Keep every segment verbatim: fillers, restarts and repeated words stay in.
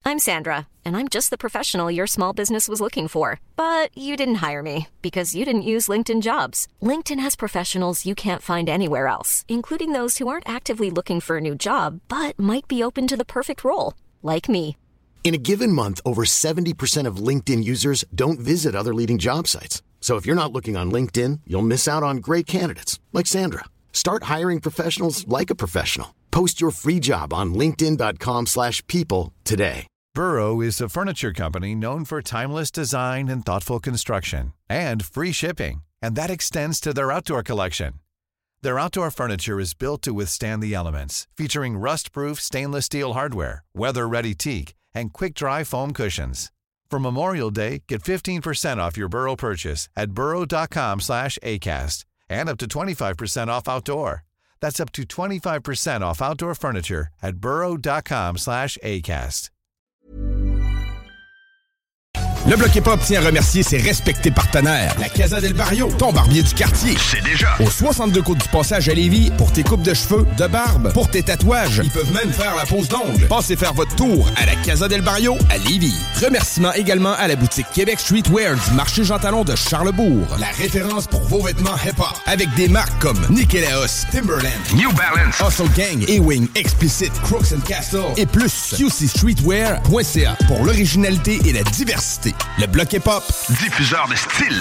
I'm Sandra, and I'm just the professional your small business was looking for. But you didn't hire me because you didn't use LinkedIn Jobs. LinkedIn has professionals you can't find anywhere else, including those who aren't actively looking for a new job, but might be open to the perfect role, like me. In a given month, over seventy percent of LinkedIn users don't visit other leading job sites. So if you're not looking on LinkedIn, you'll miss out on great candidates like Sandra. Start hiring professionals like a professional. Post your free job on linkedin.com slash people today. Burrow is a furniture company known for timeless design and thoughtful construction and free shipping, and that extends to their outdoor collection. Their outdoor furniture is built to withstand the elements, featuring rust-proof stainless steel hardware, weather-ready teak, and quick-dry foam cushions. For Memorial Day, get fifteen percent off your Burrow purchase at burrow.com slash ACAST and up to twenty-five percent off outdoor. That's up to twenty-five percent off outdoor furniture at burrow.com slash ACAST. Le Bloc Hip-Hop tient à remercier ses respectés partenaires. La Casa del Barrio, ton barbier du quartier. C'est déjà. Au soixante-deux Côte du Passage à Lévis, pour tes coupes de cheveux, de barbe, pour tes tatouages. Ils peuvent même faire la pose d'ongles. Passez faire votre tour à la Casa del Barrio à Lévis. Remerciements également à la boutique Québec Streetwear du marché Jean Talon de Charlebourg. La référence pour vos vêtements hip-hop. Avec des marques comme Nikélaos, Timberland, New Balance, Hustle Gang, A-Wing, Explicit, Crooks and Castle et plus. Q C streetwear point C A pour l'originalité et la diversité. Le Bloc Hip-Hop, diffuseur de style.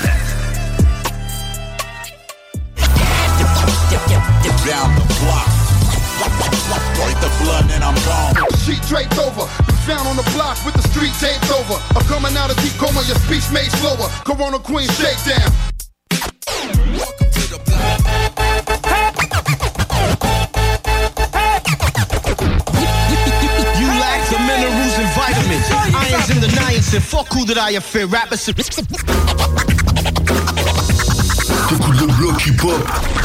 Down the block. Break the blood and I'm gone. Sheet draped over. Found on the block with the street taped over. I'm coming out of deep coma, your speech made slower. Corona Queen shakedown. Welcome to the block. You lack the minerals and vitamins. Irons and the niacin. Fuck who that I fear. Rappers. T'écoutes le Bloc Hip-Hop.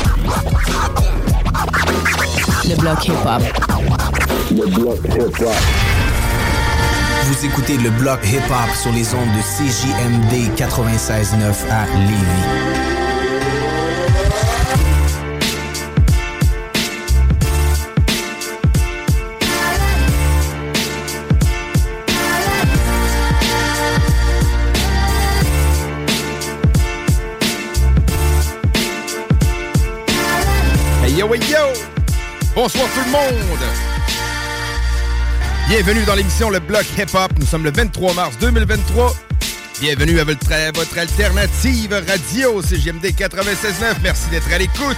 Le Bloc Hip-Hop. Le Bloc Hip-Hop. Vous écoutez le Bloc Hip-Hop sur les ondes de C J M D quatre-vingt-seize neuf à Lévis. Yo, yo! Bonsoir tout le monde! Bienvenue dans l'émission Le Bloc Hip-Hop. Nous sommes le vingt-trois mars deux mille vingt-trois. Bienvenue à votre, à votre alternative radio C J M D quatre-vingt-seize neuf. Merci d'être à l'écoute.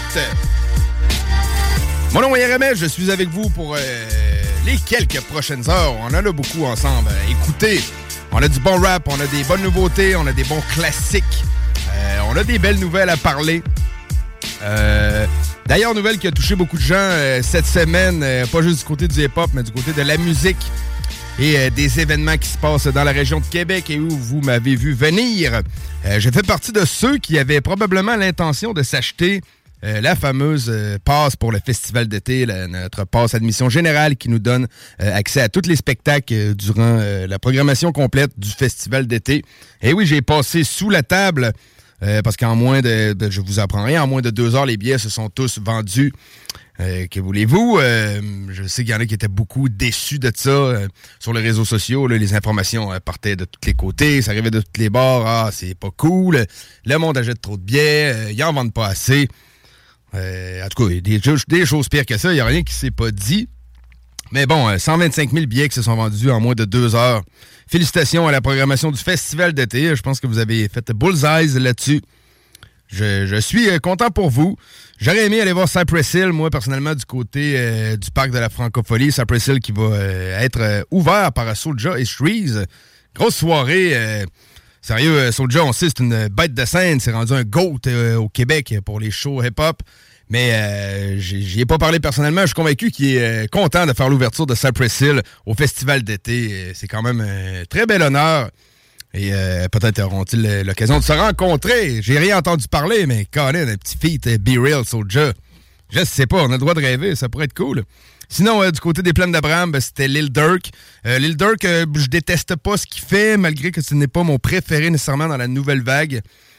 Mon nom est R M S. Je suis avec vous pour euh, les quelques prochaines heures. On en a beaucoup ensemble. Écoutez, on a du bon rap, on a des bonnes nouveautés, on a des bons classiques. Euh, on a des belles nouvelles à parler. Euh... D'ailleurs, nouvelle qui a touché beaucoup de gens euh, cette semaine, euh, pas juste du côté du hip-hop, mais du côté de la musique et euh, des événements qui se passent dans la région de Québec et où vous m'avez vu venir. Euh, je fais partie de ceux qui avaient probablement l'intention de s'acheter euh, la fameuse euh, passe pour le festival d'été, la, notre passe admission générale qui nous donne euh, accès à tous les spectacles euh, durant euh, la programmation complète du festival d'été. Et oui, j'ai passé sous la table... Euh, parce qu'en moins de, de... Je vous apprends rien, en moins de deux heures, les billets se sont tous vendus. Euh, que voulez-vous? Euh, je sais qu'il y en a qui étaient beaucoup déçus de ça. Euh, sur les réseaux sociaux, là, les informations euh, partaient de tous les côtés. Ça arrivait de tous les bords. Ah, c'est pas cool. Le monde achète trop de billets. Euh, ils en vendent pas assez. Euh, en tout cas, il y a des, des choses pires que ça. Il n'y a rien qui s'est pas dit. Mais bon, euh, cent vingt-cinq mille billets qui se sont vendus en moins de deux heures. Félicitations à la programmation du festival d'été. Je pense que vous avez fait bullseye là-dessus. Je, je suis euh, content pour vous. J'aurais aimé aller voir Cypress Hill, moi, personnellement, du côté euh, du parc de la Francophonie. Cypress Hill qui va euh, être euh, ouvert par Soulja et Shreeze. Grosse soirée. Euh, sérieux, euh, Soulja, on sait, c'est une bête de scène. C'est rendu un GOAT euh, au Québec pour les shows hip-hop. Mais euh, j'y ai pas parlé personnellement. Je suis convaincu qu'il est euh, content de faire l'ouverture de Cypress Hill au festival d'été. C'est quand même un très bel honneur. Et euh, peut-être auront-ils l'occasion de se rencontrer. J'ai rien entendu parler, mais Colin, un petit feat, Be Real, Soulja. Je sais pas, on a le droit de rêver, ça pourrait être cool. Sinon, euh, du côté des Plaines d'Abraham, ben, c'était Lil Durk. Euh, Lil Durk, euh, je déteste pas ce qu'il fait, malgré que ce n'est pas mon préféré nécessairement dans la nouvelle vague.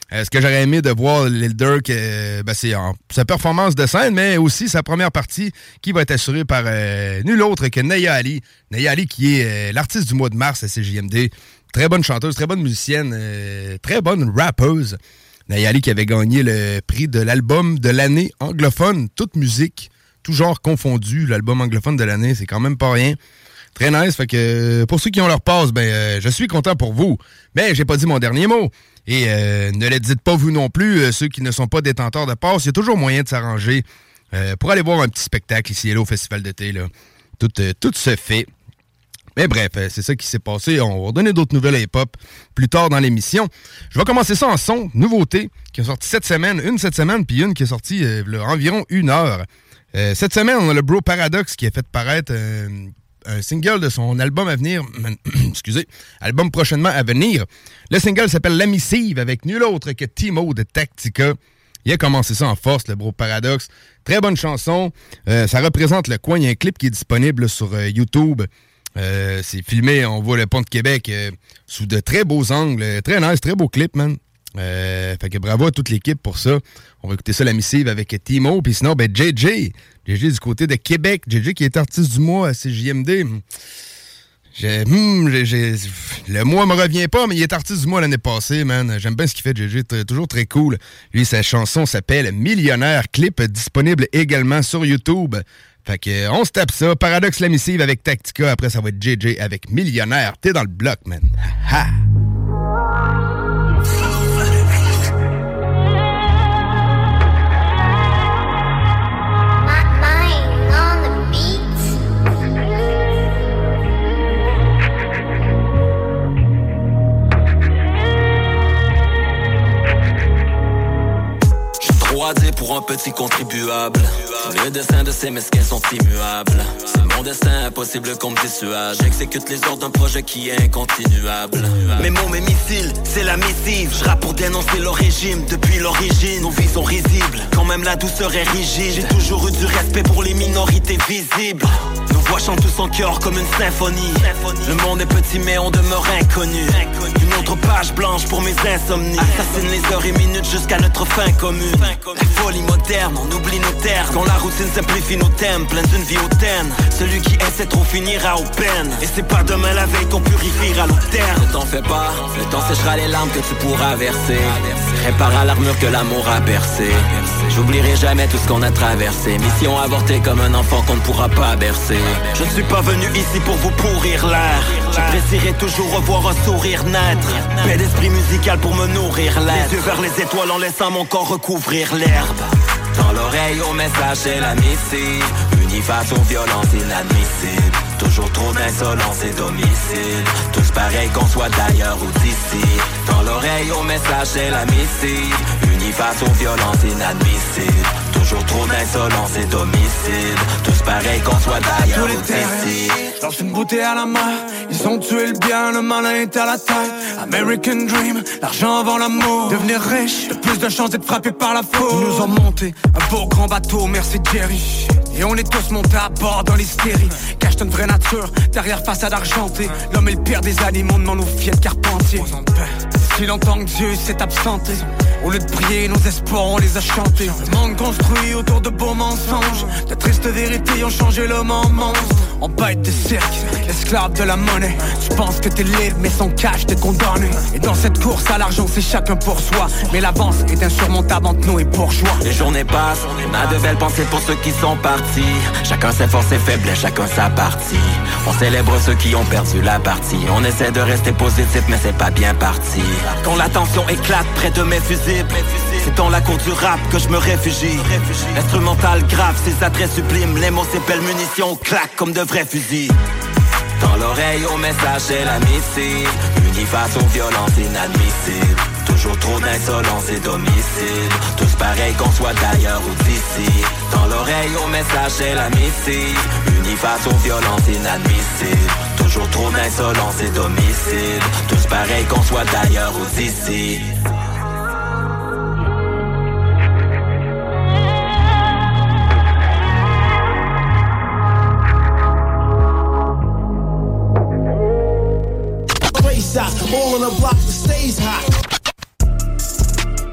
Euh, ce que j'aurais aimé de voir Lil Durk, euh, ben, c'est en, sa performance de scène, mais aussi sa première partie qui va être assurée par euh, nul autre que Naya Ali. Naya Ali qui est euh, l'artiste du mois de mars à C J M D. Très bonne chanteuse, très bonne musicienne, euh, très bonne rappeuse. Naya Ali qui avait gagné le prix de l'album de l'année anglophone, toute musique, tout genre confondu. L'album anglophone de l'année, c'est quand même pas rien. Très nice, fait que pour ceux qui ont leur passe, ben euh, je suis content pour vous. Mais j'ai pas dit mon dernier mot. Et euh, ne le dites pas vous non plus, euh, ceux qui ne sont pas détenteurs de passe, il y a toujours moyen de s'arranger euh, pour aller voir un petit spectacle ici et là au Festival d'été. Là. Tout, euh, tout se fait. Mais bref, euh, c'est ça qui s'est passé. On va donner d'autres nouvelles à hip-hop plus tard dans l'émission. Je vais commencer ça en son, nouveauté, qui est sortie cette semaine, une cette semaine, puis une qui est sortie euh, là, environ une heure. Euh, cette semaine, on a le Bro Paradox qui a fait paraître... Euh, un single de son album à venir, excusez, album prochainement à venir. Le single s'appelle La Missive avec nul autre que Timo de Tactica. Il a commencé ça en force, le Bro Paradox. Très bonne chanson. Euh, ça représente le coin. Il y a un clip qui est disponible sur euh, YouTube. Euh, c'est filmé, on voit le pont de Québec euh, sous de très beaux angles. Très nice, très beau clip, man. Euh, fait que bravo à toute l'équipe pour ça. On va écouter ça, La Missive avec Timo. Puis sinon, ben J J. J J du côté de Québec. J J qui est artiste du mois à C J M D. J'ai, hmm, j'ai, j'ai, le mois me revient pas, mais il est artiste du mois l'année passée, man. J'aime bien ce qu'il fait, J J. T- toujours très cool. Lui, sa chanson s'appelle Millionnaire. Clip disponible également sur YouTube. Fait que on se tape ça. Paradoxe, La Missive avec Tactica. Après, ça va être J J avec Millionnaire. T'es dans le bloc, man. Ha ha! Pour un petit contribuable, le destin de ces mesquins sont immuables. C'est mon destin, impossible qu'on me dissuade. J'exécute les ordres d'un projet qui est incontinuable. Mes mots, mes missiles, c'est la missive. Je rappe pour dénoncer leur régime depuis l'origine. Nos vies sont risibles, quand même la douceur est rigide. J'ai toujours eu du respect pour les minorités visibles. Nos voix chantent tous en chœur comme une symphonie. Le monde est petit mais on demeure inconnu. Une autre page blanche pour mes insomnies. Assassine les heures et minutes jusqu'à notre fin commune. La folie moderne, on oublie nos terres. Quand la routine simplifie nos thèmes, plein d'une vie hautaine. Celui qui essaie trop finira aux peines. Et c'est pas demain la veille qu'on purifiera l'eau terre. Ne t'en fais pas, le temps séchera les larmes que tu pourras verser. Répara l'armure que l'amour a percée. J'oublierai jamais tout ce qu'on a traversé. Mission avortée comme un enfant qu'on ne pourra pas bercer. Je ne suis pas venu ici pour vous pourrir l'air. J'apprécierai toujours revoir un sourire naître. Paix d'esprit musical pour me nourrir l'air. Les yeux vers les étoiles en laissant mon corps recouvrir l'herbe. Dans l'oreille au message c'est la missive. Unis face aux violences inadmissibles. Toujours trop d'insolence et d'homicide. Tous pareils qu'on soit d'ailleurs ou d'ici. Dans l'oreille au message c'est la missive. Unis face aux violences inadmissibles. Toujours trop d'insolence et d'homicide. Tous pareils qu'on soit d'ailleurs ou d'ici. Lance une bouteille à la main. Ils ont tué le bien, le malin est à la taille. American Dream, l'argent avant l'amour. Devenir riche, de plus de chances d'être frappé par la faute. Ils nous ont monté un beau grand bateau, merci Jerry. Et on est tous montés à bord dans l'hystérie. Cache une vraie nature, derrière façade argentée. L'homme est le pire des animaux, demande aux filles de Carpentier. Si longtemps que Dieu s'est absenté, au lieu de prier, nos espoirs on les a chantés. Le monde construit autour de beaux mensonges. De tristes vérités ont changé l'homme en monstre. En bête de cirque, esclave de la monnaie. Tu penses que t'es libre mais sans cash t'es condamné. Et dans cette course à l'argent c'est chacun pour soi. Mais l'avance est insurmontable entre nous et bourgeois. Les journées passent, on a de belles pensées pour ceux qui sont partis. Chacun ses forces et faiblesses, chacun sa partie. On célèbre ceux qui ont perdu la partie. On essaie de rester positif mais c'est pas bien parti. Quand la tension éclate près de mes fusibles, c'est dans la cour du rap que je me réfugie. Instrumental grave, ses attraits sublimes. Les mots c'est belle munition, claque comme de vrais fusils. Dans l'oreille au message c'est la missive. Unis face aux violences inadmissibles. Toujours trop d'insolence et d'homicide. Tous pareils qu'on soit d'ailleurs ou d'ici. Dans l'oreille au message c'est la missive. Unis face aux violences inadmissibles. Toujours trop d'insolence et d'homicide. Tous pareils qu'on soit d'ailleurs ou d'ici. All on the block that stays hot.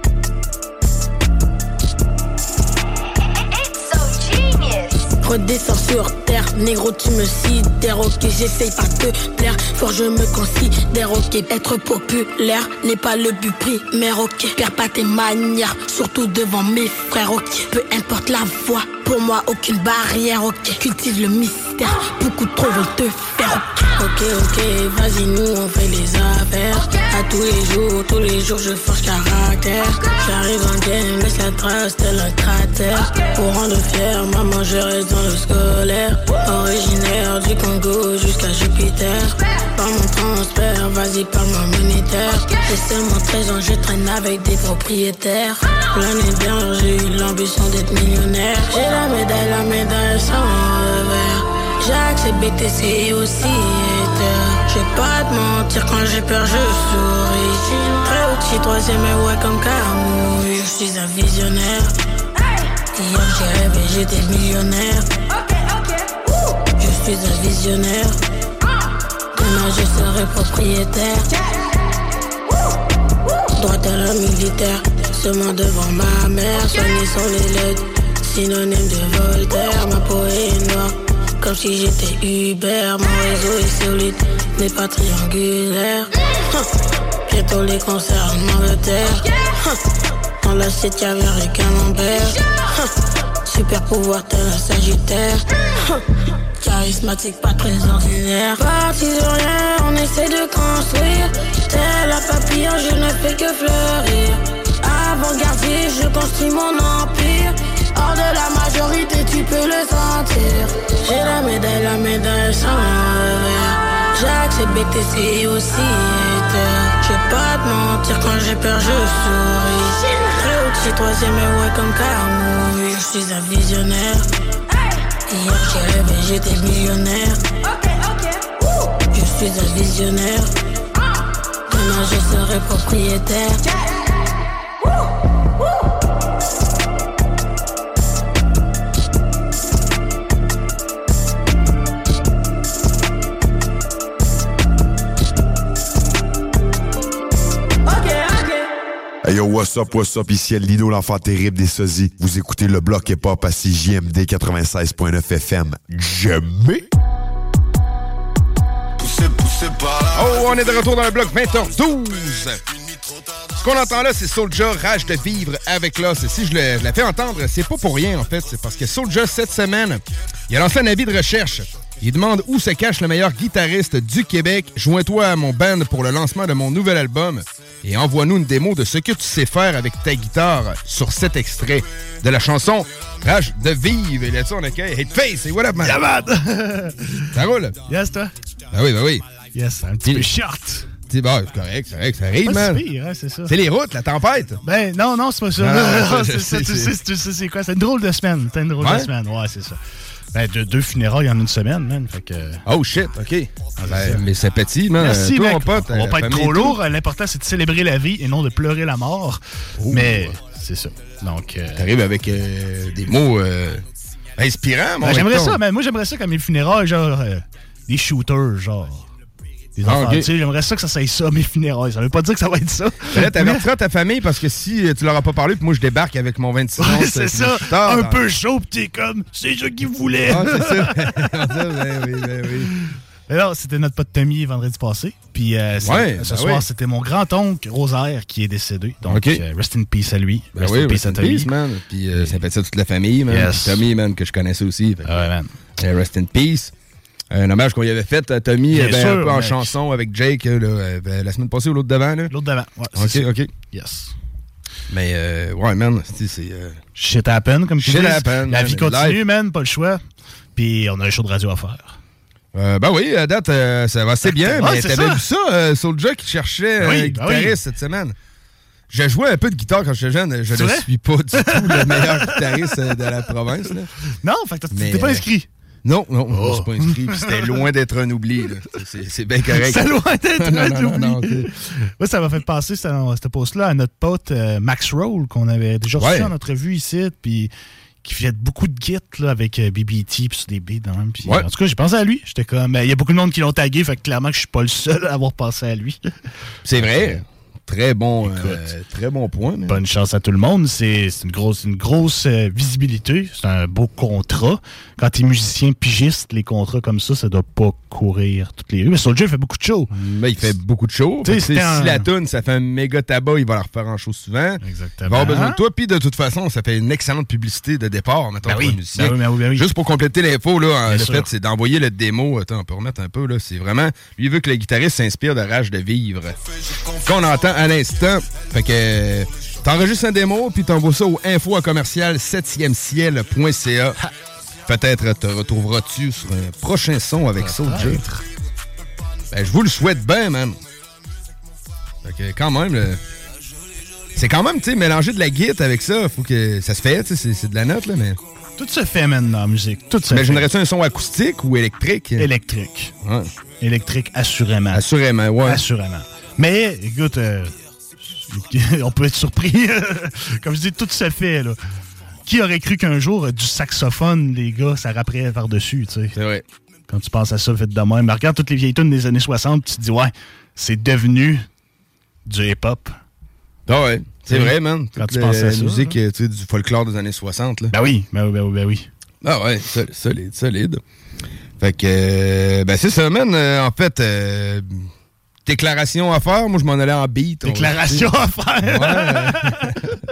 redescends sur terre. Négro, tu me sidères, ok, j'essaye pas de te plaire. Fort, je me considère, ok. Être populaire n'est pas le but primaire, ok. Perds pas tes manières, surtout devant mes frères, ok. Peu importe la voie, pour moi, aucune barrière, ok. Cultive le mystère, beaucoup trop veulent te faire, ok. Ok, ok, vas-y, nous on fait les affaires. À tous les jours, tous les jours, je force caractère. J'arrive en game, laisse la trace, tel un cratère. Pour rendre fier, maman, je reste dans le scolaire. Originaire du Congo jusqu'à Jupiter. Par mon transfert, vas-y, parle-moi monétaire. J'ai seulement treize ans, je traîne avec des propriétaires. L'année dernière, j'ai eu l'ambition d'être millionnaire. J'ai la médaille, la médaille sans revers. J'ai accepté B T C aussi hater. Je vais pas te mentir, quand j'ai peur, je souris. Très au-dessus, troisième et ouais comme Camouille. Je suis un visionnaire. Hier j'ai rêvé, j'étais millionnaire. Je suis un visionnaire. Demain je serai propriétaire. Droite à la militaire, seulement devant ma mère. Soigner sont les lettres, synonyme de Voltaire. Ma peau est noire, comme si j'étais Uber. Mon réseau est solide, n'est pas triangulaire. Bientôt les concerts en Angleterre. Dans l'assiette caviar et camembert. Super pouvoir tel un sagittaire. Charismatique, pas très ordinaire. Parti de rien, on essaie de construire. Tel un papillon, je ne fais que fleurir. Avant-gardiste, je construis mon empire. Hors de la majorité, tu peux le sentir. J'ai la médaille, la médaille sans revers. J'ai accepté B T C aussi hater. Je vais pas te mentir, quand j'ai peur, je souris. Très au-dessus, troisième et ouais comme Camouille. Je suis un visionnaire. Hier j'ai rêvé, j'étais millionnaire. Je suis un visionnaire. Demain je serai propriétaire. Hey yo, what's up, what's up, ici Lino, l'enfant terrible des sosies. Vous écoutez le bloc hip-hop à C J M D quatre-vingt-seize point neuf F M. Jamais! Poussez, poussez par là. Oh, on est de retour dans le bloc vingt heures douze. Ce qu'on entend là, c'est Soulja, Rage de vivre avec l'os. Et si je le, je la fais entendre, c'est pas pour rien, en fait. C'est parce que Soulja, cette semaine, il a lancé un avis de recherche. Il demande où se cache le meilleur guitariste du Québec. Joins-toi à mon band pour le lancement de mon nouvel album et envoie-nous une démo de ce que tu sais faire avec ta guitare sur cet extrait de la chanson Rage de vivre. Et là-dessus, on accueille Hateface. Et what up, man? Yeah, man! Ça roule? Yes, toi? Ben oui, ben oui. Yes, un petit Il... peu short. Bon, c'est correct, c'est correct, ça arrive, man. C'est pire, hein, c'est ça. C'est les routes, la tempête. Ben, non, non, c'est pas ça. Non, non, non, je, c'est je ça, sais, tu c'est... sais, tu sais, c'est quoi? C'est une drôle de semaine. C'est une drôle ouais? de semaine, ouais, c'est ça. Ben, de, deux funérailles en une semaine, man. Fait que... Oh, shit, OK. Ah, ben, mais c'est petit, man. Merci, toi, mec. mon pote. On va pas être trop lourd. L'important, c'est de célébrer la vie et non de pleurer la mort. Oh, mais, c'est ça. Donc... Euh... T'arrives avec euh, des mots euh, inspirants, mon ben, j'aimerais recton. ça, man. Moi, j'aimerais ça comme les funérailles, genre... Euh, des shooters, genre... Des enfants, ah, okay. Tu sais, j'aimerais ça que ça soit ça, mes funérailles. Ça veut pas dire que ça va être ça. Là, t'avertiras ta famille parce que si tu leur as pas parlé, puis moi je débarque avec mon vingt-six ans. Ouais, c'est ça. Tard, un dans... peu chaud, pis t'es comme, c'est ça qu'ils voulaient. Ah, c'est ça. ben oui, ben oui. Alors, c'était notre pote Tommy vendredi passé. Puis euh, ouais, ce ben soir, oui. C'était mon grand-oncle Rosaire qui est décédé. Donc, okay. euh, rest in peace à lui. Ben rest oui, in peace rest à Tommy. Peace, man. Puis euh, ça fait ça toute la famille, man. Yes. Tommy, man, que je connaissais aussi. Ah ouais, man. Euh, rest in peace. Un hommage qu'on y avait fait à Tommy ben, sûr, un peu en mec. chanson avec Jake là, ben, la semaine passée ou l'autre d'avant. Là. L'autre d'avant, ouais. OK, ça. OK. Yes. Mais, euh, ouais, man, c'est... c'est euh... Shit happen, comme tu dis. Shit happen. La vie man, continue, life. man, pas le choix. Puis on a un show de radio à faire. Euh, ben oui, à date, euh, ça va assez bien. Ah, mais t'avais ça. vu ça, euh, Soulja qui cherchait un oui, euh, guitariste oui. cette semaine. J'ai joué un peu de guitare quand j'étais jeune. Je ne suis pas du tout le meilleur guitariste de la province. Là. Non, fait que t'es pas inscrit. Non, non, oh. je ne suis pas inscrit. C'était loin d'être un oubli. Là. C'est, c'est bien correct. C'est loin d'être non, un non, oubli. Non, non, okay. Moi, ça m'a fait passer cette, cette post-là à notre pote euh, Max Roll, qu'on avait déjà reçu ouais. en entrevue ici, puis qui fait beaucoup de gits là, avec euh, B B T puis sur des beats. Hein, puis, ouais. En tout cas, j'ai pensé à lui. J'étais comme, il y a beaucoup de monde qui l'ont tagué, fait que clairement que je suis pas le seul à avoir pensé à lui. C'est vrai. très bon, euh, très bon point. Mais... Bonne chance à tout le monde. C'est, c'est une grosse, une grosse euh, visibilité. C'est un beau contrat. Quand t'es musicien pigiste, les contrats comme ça, ça doit pas courir toutes les rues. Mais Soulja, il fait beaucoup de shows. Mais il fait beaucoup de shows. Si un... la toune, ça fait un méga tabac, il va la refaire en show souvent. Exactement. Il va avoir besoin de toi. Puis de toute façon, ça fait une excellente publicité de départ, mettons, ben oui. pour un musicien. Ben oui, ben oui, ben oui. Juste pour compléter l'info, là, le sûr. fait, c'est d'envoyer le démo. Attends, on peut remettre un peu, là. C'est vraiment... Lui, il veut que le guitariste s'inspire de Rage de vivre. Qu'on entend à l'instant. Fait que... T'enregistres un démo, puis t'envoies ça au info à commercial septième ciel point c a. Peut-être te retrouveras-tu sur un prochain son avec Soulja. Ben, je vous le souhaite bien, man. Fait que quand même, le... c'est quand même, tu sais, mélanger de la guitare avec ça, faut que ça se fait, tu sais, c'est, c'est de la note, là, mais... Tout se fait, man, dans la musique. Tout se fait. Imaginerais-tu un son acoustique ou électrique? Électrique. Ouais. Électrique, assurément. Assurément, ouais. Assurément. Mais, écoute, euh, on peut être surpris. Comme je dis, tout se fait, là. Qui aurait cru qu'un jour, du saxophone, les gars, ça rapperait par-dessus, tu sais? C'est vrai. Quand tu penses à ça, fait de même. Mais regarde toutes les vieilles tunes des années soixante, tu te dis, ouais, c'est devenu du hip-hop. Ah ouais, c'est vrai, man. Quand Toute tu penses à la ça. musique, tu sais, du folklore des années soixante, là. Ben oui, ben oui, ben oui, ben oui. Ah ouais, solide, solide. Fait que, euh, ben c'est ça, man. Euh, en fait, euh, déclaration à faire. Moi, je m'en allais en beat. Déclaration à faire. Ouais.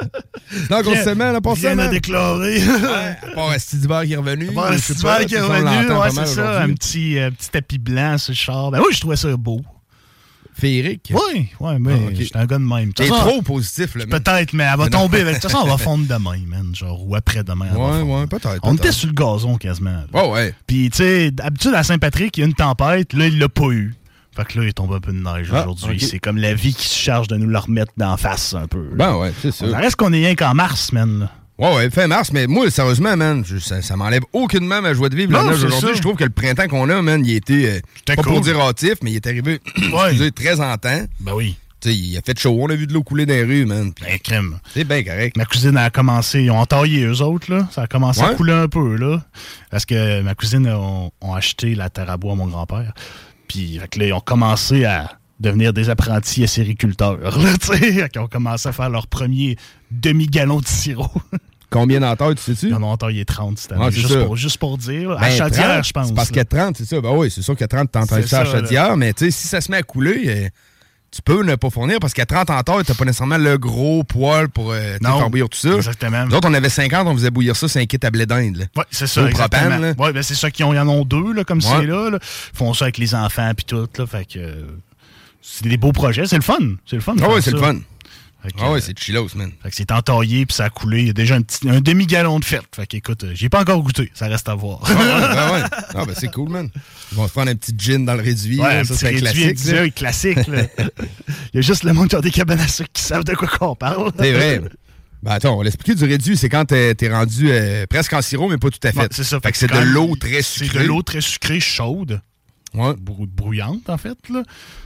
Donc, on se semaine, là, pour ça, Rien à déclarer. Ouais, à part Stidibert qui est revenu. À part Stidibert qui est revenu, ouais, c'est ça. Un petit, euh, petit tapis blanc sur le char. Ben oui, je trouvais ça beau. Féerique? Oui, oui, mais ah, okay. J'étais un gars de même. T'es trop positif, là, man. Peut-être, mais elle va tomber. De toute façon, on va fondre demain, man. Genre, ou après-demain. Ouais, ouais, peut-être. On peut-être. était sur le gazon, quasiment. Là. Ouais, ouais. Puis, tu sais, d'habitude, à Saint-Patrick, il y a une tempête. Là, il l'a pas eu. Fait que là, il tombe un peu de neige ah, aujourd'hui. Okay. C'est comme la vie qui se charge de nous la remettre d'en face, un peu. Là. Ben ouais, c'est ça. Ça reste qu'on est rien qu'en mars, man. Là. Ouais, ouais, fin mars, mais moi, sérieusement, man, je, ça, ça m'enlève aucunement ma joie de vivre. Non, la neige aujourd'hui, je trouve que le printemps qu'on a, man, il était, euh, pas cool. Pour dire hâtif, mais il est arrivé, ouais. excusez, très en temps. Ben oui. Tu sais, il a fait chaud, on a vu de l'eau couler dans les rues, man. Ben, crème. C'est bien correct. Ma cousine a commencé, ils ont entaillé eux autres, là. Ça a commencé ouais. à couler un peu, là. Parce que ma cousine a ont, ont acheté la terre à bois à mon grand-père. Puis, fait que là, ils ont commencé à devenir des apprentis acériculteurs, là, tu sais. Ils ont commencé à faire leur premier demi-gallon de sirop. Combien d'entailles, tu sais-tu? Ils en ont entaillé trente cette année. Ah, juste, pour, juste pour dire. Ben, à Chaudière, je pense. C'est parce qu'il y a trente, c'est ça. Ben oui, c'est sûr qu'il y a trente t'entailles ça à Chaudière, mais tu sais, si ça se met à couler, euh, tu peux ne pas fournir parce qu'à trente entailles, t'as pas nécessairement le gros poil pour euh, faire bouillir tout ça. Exactement. Nous autres, on avait cinquante, on faisait bouillir ça, c'est un kit à blé d'Inde. Oui, c'est ça. Propane, ouais, ben c'est ça qu'ils ont, ils en ont deux, là, comme ouais. c'est là, là. Ils font ça avec les enfants puis tout, là. Fait que euh, c'est des beaux projets. C'est le fun. C'est le fun. Ah oui, c'est ça. le fun. Que, ah ouais, c'est chillos, man. Fait que c'est entaillé puis ça a coulé. Il y a déjà un, petit, un demi-gallon de fête. Fait qu'écoute, j'ai pas encore goûté. Ça reste à voir. Ah ouais, ben ouais. Ah ben c'est cool, man. Ils vont se prendre un petit gin dans le réduit. Ouais, là, ça, c'est un classique. C'est classique, là. Il y a juste le monde qui a des cabanes à sucre qui savent de quoi qu'on parle. C'est vrai. Ben attends, on va l'expliquer du réduit. C'est quand t'es, t'es rendu euh, presque en sirop, mais pas tout à fait. Ouais, c'est ça. Fait, fait que c'est de l'eau très sucrée. C'est de l'eau très sucrée, chaude. Ouais. Brouillante, en fait, là.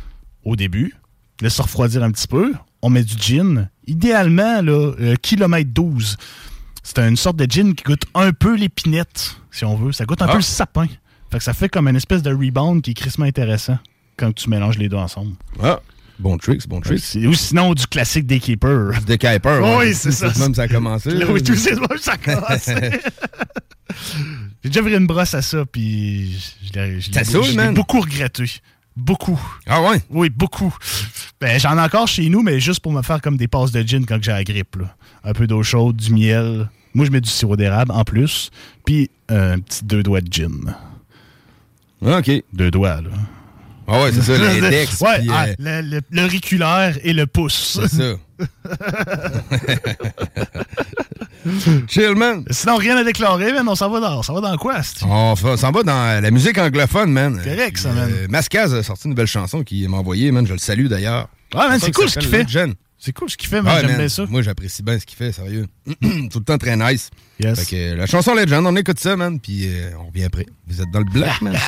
Au début. Laisse ça refroidir un petit peu. On met du gin. Idéalement, là, euh, kilomètre douze. C'est une sorte de gin qui goûte un peu l'épinette, si on veut. Ça goûte un ah. peu le sapin. Fait que ça fait comme une espèce de rebound qui est crissement intéressant quand tu mélanges les deux ensemble. Ah, bon trick, bon trick. Ou sinon, du classique des Keepers. Des Keepers, oui. Ouais. c'est ça. C'est même ça a commencé. Là, oui, tout c'est même ça a commencé. J'ai déjà viré une brosse à ça, puis je l'ai, je l'ai, je l'ai, je l'ai beaucoup regretté. Beaucoup. Ah ouais? Oui, beaucoup. Ben, j'en ai encore chez nous, mais juste pour me faire comme des passes de gin quand j'ai la grippe. Là. Un peu d'eau chaude, du miel. Moi, je mets du sirop d'érable en plus. Puis euh, un petit deux doigts de gin. OK. Deux doigts, là. Ah ouais, c'est ça, l'index. Ouais, puis, ah, euh... le, le, l'auriculaire et le pouce. C'est ça. Chill, man. Sinon, rien à déclarer, man. On s'en va dans, on s'en va dans quoi? On s'en va dans la musique anglophone, man. Correct, ça, man. Euh, Mascaz a sorti une nouvelle chanson qu'il m'a envoyée, man. Je le salue, d'ailleurs. Ouais, man, c'est cool ce qu'il fait. Jeune. C'est cool ce qu'il fait, man. Ouais, j'aime man. bien ça. Moi, j'apprécie bien ce qu'il fait, sérieux. Tout le temps très nice. Yes. Fait que euh, la chanson Legend, on écoute ça, man. Puis euh, on revient après. Vous êtes dans le bloc, man.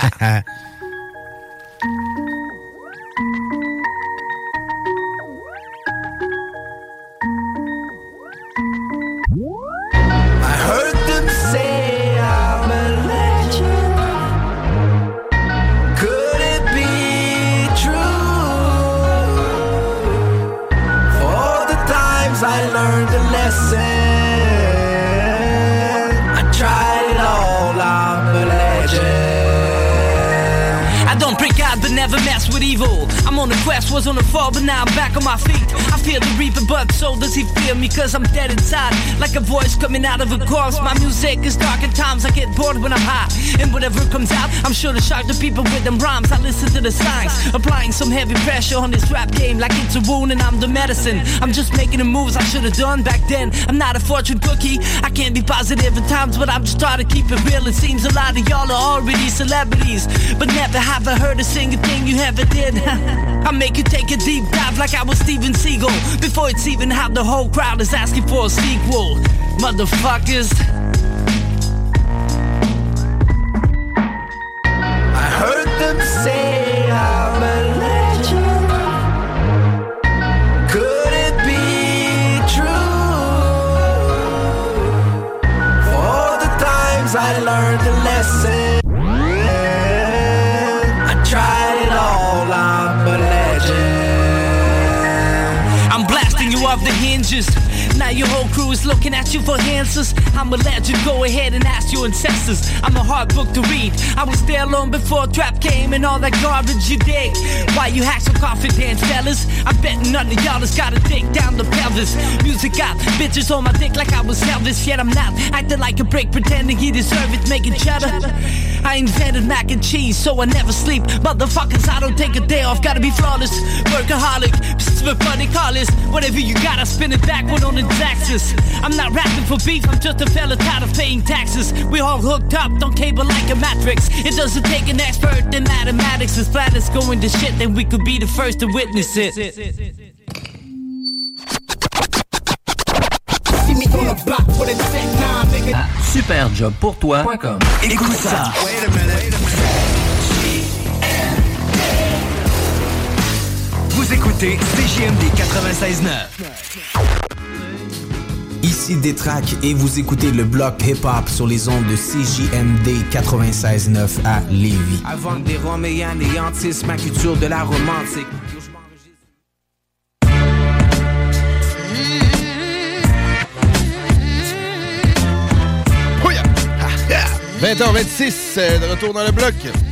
never mess with evil. I'm on a quest, was on a fall, but now I'm back on my feet. I feel the reaper, but so does he feel me, cause I'm dead inside, like a voice coming out of a corpse. My music is dark at times, I get bored when I'm high, and whatever comes out, I'm sure to shock the people with them rhymes. I listen to the signs, applying some heavy pressure on this rap game, like it's a wound and I'm the medicine. I'm just making the moves I should've done back then. I'm not a fortune cookie, I can't be positive at times, but I'm just trying to keep it real. It seems a lot of y'all are already celebrities, but never have I heard a single thing you ever did. I make you take a deep dive like I was Steven Seagal, before it's even how the whole crowd is asking for a sequel. Motherfuckers. I heard them say I'm a legend. Could it be true? For the times I learned the lesson, I tried it all, I'm a legend. I'm blasting you off the hinges. Now your whole crew is looking at you for answers. I'm a legend, go ahead and ask your ancestors. I'm a hard book to read. I was there long before trap came and all that garbage you dig. Why you hack so confident, fellas? I bet none of y'all has gotta dig down the pelvis. Music got bitches on my dick like I was Elvis, yet I'm not acting like a brick, pretending he deserve it, making cheddar. I invented mac and cheese, so I never sleep. Motherfuckers, I don't take a day off, gotta be flawless. Workaholic, for funny callers. Whatever you got, I spin it backward on the axis. I'm not rapping for beef, I'm just a fella tired of paying taxes. We all hooked up, don't cable like a matrix. It doesn't take an expert in mathematics. As flat as going to shit, then we could be the first to witness it. superjob pour toi point com. Écoute ça. Vous écoutez C J M D quatre-vingt-seize neuf. Ici Détraque et vous écoutez le bloc hip-hop sur les ondes de C J M D quatre-vingt-seize neuf à Lévis. Avant des roms et anéantissent ma culture de la romantique. vingt heures vingt-six, euh, de retour dans le bloc.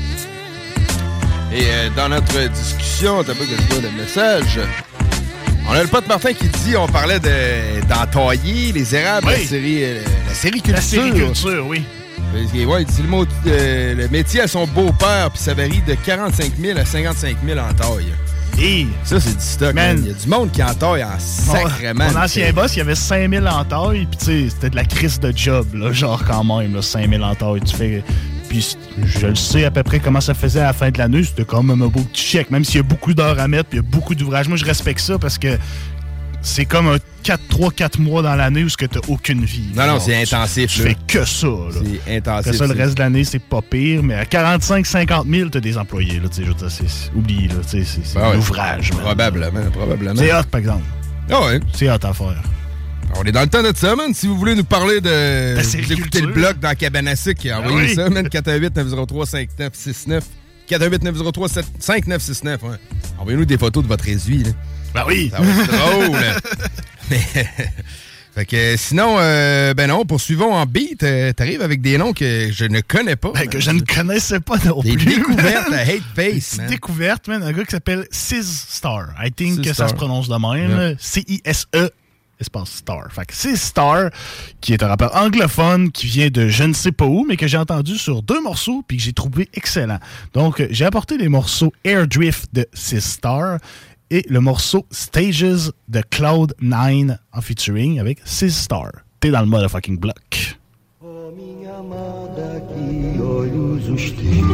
Et euh, dans notre discussion, t'as pas que je vois le message. On a le pote Martin qui dit, on parlait de, d'entailler les érables, oui. la série euh, la série culture. La série culture, oui. Ouais, il dit le, mot, euh, le métier à son beau-père, puis ça varie de quarante-cinq mille à cinquante-cinq mille en taille. Et ça, c'est du stock. Man. Il y a du monde qui en taille en sacrément. Mon ancien boss, il y avait cinq mille en taille, puis tu sais, c'était de la crise de job, là, genre quand même, là, cinq mille en taille. Tu fais... Puis je le sais à peu près comment ça faisait à la fin de l'année. C'était quand même un beau petit chèque, même s'il y a beaucoup d'heures à mettre, puis il y a beaucoup d'ouvrages. Moi, je respecte ça parce que c'est comme un quatre trois quatre mois dans l'année où tu n'as aucune vie. Non, genre, non, c'est intensif. Tu, tu fais que ça. Là. C'est intensif. Après ça, le reste de l'année, c'est pas pire. Mais à quarante-cinq cinquante mille, tu as des employés. Là, je veux dire, c'est, c'est, oublie, là, c'est, c'est ben ouais, l'ouvrage. Probablement, man. probablement. C'est hot, par exemple. Ah ouais. C'est hot à faire. On est dans le temps de ça, man. Si vous voulez nous parler de... Vous écoutez le blog dans Cabanassic, envoyez oui. ça, man. quatre un huit neuf zéro trois cinq neuf six neuf. quatre un huit neuf zéro trois cinq neuf six neuf, ouais. Envoyez-nous des photos de votre réduit, là. Ben oui. Ça va être drôle. Mais... Fait que sinon, euh, ben non, poursuivons en beat. Euh, T'arrives avec des noms que je ne connais pas. Ben, que je ne connaissais pas non des plus. Des découvertes à Hate Face, man. Des découvertes, man. Un gars qui s'appelle Sizstar. I think que ça se prononce de même. Yeah. C I S E espace Star. Fait que Sizstar, qui est un rappeur anglophone qui vient de je ne sais pas où, mais que j'ai entendu sur deux morceaux puis que j'ai trouvé excellent. Donc, j'ai apporté les morceaux Air Drift de Sizstar et le morceau Stages de Cloud nine en featuring avec Sizstar. T'es dans le motherfucking block. Oh, minha amada, que olhos os teus.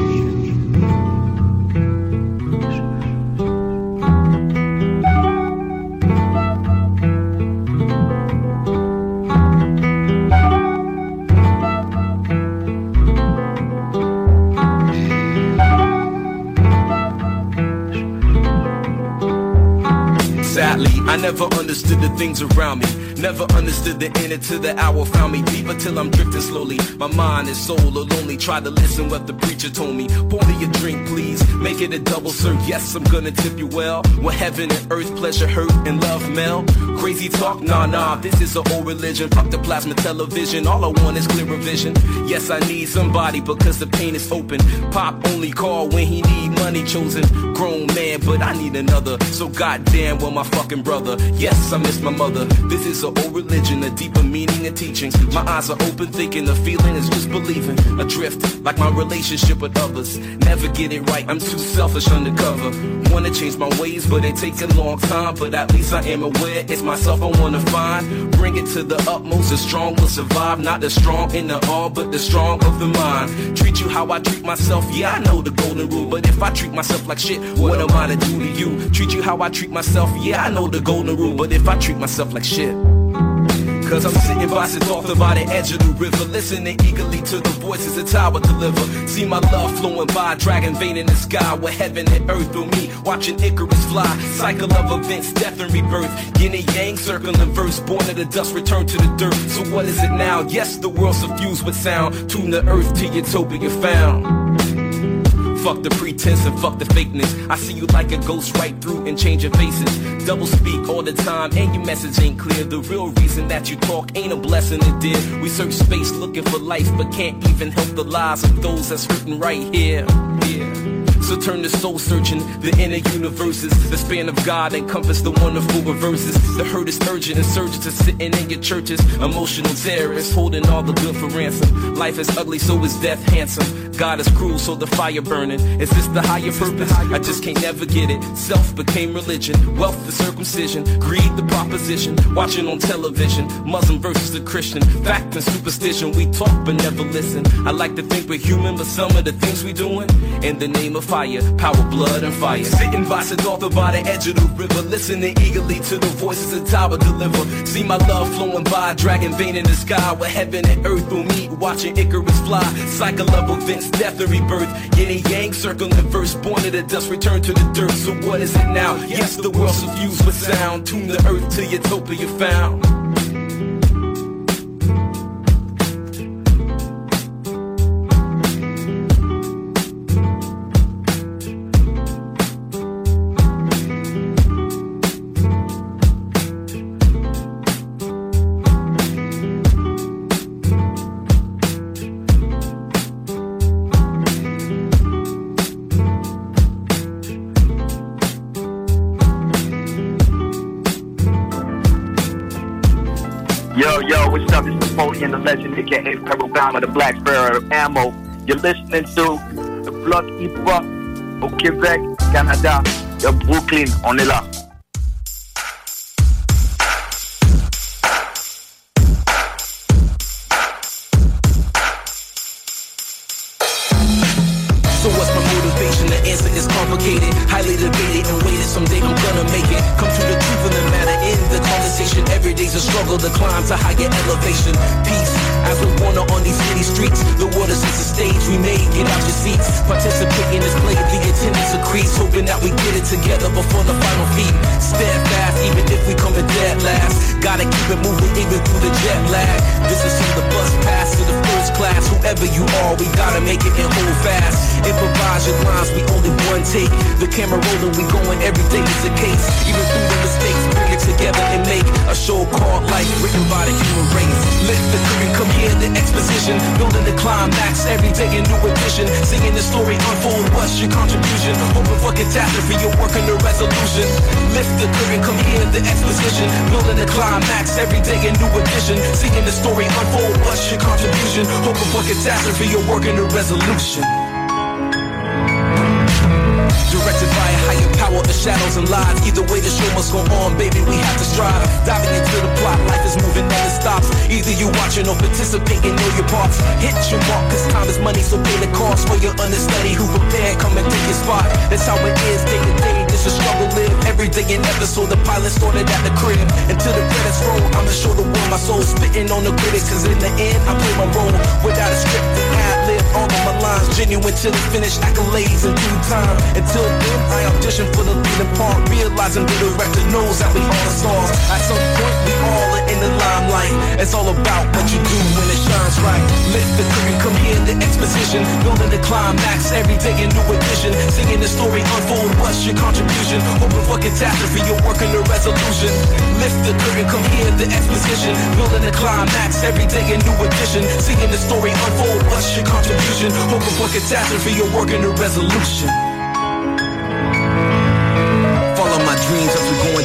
Sadly, I never understood the things around me. Never understood the end until the hour found me deeper till I'm drifting slowly. My mind and soul are lonely. Try to listen what the preacher told me. Pour me a drink, please. Make it a double, sir. Yes, I'm gonna tip you well. Where heaven and earth, pleasure, hurt, and love meld. Crazy talk, nah, nah. This is an old religion. Fuck the plasma television. All I want is clearer vision. Yes, I need somebody because the pain is open. Pop only call when he need money chosen. Grown man, but I need another. So goddamn, well my fucking brother. Yes, I miss my mother. This is an old religion, a deeper meaning and teachings. My eyes are open, thinking the feeling is just believing. Adrift, like my relationship with others. Never get it right, I'm too selfish undercover. Wanna change my ways, but it takes a long time. But at least I am aware it's myself I wanna find. Bring it to the utmost, the strong will survive. Not the strong in the arm, but the strong of the mind. Treat you how I treat myself, yeah I know the golden rule. But if I treat myself like shit, what am I to do to you? Treat you how I treat myself, yeah I know the golden rule. But if I treat myself like shit, cause I'm sitting by Siddhartha by the edge of the river, listening eagerly to the voices the tower deliver. See my love flowing by, dragon vein in the sky, where heaven and earth through me, watching Icarus fly. Cycle of events, death and rebirth, yin and yang, circle and verse, born of the dust, return to the dirt. So what is it now? Yes, the world's suffused with sound. Tune the earth to utopia found. Fuck the pretense and fuck the fakeness. I see you like a ghost right through and change your faces. Double speak all the time and your message ain't clear. The real reason that you talk ain't a blessing, it did. We search space looking for life, but can't even help the lives of those that's written right here. Yeah. So turn to soul searching, the inner universes. The span of God encompass the wonderful reverses. The hurt is urgent, insurgents are sitting in your churches. Emotional terrorists holding all the good for ransom. Life is ugly, so is death handsome. God is cruel, so the fire burning. Is this the higher purpose? I just can't never get it. Self became religion, wealth the circumcision, greed the proposition. Watching on television, Muslim versus the Christian. Fact and superstition, we talk but never listen. I like to think we're human, but some of the things we doing in the name of fire, power, blood, and fire. Sitting by Siddhartha by the edge of the river, listening eagerly to the voices the tower deliver. See my love flowing by, dragon vein in the sky, where heaven and earth will meet, watching Icarus fly. Cycle of events, death and rebirth, yin and yang, circle and verse, born of the dust, return to the dirt. So what is it now? Yes, the world's suffused with sound. Tune the earth to utopia found. Yo, yo, what's up? It's Napoleon, the legend, aka Pharaoh Bama, the Black Sparrow Ammo. You're listening to the Block Hip Hop au Québec, Canada, de Brooklyn. On est là. So what's my motivation? The answer is complicated, highly debated and weighted. Someday I'm gonna make it. Come to the truth of the matter in the conversation. Every day's a struggle to climb to higher elevation. Peace, as we wander on these city streets. The water sets the stage, we made, get out your seats. Participate in this play, the attendance increase. Hoping that we get it together before the final feat. Steadfast, even if we come in dead last. Gotta keep it moving even through the jet lag. This is from the bus pass to the first class. Whoever you are, we gotta make it and hold fast. Improvise your lines, we only one take. The camera rolling, we going every day is the case. Even through the mistakes, bring it together and make a show called Life, written by the human race. Lift the curtain, come here, the exposition. Building the climax, every day a new edition. Singing the story, unfold, what's your contribution? Hoping for catastrophe, you're working the resolution. Lift the curtain, come here, the exposition. Building the climax, every day a new edition. Singing the story, unfold, what's your contribution? Hoping for catastrophe, you're working the resolution. Directed by a higher power, the shadows and lies. Either way, the show must go on, baby, we have to strive. Diving into the plot, life is moving, never stops. Either you watching or participating, know your parts. Hit your mark, cause time is money, so pay the cost. For your understudy who prepared, come and take your spot. That's how it is, day to day, this is struggle live. Every day an episode, the pilot started at the crib. Until the credits roll, I'ma show the world my soul. Spitting on the critics, cause in the end, I play my role. Without a script, the ad-lib, all of my lines. Genuine till it's finished, accolades in due time. Until then, I audition for the leading part, realizing the director knows that we all stars. At some point, we all are in the limelight. It's all about what you do when it shines right. Lift the curtain, come here, the exposition. Building the climax, every day a new edition. Singing the story, unfold, what's your contribution? Hoping for catastrophe, you're working the resolution. Lift the curtain, come here, the exposition. Building the climax, every day a new edition. Singing the story, unfold, what's your contribution? Hoping for catastrophe, you're working the resolution.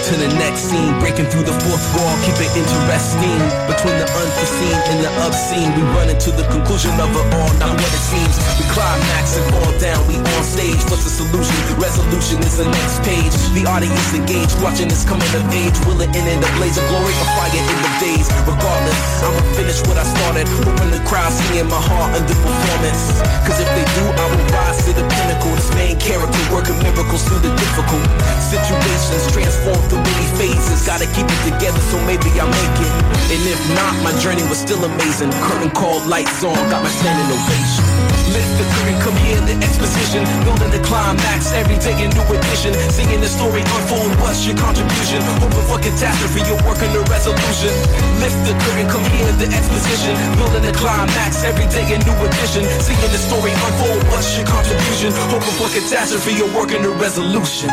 to the next scene. Breaking through the fourth wall, keep it interesting. Between the unforeseen and the obscene, we run into the conclusion of it all, not what it seems. We climax and fall down, we on stage. What's the solution? Resolution is the next page. The audience engaged, watching this coming of age. Will it end in a blaze of glory or fire in the days? Regardless, I'ma finish what I started. Hoping the crowd seeing my heart under performance. Cause if they do, I will rise to the pinnacle. This main character working miracles through the difficult situations, transform through many phases. Gotta keep it together so maybe I'll make it. And if not, my journey was still amazing. Curtain call, lights on, got my standing ovation. Lift the curtain, come here, the exposition. Building the climax, every day a new edition. Singing the story unfold, what's your contribution? Hoping for catastrophe, you're working the resolution. Lift the curtain, come here, the exposition. Building the climax, every day a new edition. Singing the story unfold, what's your contribution? Hoping for catastrophe, you're working the resolution.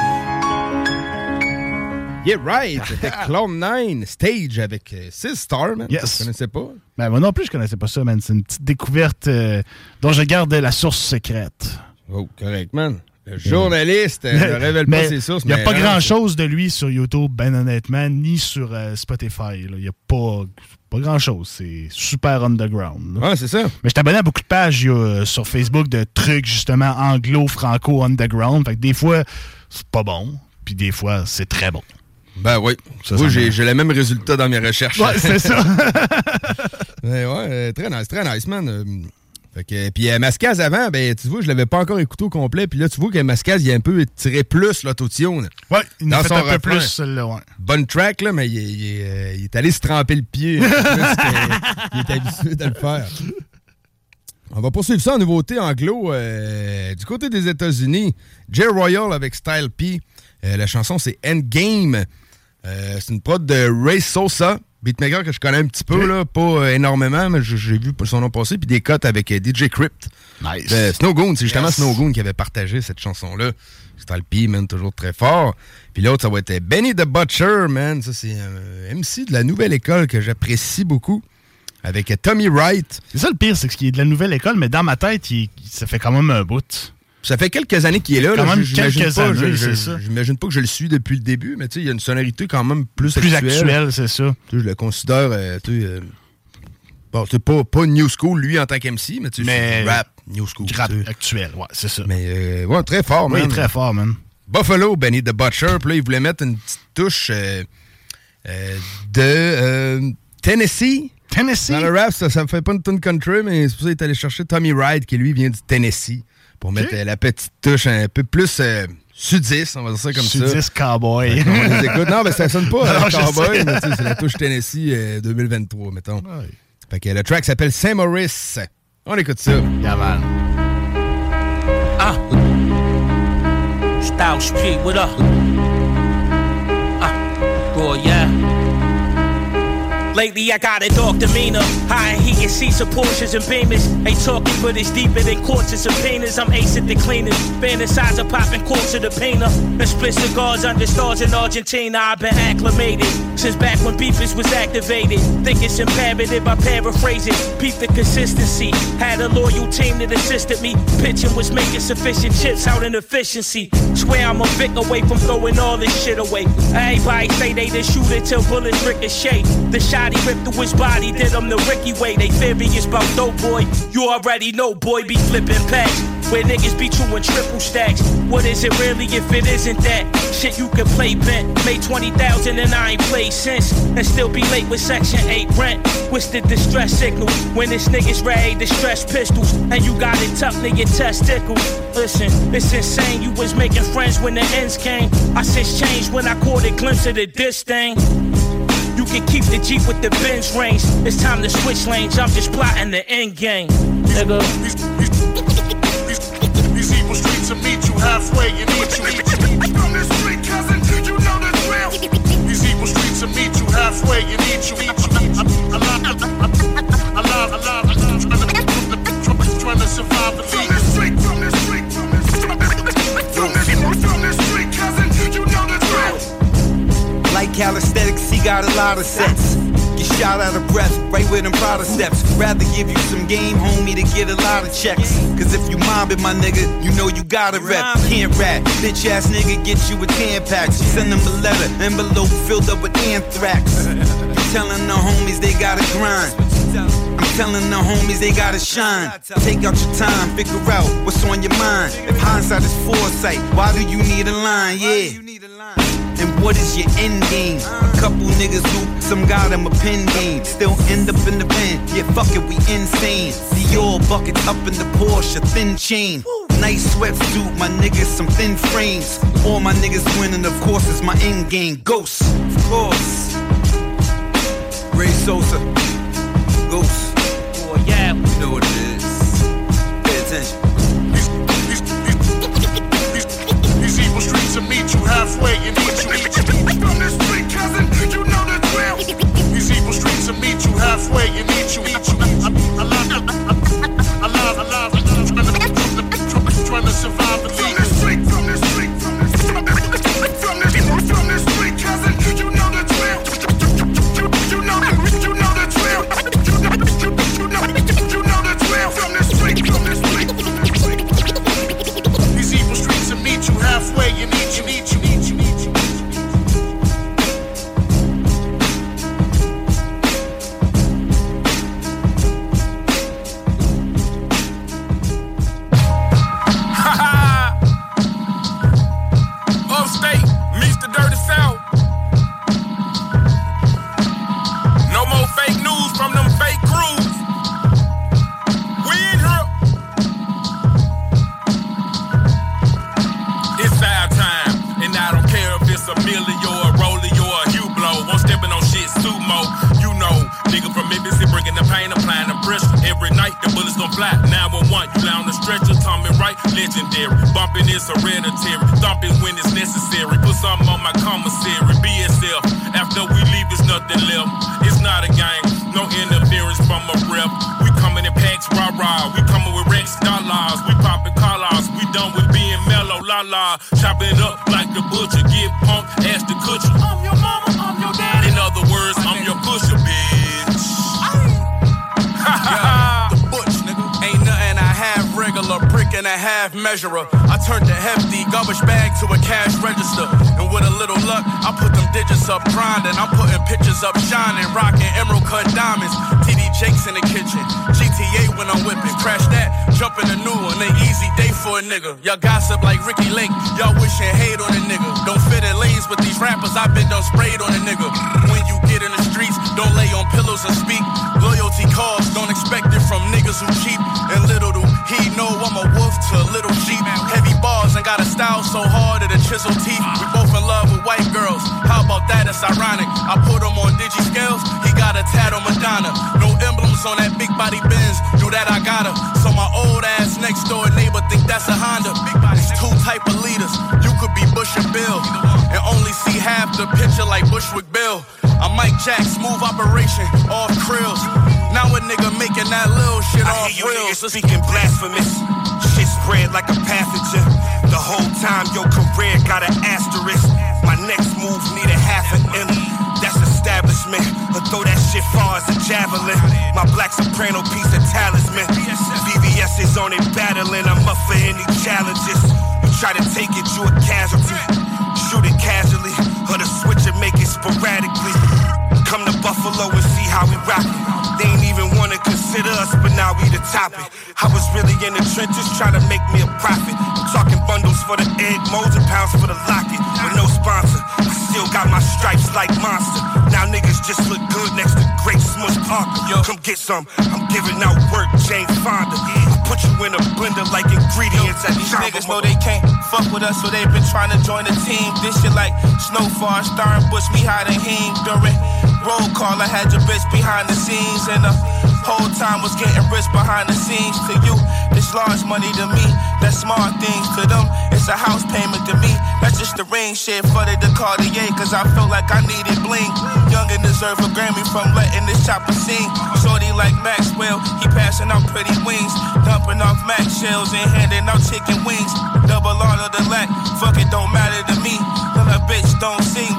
Yeah, right. C'était Clone nine Stage avec euh, six Star, man. Yes. Je connaissais pas. Ben, moi non plus, je connaissais pas ça, man. C'est une petite découverte euh, dont je garde la source secrète. Oh, correct, man. Le journaliste euh, ne révèle pas ses sources. Il n'y a mais pas non, grand-chose de lui sur YouTube, ben honnêtement, ni sur euh, Spotify. Il n'y a pas, pas grand-chose. C'est super underground. Là. Ouais, c'est ça. Mais je t'abonne à beaucoup de pages euh, sur Facebook de trucs, justement, anglo-franco-underground. Fait que des fois, c'est pas bon, puis des fois, c'est très bon. Ben oui. Ça, oui, ça j'ai, j'ai le même résultat dans mes recherches. Ouais, c'est ça. Mais ouais, euh, très nice, très nice, man. Euh, fait que, puis euh, Mascaz avant, ben tu vois, je l'avais pas encore écouté au complet. Puis là, tu vois que Mascaz, il a un peu tiré plus l'autotune. Ouais, il dans a fait son un peu refrain. plus, celle-là, ouais. Bonne track, là, mais il, il, il, euh, il est allé se tremper le pied. Plus il est habitué de le faire. On va poursuivre ça en nouveauté anglo. Euh, du côté des États-Unis, Jay Royal avec Style P. Euh, la chanson, c'est Endgame. Euh, c'est une prod de Ray Sosa, beatmaker que je connais un petit peu, okay. là, pas euh, énormément, mais j'ai, j'ai vu son nom passer, puis des cotes avec euh, D J Crypt. Nice. Euh, Snowgoon, c'est justement yes. Snowgoon qui avait partagé cette chanson-là. Style P, man, toujours très fort. Puis l'autre, ça va être Benny the Butcher, man. Ça, c'est un euh, M C de la nouvelle école que j'apprécie beaucoup. Avec euh, Tommy Wright. C'est ça le pire, c'est qu'il est de la nouvelle école, mais dans ma tête, il, ça fait quand même un bout. Ça fait quelques années qu'il est là. Quand là. même J'imagine quelques pas, années, je, c'est je, ça. J'imagine pas que je le suis depuis le début, mais tu sais, il y a une sonorité quand même plus, plus actuelle. actuelle, c'est ça. Tu sais, je le considère, euh, tu sais, euh, bon, c'est pas, pas new school, lui, en tant qu'M C, mais tu sais, c'est du rap new school. Rap tu sais. actuel, ouais, c'est ça. Mais, euh, ouais, très fort, man. Oui, très fort, man. Buffalo, Benny the Butcher, puis là, il voulait mettre une petite touche euh, euh, de euh, Tennessee. Tennessee? Dans le rap, ça, ça me fait pas une tune country, mais c'est pour ça qu'il est allé chercher Tommy Wright, qui lui vient du Tennessee. Pour okay. mettre euh, la petite touche un peu plus euh, sudiste, on va dire ça comme sudiste ça. Sudiste cowboy. On les écoute. Non, mais ça sonne pas euh, cowboy, mais c'est la touche Tennessee euh, deux mille vingt-trois, mettons. Ouais. Fait que le track s'appelle Saint-Maurice. On écoute ça. Yeah, man. Ah. Style Street, what up? Ah. Boy, yeah. Lately I got a dog demeanor, high and heat and Caesar Porsches and Beamers. Ain't talking but it's deeper than courts and subpoenas. I'm ace at the cleaners, fantasize of popping quarts of the painter. And split cigars under stars in Argentina. I've been acclimated since back when beefers was activated. Think it's imperative, I paraphrase it. Peep the consistency, had a loyal team that assisted me. Pitching was making sufficient chips out in efficiency. Swear I'm a Vic away from throwing all this shit away. Everybody say they the shooter till bullets ricochet. The shot he ripped through his body, did him the Ricky way. They furious about dope boy. You already know, boy, be flipping packs. Where niggas be true and triple stacks. What is it really if it isn't that? Shit you can play bent. Made twenty thousand and I ain't played since. And still be late with section eight rent. What's the distress signal? When this niggas ready to stress pistols. And you got it tucked in your testicles. Listen, it's insane. You was making friends when the ends came. I since changed when I caught a glimpse of the diss thing. You can keep the Jeep with the Benz range. It's time to switch lanes. I'm just plotting the end game. Nigga. These, these, these, these evil streets will meet you halfway and eat you. Eat you. From the street, cousin, you know the drill. These evil streets will meet you halfway and eat you. Eat you. Alive, alive, alive, alive. Trying to survive and leave. From the street, from the street, from the street, from the, from the street, cousin, you know the drill. Like calisthenics, he got a lot of sets. Get shot out of breath, right with them Prada steps. Rather give you some game, homie, to get a lot of checks. Cause if you mobbing my nigga, you know you gotta rep. Can't rap, bitch ass nigga get you a ten pack. Send them a letter, envelope filled up with anthrax. I'm telling the homies they gotta grind. I'm telling the homies they gotta shine. Take out your time, figure out what's on your mind. If hindsight is foresight, why do you need a line? Yeah. And what is your end game? A couple niggas who some got them a pen game. Still end up in the pen. Yeah, fuck it, we insane. Dior buckets up in the Porsche, thin chain. Nice sweatsuit, my niggas some thin frames. All my niggas winning, of course, is my end game. Ghost, of course. Ray Sosa, Ghost. Oh yeah, you know what it is. Pay attention. These evil streets will meet you halfway and eat you. From the street, cousin, you know the drill. These evil streets will meet you halfway and eat you. I love, I love, I love, trying to survive the from the street, from the street, from the street, from the from the street, cousin, you know the drill. You know the, you know the drill. You know, you know, you know the drill. From the street, from the street. These evil streets will meet you halfway and eat you, eat you, eat you, eat you. Upstate meets the dirty south. No more fake news from them fake crews. We in here. It's our time, and I don't care if it's a Millie or a Rollie or a Hublot. I'm stepping on shit sumo. You know, nigga from Memphis, bringing the pain, applying the pressure. Every night the bullets gon' fly. nine one one, you lie on the stretcher, Tommy Wright, legendary. Bumping is hereditary, thumping when it's necessary. Put something on my commissary, B S F. After we leave, there's nothing left. It's not a game, no interference from a rep. We coming in packs, rah rah. We coming with Rex dollars. We popping collars. We done with being mellow, la la. Chopping it up like the butcher. Get pumped, ask the kutcher. I'm your mama, I'm your daddy. In other words, I'm your pusher, bitch. Yeah, the butch, nigga. Ain't nothing I have regular, brick and a half measurer. I turned the hefty garbage bag to a cash register. And with a little luck, I put them digits up grinding. I'm putting pictures up shining, rocking emerald cut diamonds. T D Jakes in the kitchen, G T A when I'm whipping. Crash that, jump in a new one, an easy day for a nigga. Y'all gossip like Ricky Lake, y'all wishing hate on a nigga. Don't fit in lanes with these rappers, I been done sprayed on a nigga. When you get in the streets, don't lay on pillows and speak. Loyalty calls, don't expect it from niggas who cheap. And little do he know I'm a wolf to a little sheep. Heavy bars and got a style so hard that it chisel teeth. We both in love with white girls, how about that? It's ironic. I put him on digi scales, he got a tat on Madonna. No emblems on that big body Benz, do that I got her. So my old ass next door neighbor think that's a Honda. It's two type of leaders, you could be Bush and Bill, and only see half the picture like Bushwick Bill. I'm Mike Jack, smooth operation, off krills. Now a nigga making that little shit I off hear you reels. niggas speaking blasphemous. Shit spread like a pathogen. The whole time your career got an asterisk. My next move need a half an M. That's establishment. But throw that shit far as a javelin. My black soprano piece of talisman. V V S is on it battling. I'm up for any challenges. You try to take it, you a casualty. Shoot it casually, or the switch and make it sporadically. Come to Buffalo and see how we rock it. They ain't even wanna consider us, but now we the topic. I was really in the trenches trying to make me a profit. I'm talking bundles for the egg, molds and pounds for the locket. With no sponsor, I still got my stripes like Monster. Now niggas just look good next to Great Smush Parker. Yo, come get some, I'm giving out work, Jane Fonda. I put you in a blender like ingredients at These Jamba. niggas know they can't fuck with us, so they been trying to join the team. This shit like Snowfall, Star and Bush, we hiding him during roll call. I had your bitch behind the scenes, and the whole time was getting rich behind the scenes. To you, it's large money to me. That's small things to them. It's a house payment to me. That's just the ring shit for the Cartier, cause I felt like I needed bling. Young and deserve a Grammy from letting this chopper sing. Shorty like Maxwell, he passing out pretty wings. Dumping off Max shells and handing out chicken wings. Double on the lack, fuck it, don't matter to me. Little bitch don't sing, but she look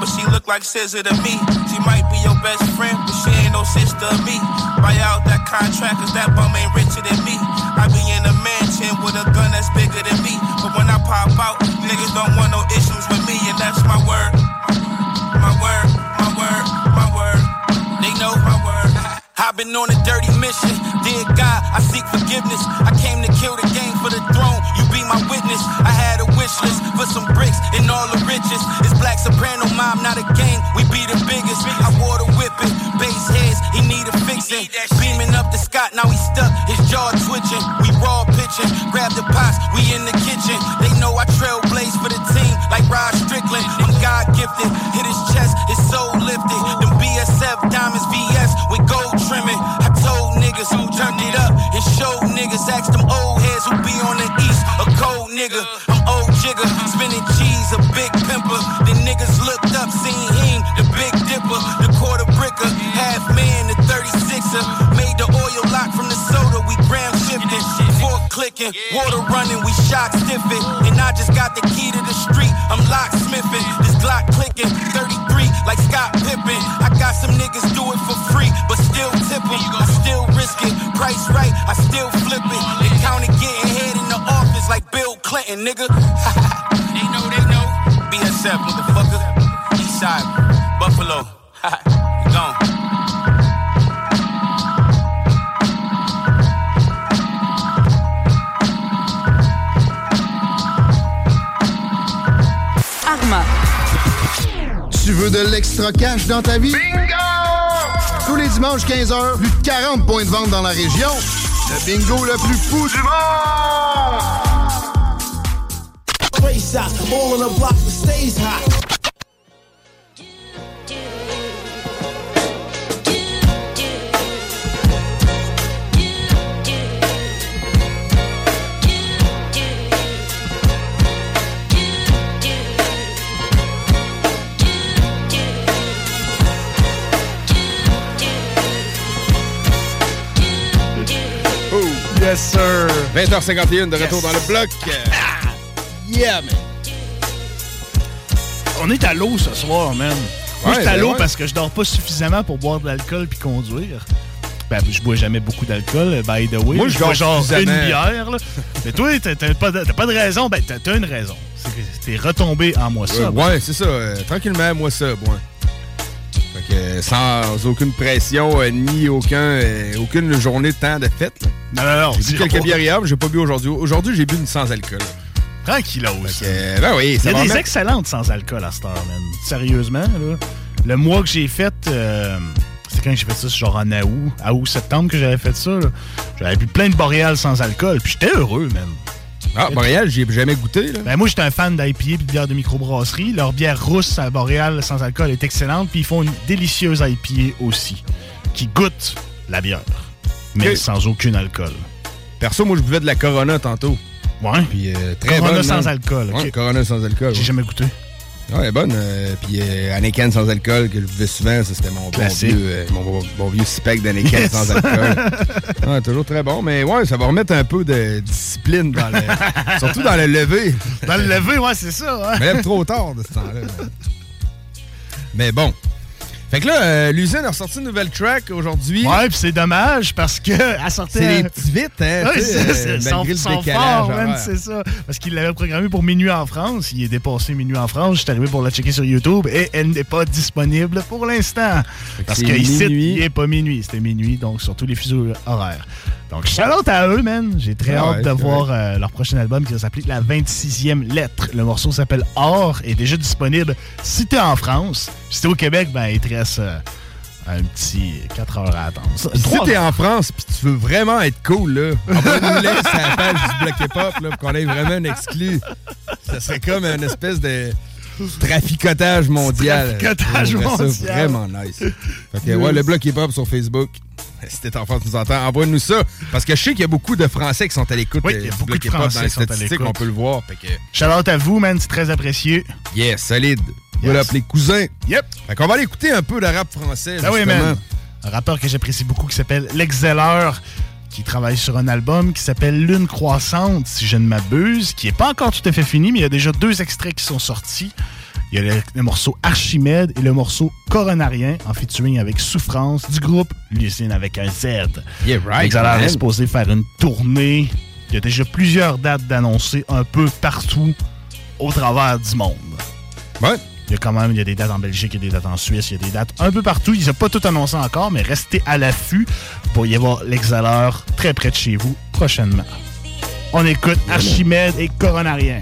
look like scissor to me. She might be your best friend, but she ain't no sister of me. Buy out that contract, cause that bum ain't richer than me. I be in a mansion with a gun that's bigger than me. But when I pop out, niggas don't want no issues with me, and that's my word. My word, my word, my word. They know my word. I've been on a dirty mission. Dear God, I seek forgiveness. I came to kill the game for the throne. You be my witness. I had a wish list for some bricks and all the riches. It's Black Soprano Mob, not a gang. We be the biggest. I wore the whipping. Bass heads, he need a fixing. Beaming up the Scott, now he stuck. His jaw twitching. We raw pitching. Grab the pots, we in the kitchen. They know I trailblaze for the team like Rod Strickland. I'm God gifted. Hit his chest, his soul lifted. Them B S F diamonds V S with gold trimming. I told niggas who turned it up and showed niggas. Asked them old heads who be on the east. A cold nigga, I'm old jigger. Spinning cheese, a big pimper. The niggas looked up, seen him, the big dipper. The quarter bricker, half man, the thirty-sixer. Made the oil lock from the soda, we gram shifted. Fork clicking, water running, we shock stiffing. And I just got the key to the street, I'm locksmithing. This Glock clicking, thirty-three, like Scott Pippen. I got some niggas do it for free, but still tip 'em. I still risk it, price right, I still flip it. They counted getting head in the office like Bill Clinton, nigga. They know, they know. B S F, motherfucker. Eastside, Buffalo. Gone. Arma. Tu veux de l'extra cash dans ta vie? Bingo! Tous les dimanches quinze heures, plus de quarante points de vente dans la région. Le bingo le plus fou du monde! Race out, all on the block that stays hot. Yes, sir. vingt heures cinquante et un de retour yes. dans le bloc. Yeah, man. On est à l'eau ce soir, man. Moi, ouais, je suis à l'eau ouais. parce que je dors pas suffisamment pour boire de l'alcool puis conduire. Ben, je bois jamais beaucoup d'alcool, by the way. Moi, je bois genre une bière, là. Mais toi, t'as, t'as, pas de, t'as pas de raison. Ben, t'as, t'as une raison. C'est que t'es retombé en moi ça. Euh, ouais, c'est ça. Euh, tranquillement, moi ça, moi. Fait que euh, sans aucune pression, euh, ni aucun, euh, aucune journée de temps de fête. Là. Non, non, non. J'ai bu quelques bières hier, mais j'ai pas bu aujourd'hui. Aujourd'hui, j'ai bu une sans alcool. Tranquillos. Euh, ben oui, ça Il y a des mettre... excellentes sans alcool à cette heure, man. Sérieusement, là. Le mois que j'ai fait, euh, c'était quand j'ai fait ça, genre en août, août, septembre que j'avais fait ça, là. J'avais bu plein de boréales sans alcool, puis j'étais heureux, man. Ah, Boréal, j'y ai jamais goûté, là. Ben moi, j'étais un fan d'I P A et de bière de microbrasserie. Leur bière rousse à Boréal sans alcool est excellente, puis ils font une délicieuse I P A aussi, qui goûte la bière, mais okay. sans aucun alcool. Perso, moi, je buvais de la Corona tantôt. Ouais. Puis euh, très Corona bonne. sans man. alcool. Ouais, okay. Corona sans alcool. J'ai ouais. jamais goûté. Ouais, elle est bonne. Euh, puis euh, Anakin sans alcool, que je buvais souvent, ça c'était mon bon vieux, euh, mon bon, bon vieux spec d'Anakin yes. sans alcool. Ouais, toujours très bon. Mais ouais, ça va remettre un peu de discipline dans le. Surtout dans le lever. Dans le lever, ouais, c'est ça. Ouais. Mais même trop tard de ce temps-là. Mais bon. Fait que là, euh, l'usine a ressorti une nouvelle track aujourd'hui. Ouais, puis c'est dommage parce que elle sortait. C'est les petits vite, hein? Ouais, c'est, c'est, c'est, malgré son, le son décalage. Fort, man, c'est ça. Parce qu'il l'avait programmé pour minuit en France. Il est dépassé minuit en France. J'étais arrivé pour la checker sur YouTube et elle n'est pas disponible pour l'instant. Parce qu'ici, il n'est pas minuit. C'était minuit, donc sur tous les fuseaux horaires. Donc, shout-out à eux, man. J'ai très ah hâte ouais, de voir euh, leur prochain album qui va s'appeler La vingt-sixième lettre. Le morceau s'appelle Or et est déjà disponible si t'es en France. Si t'es au Québec, ben, il te reste euh, un petit quatre heures à attendre. Ça, si t'es en France pis tu veux vraiment être cool, là, envoie-nous laisse à la page du Bloc Hip-Hop là, pour qu'on ait vraiment un exclu. Ça serait comme une espèce de traficotage mondial. Traficotage mondial. Ça vraiment nice. Fait que, ouais, le Bloc Hip-Hop sur Facebook. Si t'es en France, tu nous entends, envoie-nous ça. Parce que je sais qu'il y a beaucoup de Français qui sont à l'écoute. Oui, il y a beaucoup Bloc de Français dans les qui sont à statistiques, l'écoute. on peut le voir. Fait que... Shout-out à vous, man, c'est très apprécié. Yes, solide. Yes. Voilà, les cousins. Yep. Fait qu'on va aller écouter un peu de rap français. Ah oui, man. Un rappeur que j'apprécie beaucoup qui s'appelle L'Exceller, qui travaille sur un album qui s'appelle Lune croissante, si je ne m'abuse, qui n'est pas encore tout à fait fini, mais il y a déjà deux extraits qui sont sortis. Il Il y a le, le morceau Archimède et le morceau Coronarien en featuring avec Souffrance du groupe Lucine avec un Z. Yeah, right. Xalar est supposé faire une tournée. Il y a déjà plusieurs dates d'annoncer un peu partout au travers du monde. Ouais. Il y a quand même il y a des dates en Belgique, il y a des dates en Suisse, il y a des dates un peu partout. Ils n'ont pas tout annoncé encore, mais restez à l'affût pour y avoir l'Exhaleur très près de chez vous prochainement. On écoute Archimède et Coronarien.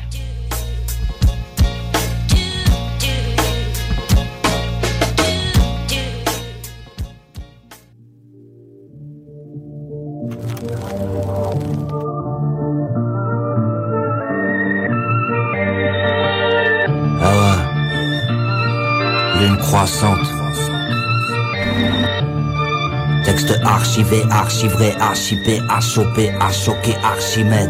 Croissante. Texte archivé, archivré, archipé, achopé, achoqué, Archimède.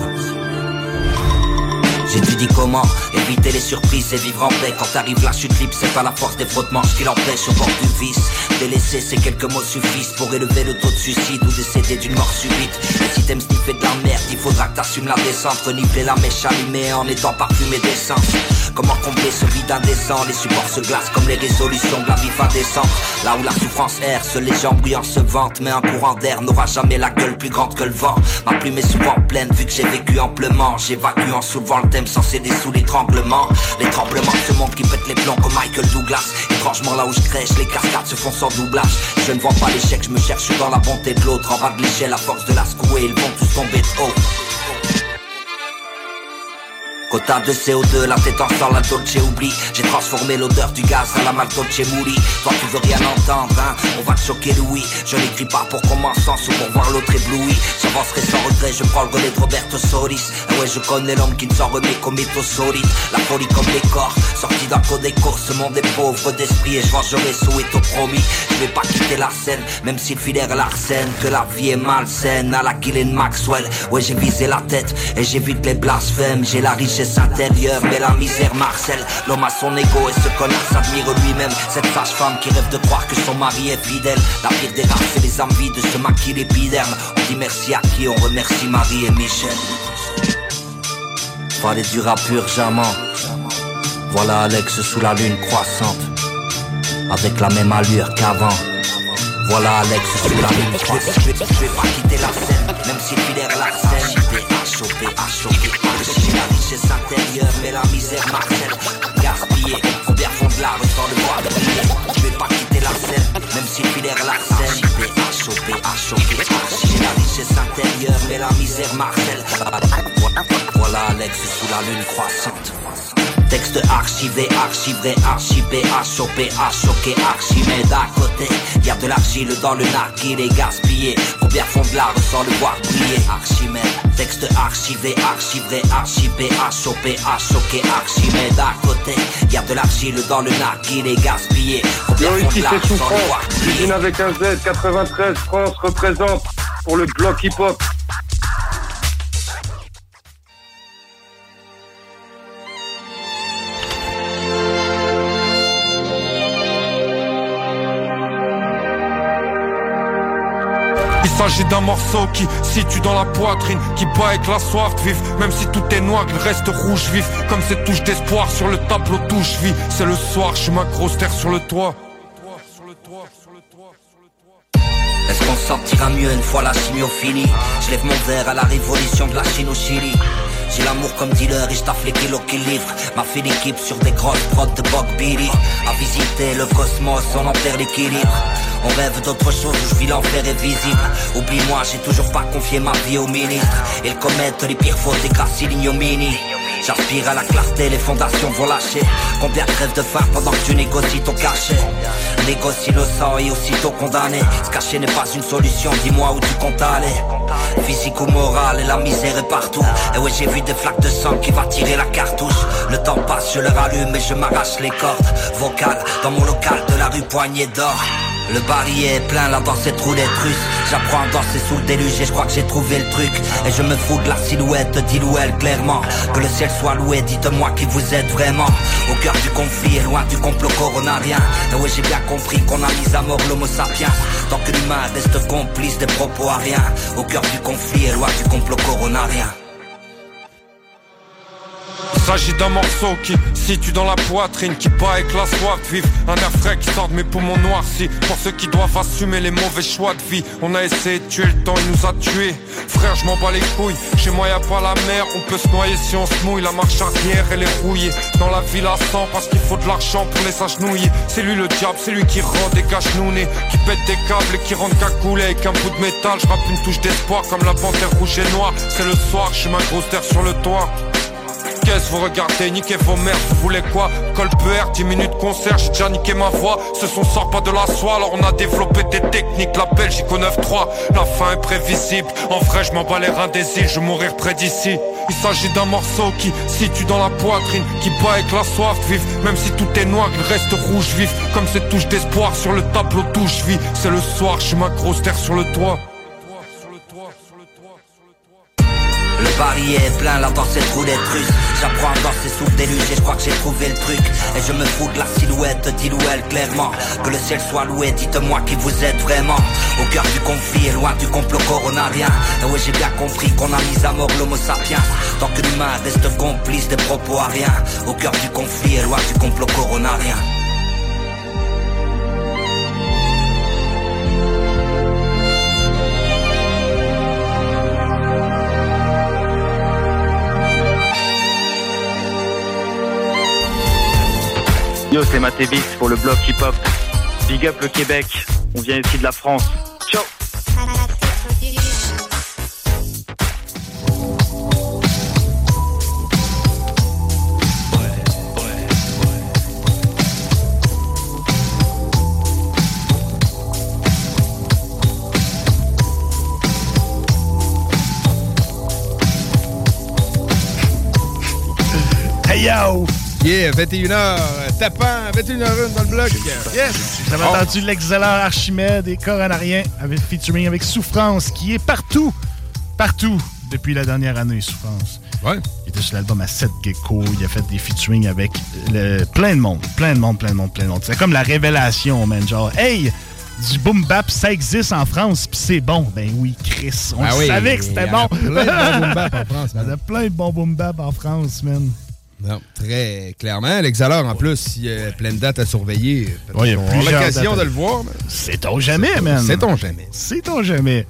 J'étudie comment éviter les surprises et vivre en paix. Quand arrive la chute libre, c'est pas la force des frottements qui l'empêche au bord du vice. Délaisser, ces quelques mots suffisent pour élever le taux de suicide ou décéder d'une mort subite. Et si t'aimes sniffer de la merde, il faudra que t'assumes la descente. Renifler la mèche allumée en étant parfumé d'essence. Comment combler ce vide indécent? Les supports se glacent comme les résolutions de la vie indécente. Là où la souffrance erre, seuls les gens bruyants se vantent. Mais un courant d'air n'aura jamais la gueule plus grande que le vent. Ma plume est souvent pleine vu que j'ai vécu amplement. J'évacue en soulevant le thème sans céder sous l'étranglement. Les tremblements de ce monde qui pète les plombs comme Michael Douglas. Étrangement là où je crèche, les cascades se font sans doublage. Je ne vois pas l'échec, je me cherche dans la bonté de l'autre. En bas de l'échelle, à force de la secouer, ils vont tous tomber de haut. Quota de C O deux, la tête en sang, la Dolce oublie. J'ai transformé l'odeur du gaz à la Maltolce Mouli. Toi tu veux rien entendre, hein, on va te choquer Louis. Je n'écris pas pour qu'on m'en sens ou pour voir l'autre ébloui. J'avancerai sans regret, je prends le relais de Roberto Solis. Et ouais je connais l'homme qui ne s'en remet qu'au métaux solides. La folie comme les corps, sorti d'un codéco. Ce monde est pauvre d'esprit et je vengerai Soweto promis. Je vais pas quitter la scène, même si le filaire est l'arsène. Que la vie est malsaine, à la Ghislaine Maxwell. Ouais j'ai visé la tête et j'évite les blasphèmes. J'ai la richesse intérieure mais la misère marcelle. L'homme a son ego et ce connard s'admire lui-même. Cette sage-femme qui rêve de croire que son mari est fidèle. La pire des races c'est les envies de se maquiller l'épiderme. On dit merci à qui? On remercie Marie et Michel. Fallait du rap urgemment. Voilà Alex sous la lune croissante, avec la même allure qu'avant. Voilà Alex sous la lune croissante. Je vais pas quitter la scène, même si le filaire l'arsène. À choper, à choquer, j'ai la richesse intérieure, mais la misère marcelle. Gaspillé, combien font de l'art sans le voir briller. Je vais pas quitter la scène, même si le filaire l'arsène. À choper, à choquer, j'ai la richesse intérieure, mais la misère marcelle. Voilà Alex sous la lune croissante. Texte archivé, archivré, archipé, achopé, achoqué, Archimède à côté. Y'a de l'argile dans le narguil et gaspillé. Combien font de l'art sans le voir briller. Archimède, texte archivé, archivré, archipé, achopé, achoqué, Archimède à côté. Y'a de l'argile dans le narguil et gaspillé. Combien font de l'art sans le voir briller. Cuisine avec un Z, quatre-vingt-treize, France représente pour le bloc hip-hop. Il s'agit d'un morceau qui situe dans la poitrine, qui bat avec la soif de vivre. Même si tout est noir, il reste rouge vif. Comme cette touche d'espoir sur le tableau touche vie. C'est le soir, je suis ma grosse terre sur le toit. Est-ce qu'on sortira mieux une fois la chimiophilie? Je lève mon verre à la révolution de la Chine au Chili. J'ai l'amour comme dealer et je taffe les kilos qui livrent. Ma fille l'équipe sur des grosses prods de Bob Billy. À visiter le cosmos, on en perd l'équilibre. On rêve d'autre chose où je vis l'enfer est visible. Oublie-moi, j'ai toujours pas confié ma vie au ministre. Ils commettent les pires fautes et gracie l'ignominie. J'aspire à la clarté, les fondations vont lâcher. Combien crèvent de faim pendant que tu négocies ton cachet? Négocie le sang et aussitôt condamné. Se cacher n'est pas une solution, dis-moi où tu comptes aller. Physique ou moral et la misère est partout. Et ouais j'ai vu des flaques de sang qui va tirer la cartouche. Le temps passe, je leur allume et je m'arrache les cordes vocales dans mon local de la rue Poignée d'Or. Le barillet est plein là dans cette roulette russe. J'apprends à danser sous le déluge et je crois que j'ai trouvé le truc. Et je me fous de la silhouette, dis-le clairement. Que le ciel soit loué, dites-moi qui vous êtes vraiment. Au cœur du conflit et loin du complot coronarien. Et ouais j'ai bien compris qu'on a mis à mort l'homo sapiens. Tant que l'humain reste complice des propos à rien. Au cœur du conflit et loin du complot coronarien. s'agit d'un morceau qui situe dans la poitrine, qui bat avec la soif de vivre. Un air frais qui sort de mes poumons noircis. Pour ceux qui doivent assumer les mauvais choix de vie. On a essayé de tuer le temps, il nous a tués. Frère, je m'en bats les couilles. Chez moi y'a pas la mer, on peut se noyer si on se mouille. La marche arrière elle est rouillée. Dans la ville à cent parce qu'il faut de l'argent pour les s'agenouiller. C'est lui le diable, c'est lui qui rend des cache-nounés, qui pète des câbles et qui rentre cagoulé avec un bout de métal. Je rappe une touche d'espoir comme la panthère rouge et noire. C'est le soir, je suis ma grosse terre sur le toit. Qu'est-ce vous regardez, niquez vos mères, vous voulez quoi? Col P R, dix minutes concert, j'ai déjà niqué ma voix. Ce son sort pas de la soie, alors on a développé des techniques. La Belgique au neuf trois, la fin est prévisible. En vrai, je m'en bats les reins des îles, je vais mourir près d'ici. Il s'agit d'un morceau qui situe dans la poitrine, qui bat avec la soif de vivre. Même si tout est noir, il reste rouge vif. Comme ces touches d'espoir sur le tableau d'où je vis. C'est le soir, je suis ma grosse terre sur le toit. Le pari est plein, la danse est roulette russe. J'apprends à danser sous le déluge et je crois que j'ai trouvé le truc. Et je me fous de la silhouette, dis-le clairement. Que le ciel soit loué, dites-moi qui vous êtes vraiment. Au cœur du conflit et loin du complot coronarien. Et ouais, j'ai bien compris qu'on a mis à mort l'homo sapiens. Tant que l'humain reste complice des propos à rien. Au cœur du conflit et loin du complot coronarien. Yo, c'est Matévix pour le bloc hip-hop. Big up le Québec, on vient ici de la France. Ciao. Hey yo! Yeah, vingt et une heures, tapant, vingt et une heures une dans le bloc. Yes! Vous avez oh. entendu l'excellent Archimède et Coronarien avec featuring avec Souffrance, qui est partout, partout depuis la dernière année, Souffrance. Ouais. Il était sur l'album à sept Gecko, il a fait des featuring avec le, plein de monde, plein de monde, plein de monde, plein de monde. C'est comme la révélation, man, genre, hey! Du boom bap, ça existe en France, pis c'est bon. Ben oui, Chris, on ah oui, savait que c'était bon. Il y a plein de bons boom bap en France, man. Il y a plein de bons boom bap en France, man. Non, très clairement. L'Exhaleur, en plus, il y a plein de dates à surveiller. Ouais, il y a on a l'occasion de le voir. C'est-on jamais, man. C'est-on jamais. C'est-on jamais.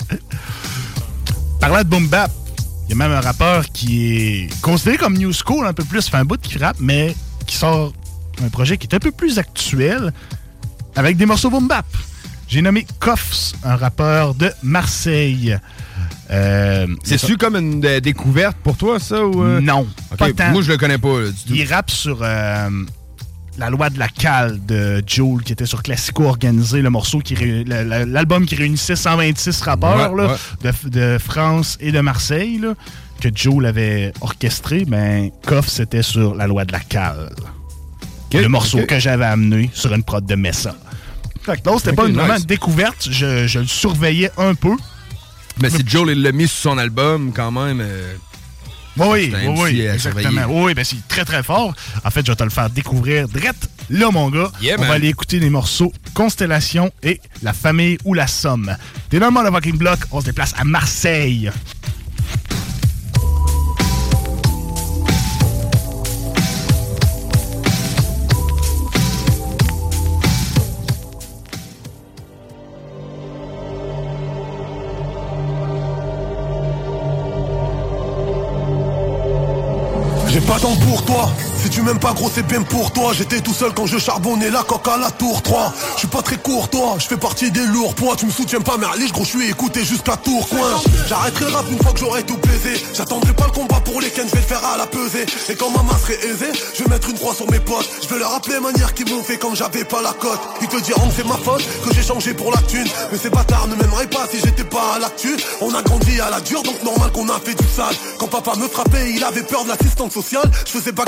Parlant de boom bap, il y a même un rappeur qui est considéré comme new school un peu plus, fait un bout qui rappe, mais qui sort un projet qui est un peu plus actuel avec des morceaux boom bap. J'ai nommé Koffs, un rappeur de Marseille. Euh, C'est-tu comme une d- découverte pour toi, ça? Ou euh... Non, okay, pas tant. Moi, je le connais pas, là, du tout. Il rappe sur euh, La loi de la cale de Joule, qui était sur Classico Organisé, le morceau qui ré... l'album qui réunissait cent vingt-six rappeurs ouais, là, ouais. De, de France et de Marseille, là, que Joule avait orchestré. Ben, Koff, c'était sur La loi de la cale. Okay, le morceau okay. que j'avais amené sur une prod de Messa. Fait que non, c'était okay, pas une, nice. Vraiment une découverte. Je, je le surveillais un peu. Mais si Joel l'a mis sur son album, quand même... Euh, oui, oui, oui, exactement. Oui, ben c'est très, très fort. En fait, je vais te le faire découvrir direct là, mon gars. Yeah, on man. va aller écouter les morceaux Constellation et La famille ou la somme. T'es dans le motherfucking block, on se déplace à Marseille. J'ai pas temps pour toi, si tu m'aimes pas gros c'est bien pour toi. J'étais tout seul quand je charbonnais la coque à la tour trois. Je suis pas très courtois, je fais partie des lourds poids. Tu me soutiens pas merliche gros, je suis écouté jusqu'à Tourcoing. J'arrêterai rap une fois que j'aurai tout plaisé. J'attendrai pas le combat pour les ken, je vais le faire à la pesée. Et quand ma main serait aisée, je vais mettre une croix sur mes potes. Je vais leur rappeler manière qu'ils m'ont fait quand j'avais pas la cote. Ils te diront que c'est ma faute, que j'ai changé pour la thune. Mais ces bâtards ne m'aimeraient pas si j'étais pas à l'actu. On a grandi à la dure donc normal qu'on a fait du sale. Quand papa me frappait il avait peur de l'assistance sociale. Je faisais bagarre à l'école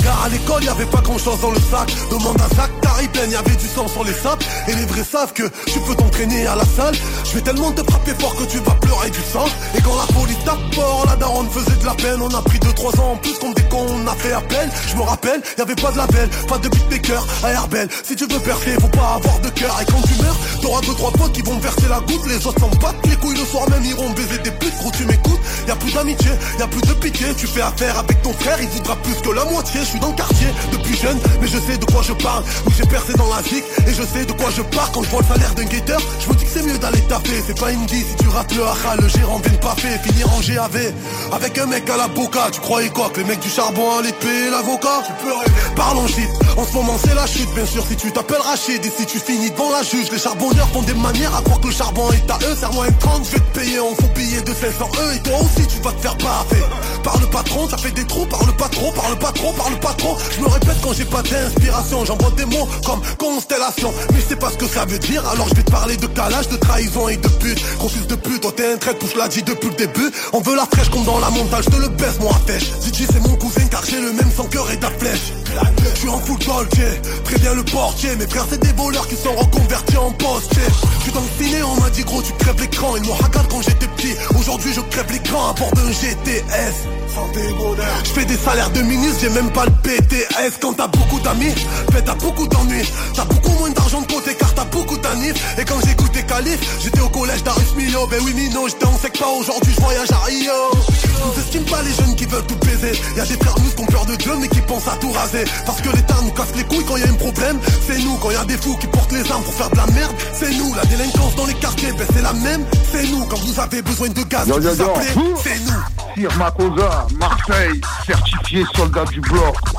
l'école, y'avait pas grand chose dans le sac. Demande à Zach, Caribbean, y'avait du sang sur les sapes. Et les vrais savent que tu peux t'entraîner à la salle. Je vais tellement te frapper fort que tu vas pleurer du sang. Et quand la police tape fort, la daronne faisait de la peine. On a pris deux trois ans en plus comme des cons, on a fait appel. Je me rappelle, y'avait pas de label, pas de beatmaker à Airbell. Si tu veux percer, faut pas avoir de cœur. Et quand tu meurs, t'auras deux trois potes qui vont verser la goutte. Les autres s'en battent les couilles, le soir même iront baiser des putes. Gros tu m'écoutes, y'a plus d'amitié, y'a plus de pitié. Tu fais affaire avec ton frère, il voudra plus que la moitié. Je suis dans le quartier depuis jeune, mais je sais de quoi je parle. Oui, j'ai percé dans la zik et je sais de quoi je pars. Quand je vois le salaire d'un guetteur, je me dis que c'est mieux d'aller taper. C'est pas indie si tu rates le haha, le gérant vient de pas fait. Finir en G A V avec un mec à la boca. Tu croyais quoi, que les mecs du charbon allaient te payer l'avocat? Tu peux rêver. Parlons shit, en ce moment c'est la chute. Bien sûr si tu t'appelles Rachid et si tu finis devant la juge. Les charbonneurs font des manières à croire que le charbon est à eux. Serre-moi un trente, je vais te payer en faux billet de cinq cents E. Et toi aussi tu vas te faire baffer. Par le patron, ça fait des trous. Parle pas trop, parle pas trop, parle pas trop. Je me répète quand j'ai pas d'inspiration. J'envoie des mots comme constellation, mais je sais pas ce que ça veut dire. Alors je vais te parler de calage, de trahison et de pute. Gros fils de pute, toi t'es un trait, pousse l'a dit depuis le début. On veut la fraîche comme dans la montagne, je te le baisse moi à fèche. Gigi c'est mon cousin car j'ai le même sang cœur et ta flèche. Je suis en full Dolce, préviens le portier. Mes frères c'est des voleurs qui sont reconvertis en postier. Je suis dans le ciné, on m'a dit gros tu crèves l'écran. Ils m'ont regardé quand j'étais petit, aujourd'hui je crève l'écran à bord d'un G T S. Je fais des salaires de ministre, j'ai même pas le P T S. Quand t'as beaucoup d'amis, ben t'as beaucoup d'ennuis. T'as beaucoup moins d'argent de côté car t'as beaucoup d'anifs. Et quand j'écoutais Calif, j'étais au collège d'Arus Milo. Ben oui Mino, j'étais en secpa, aujourd'hui je voyage à Rio. Nous estime pas les jeunes qui veulent tout baiser. Y'a des frères nous qui ont peur de Dieu mais qui pensent à tout raser. Parce que l'État nous casse les couilles quand y'a un problème. C'est nous, quand y'a des fous qui portent les armes pour faire de la merde. C'est nous, la délinquance dans les quartiers, ben c'est la même. C'est nous, quand vous avez besoin de gaz, yo, yo, vous appelez, c'est nous. Sir Makosa, Marseille, certifié soldat du bloc. Oh.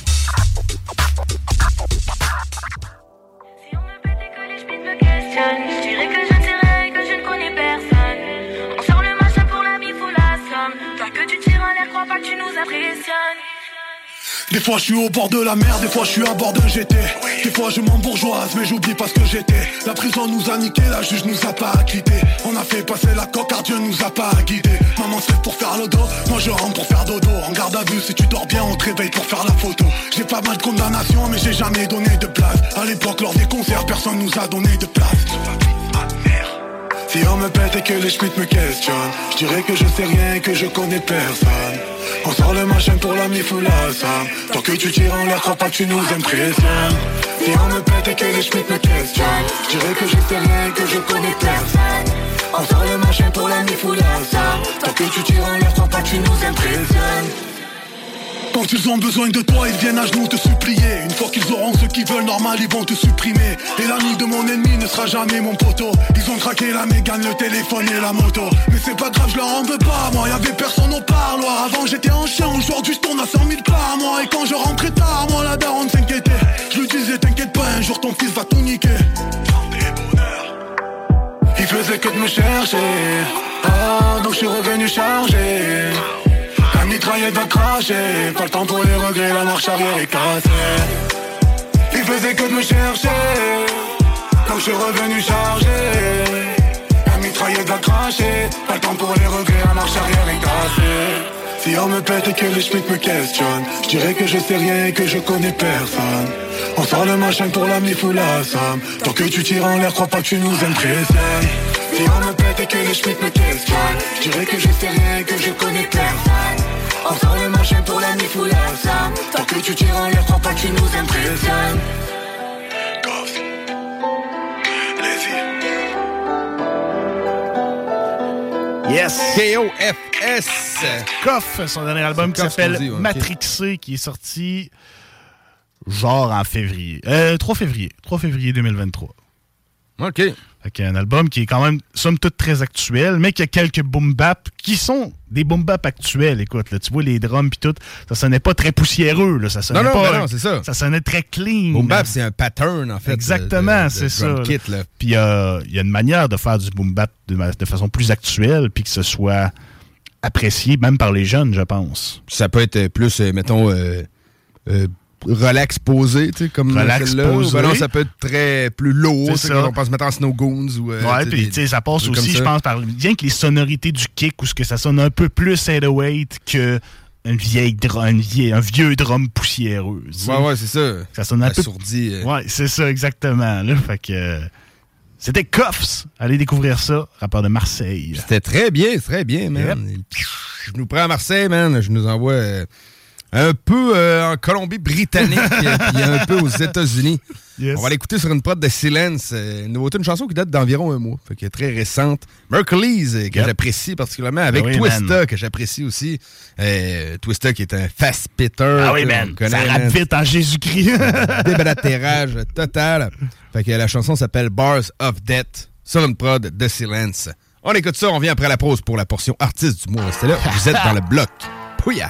Je dirais que je ne sais rien et que je ne connais personne. On sort le machin pour la mif ou la somme. Toi que tu tires en l'air, crois pas que tu nous impressionnes. Des fois je suis au bord de la mer, des fois je suis à bord d'un G T. Des fois je m'embourgeoise mais j'oublie pas ce que j'étais. La prison nous a niqué, la juge nous a pas acquitté. On a fait passer la coque car Dieu nous a pas guidé. Maman se lève pour faire le dos, moi je rentre pour faire dodo. En garde à vue, si tu dors bien on te réveille pour faire la photo. J'ai pas mal de condamnations mais j'ai jamais donné de place. À l'époque lors des concerts personne nous a donné de place. Si on me pète et que les schmitts me questionnent, je dirais que je sais rien et que je connais personne. On sort le machin pour la mif ou la somme. Tant que tu tires en l'air, crois pas que tu nous impressionnes. Si on me pète et que les schmitts me questionnent, je dirais que je sais rien et que je connais personne. On sort le machin pour la mif ou la somme. Tant que tu tires en l'air, crois pas que tu nous impressionnes. Quand ils ont besoin de toi, ils viennent à genoux te supplier. Une fois qu'ils auront ce qu'ils veulent, normal, ils vont te supprimer. Et l'ami de mon ennemi ne sera jamais mon poteau. Ils ont craqué la mégane, le téléphone et la moto. Mais c'est pas grave, je leur en veux pas, moi. Y'avait personne au parloir. Avant j'étais en chien, aujourd'hui je tourne à cent mille par mois. Et quand je rentrais tard, moi la daronne s'inquiétait. Je lui disais t'inquiète pas, un jour ton fils va tout niquer. Il faisait que de me chercher. Ah, donc je suis revenu chargé. La mitraillette va cracher, pas le temps pour les regrets, la marche arrière est cassée. Il faisait que de me chercher, quand je suis revenu chargé. La mitraillette va cracher, pas le temps pour les regrets, la marche arrière est cassée. Si on me pète et que les schmitts me questionnent, je dirais que je sais rien et que je connais personne. On sort le machin pour la mif ou la somme. Tant que tu tires en l'air, crois pas que tu nous impressionnes. Si on me pète et que les schmitts me questionnent, je dirais que je sais rien et que je connais personne. On sort le machin pour la mif ou la somme. Tant que tu tires en l'air, crois pas que tu nous impressionnes. Yes! K O F S! Koff, son dernier album qui s'appelle okay. Matrixé, qui est sorti genre en février. Euh, trois février. trois février deux mille vingt-trois. OK. Fait un album qui est quand même, somme toute, très actuel, mais qui a quelques boom-bap qui sont des boom-bap actuels. Écoute, là, tu vois les drums pis tout, ça sonnait pas très poussiéreux. Là, ça sonnait non, non, pas, ben non, c'est ça. Ça sonnait très clean. Boom-bap, c'est un pattern, en fait. Exactement, de, de, c'est de ça. Kit, là. Puis il y a, y a une manière de faire du boom-bap de, de façon plus actuelle, puis que ce soit apprécié même par les jeunes, je pense. Ça peut être plus, euh, mettons... Euh, euh, relax posé, tu sais, comme relax posé. Ben non, ça peut être très plus lourd, c'est ça. On pense mettre en Snow Goons ou... Euh, ouais, puis tu sais, ça passe aussi, je pense, par bien que les sonorités du kick ou ce que ça sonne un peu plus eight oh eight que une vieille drum, une vieille, un vieux drum poussiéreux. Ouais, ouais, c'est ça. Ça sonne un peu... Assourdi. Euh... Ouais, c'est ça, exactement. Là, fait que... Euh, c'était Cuffs. Allez découvrir ça. Rappeur de Marseille. C'était très bien, très bien, man. Yep. Je nous prends à Marseille, man. Je nous envoie euh, un peu euh, en Colombie-Britannique puis un peu aux États-Unis. Yes. On va l'écouter sur une prod de Silence. Une nouveauté, une chanson qui date d'environ un mois. Fait qu'elle est très récente. Mercury's, que yep. j'apprécie particulièrement, avec oui, Twista, man. Que j'apprécie aussi. Euh, Twista, qui est un fast-pitter. Ah oui, man. Connaît, ça rappe vite en Jésus-Christ. Déblatérage total. Fait que la chanson s'appelle Bars of Death, sur une prod de Silence. On écoute ça, on vient après la pause pour la portion artiste du mois. Restez là, vous êtes dans le bloc. Pouya!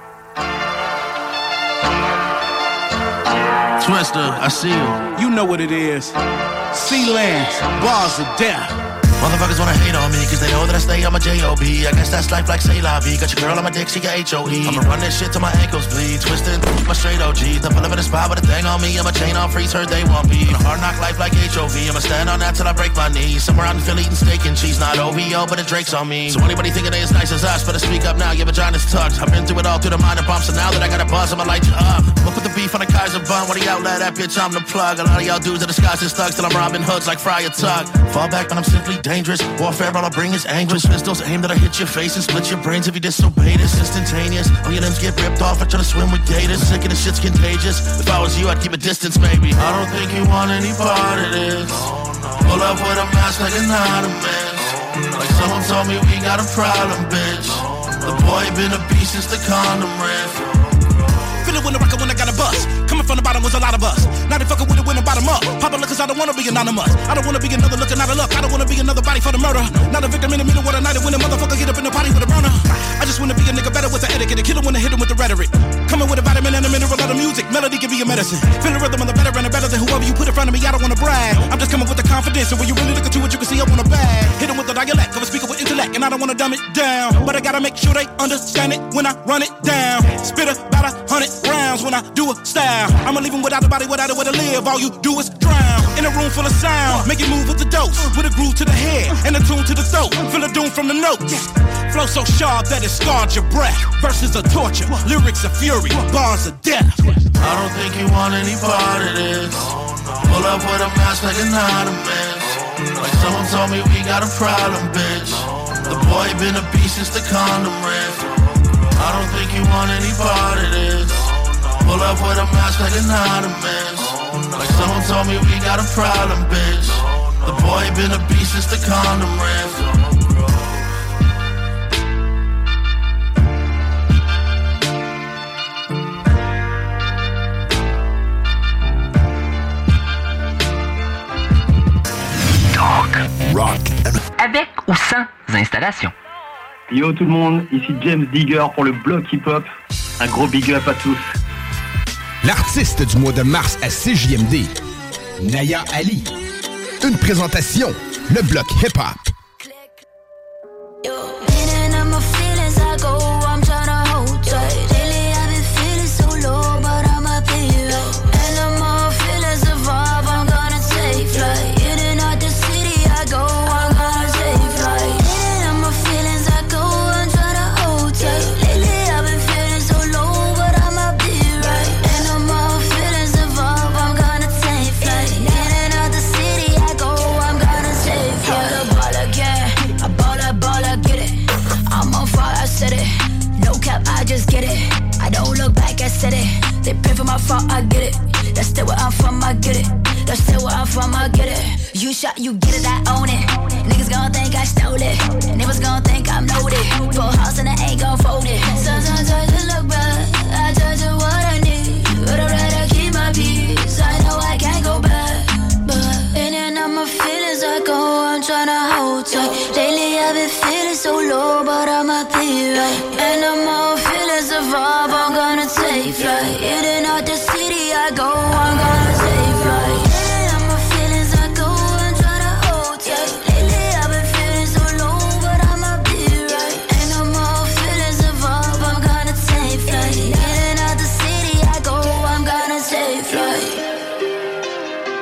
Twista, I see you. You know what it is. Silence, Bars of Death. Motherfuckers wanna hate on me, cause they know that I stay on my J O B. I guess that's life like say la vie. Got your girl on my dick, she got H O E. I'ma run this shit till my ankles bleed. Twisted, my straight O G. The pull up in the spot with a thing on me. I'm a chain on freeze, heard they want me. A hard knock life like H O V. I'ma stand on that till I break my knees. Somewhere out in Philly eating steak and cheese. Not O V O, but the Drake's on me. So anybody thinking they as nice as us, better speak up now, your vagina's tucked. I've been through it all through the minor bumps, and now that I got a buzz, I'ma light you up. I'ma put the beef on the Kaiser bun. When he outlet that bitch, I'm the plug. A lot of y'all dudes are disguised as thugs till I'm robbing hoods like Friar Tuck. Fall back when I'm simply dangerous. Warfare, all I bring is anguish. Pistols aim that I hit your face and split your brains if you disobey this. Instantaneous. All your limbs get ripped off. I try to swim with gators. Sick of this shit's contagious. If I was you, I'd keep a distance, maybe. I don't think you want any part of this. Pull up with a mask like an ottoman. Like someone told me we got a problem, bitch. The boy been a beast since the condom riff. Feel it when I rock it when I got a bus. Coming from the bottom was a lot of us. Now they fucking with it when the bottom up. Popular cause I don't wanna be anonymous. I don't wanna be another looking out of luck. I don't wanna be another body for the murder. Not a victim in the middle of the night when a motherfucker get up in the party with a burner. I just wanna be a nigga better with the etiquette. A killer when I hit him with the rhetoric. Coming with a vitamin and a mineral of the music. Melody give you a medicine. Feel the rhythm of the better and the better than whoever you put in front of me. I don't wanna brag. I'm just coming with the confidence. And when you really look into it, you can see I want a bag. Hit him with the dialect of a speaker with intellect. And I don't wanna dumb it down. But I gotta make sure they understand it when I run it down. Spit about a hundred rounds when I do a style. I'ma leave him without a body, without a way to live. All you do is drown in a room full of sound. Make it move with the dose, with a groove to the head and a tune to the throat. Feel the doom from the notes. Flow so sharp that it scarred your breath. Verses of torture, lyrics of fury, bars of death. I don't think you want any part of this. Pull up with a mask like an ottoman. Like someone told me we got a problem, bitch. The boy been a beast since the condom riff. I don't think you want any part of this. Pull up with a mask like an ottoman. Like someone told me we got a problem, bitch. The boy been a beast since the condom riff. Rock. Avec ou sans installation. Yo tout le monde, ici James Digger pour le bloc hip-hop. Un gros big up à tous. L'artiste du mois de mars à C J M D, Naya Ali. Une présentation, le bloc hip-hop. They pay for my fault, I get it. That's still where I'm from, I get it. That's still where I'm from, I get it. You shot, you get it, I own it. Niggas gon' think I stole it. Niggas gon' think I'm loaded. Full house and I ain't gon' fold it. Sometimes I just look back, I turn to what I need. But I'd rather keep my peace. I know I can't go back. But in and out my feelings, I go, I'm tryna hold tight. Lately I've been feeling so low, but I'ma be right. And I'm all feelings evolve, I'm gonna take flight. In and out the city I go, I'm gonna take flight. In and out my feelings I go, I'm tryna hold tight. Lately I've been feeling so low, but I'ma be right. And I'm all feelings evolve, I'm gonna take flight. In and out the city I go, I'm gonna take flight.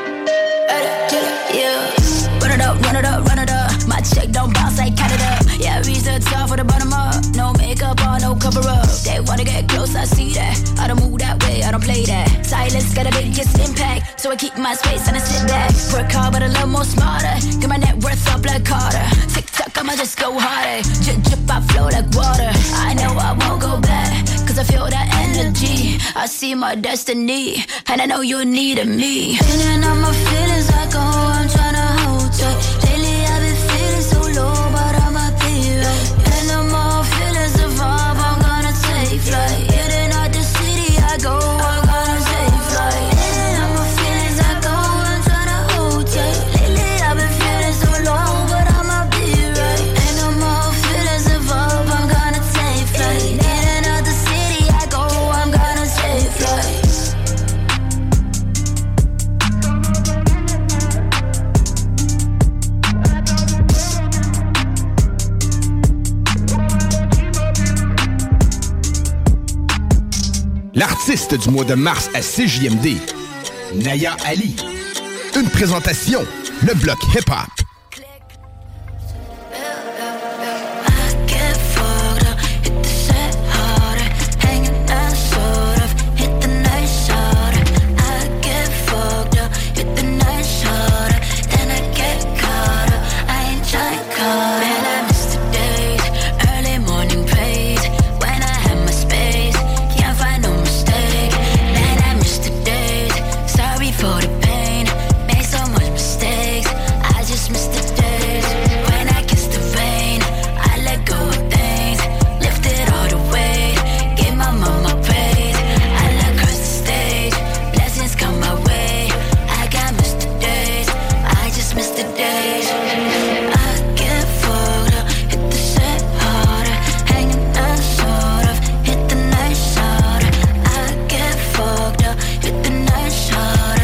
Yeah, run it up, run it up, run it up. My check don't bounce like Canada. Yeah, Yeah, reach the top for the bottom up. No makeup on, no cover up. They wanna get close, I see that. I don't move that way, I don't play that. Silence got a biggest impact, so I keep my space and I sit back. Work hard, but a little more smarter. Get my net worth up like Carter. Tick tock, I'ma just go harder. Drip, drip, I flow like water. I know I won't go back, cause I feel that energy. I see my destiny, and I know you needed me. Feeling all my feelings like oh, I'm tryna hold tight. Lately I've been feeling so low, but I'ma be right. And no more feelings of vibe, I'm gonna take flight. Hitting out the city, I go, I'm gonna take flight. Feeling all my feelings like oh, I'm tryna hold tight. Lately I've been feeling so low, but I'ma be right. And no more feelings of vibe, I'm gonna take flight. Hitting out the city, I go, I'm gonna take flight. L'artiste du mois de mars à C J M D, Naya Ali. Une présentation, le bloc hip-hop. For the pain, made so much mistakes. I just missed the days when I kissed the rain. I let go of things, lifted all the weight, gave my mama praise. I let curse the stage, blessings come my way. I got missed the days, I just missed the days. I get fucked up, hit the shit harder, hanging out sort of, hit the night shorter. I get fucked up, hit the night shorter.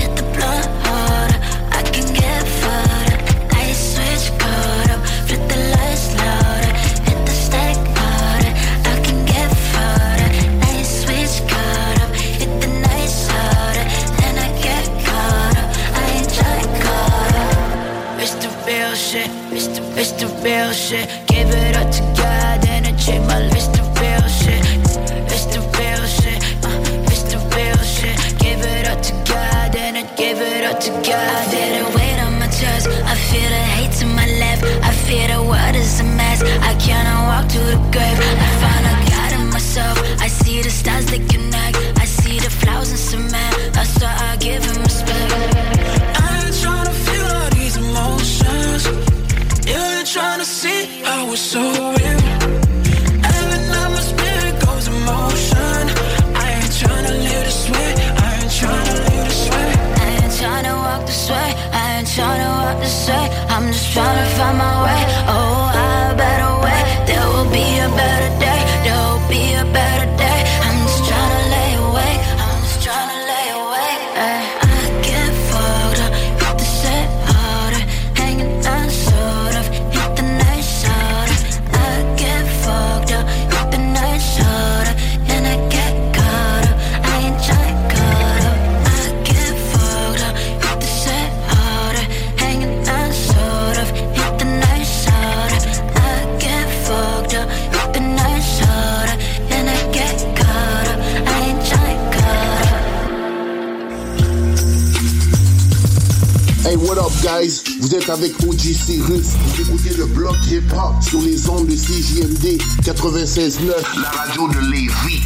It's the real shit. Give it up to God and I check my list. The real shit. It's the real shit. Uh, it's the real shit. Give it up to God and I give it up to God. I feel the weight on my chest. I feel the hate to my left. I feel the world is a mess. I cannot walk to the grave. I found a God in myself. I see the stars that connect. I see the flowers in cement. That's why I give him respect. I ain't tryna feel all these emotions. You ain't tryna see how it's so real. Every night my spirit goes in motion. I ain't tryna live this way. I ain't tryna live this way. I ain't tryna walk this way. I ain't tryna walk this way. I'm just tryna find my way. Oh, a better way. There will be a better day. There will be a better day. I'm just tryna lay awake. I'm just tryna lay awake. Ay. I get fucked up, hit the shit harder, hanging out sort of, hit the night shorter. I get fucked up, hit the night shorter, and I get caught up. I ain't tryna caught up. I get fucked up, hit the shit harder, hanging out sort of, hit the night shorter. I get fucked up, hit the night shorter, and I get caught up. I ain't tryna caught up. Hey, what up, guys? Vous êtes avec O G Cyrus. Vous écoutez le bloc hip-hop sur les ondes de C J M D quatre-vingt-seize neuf, la radio de Lévis.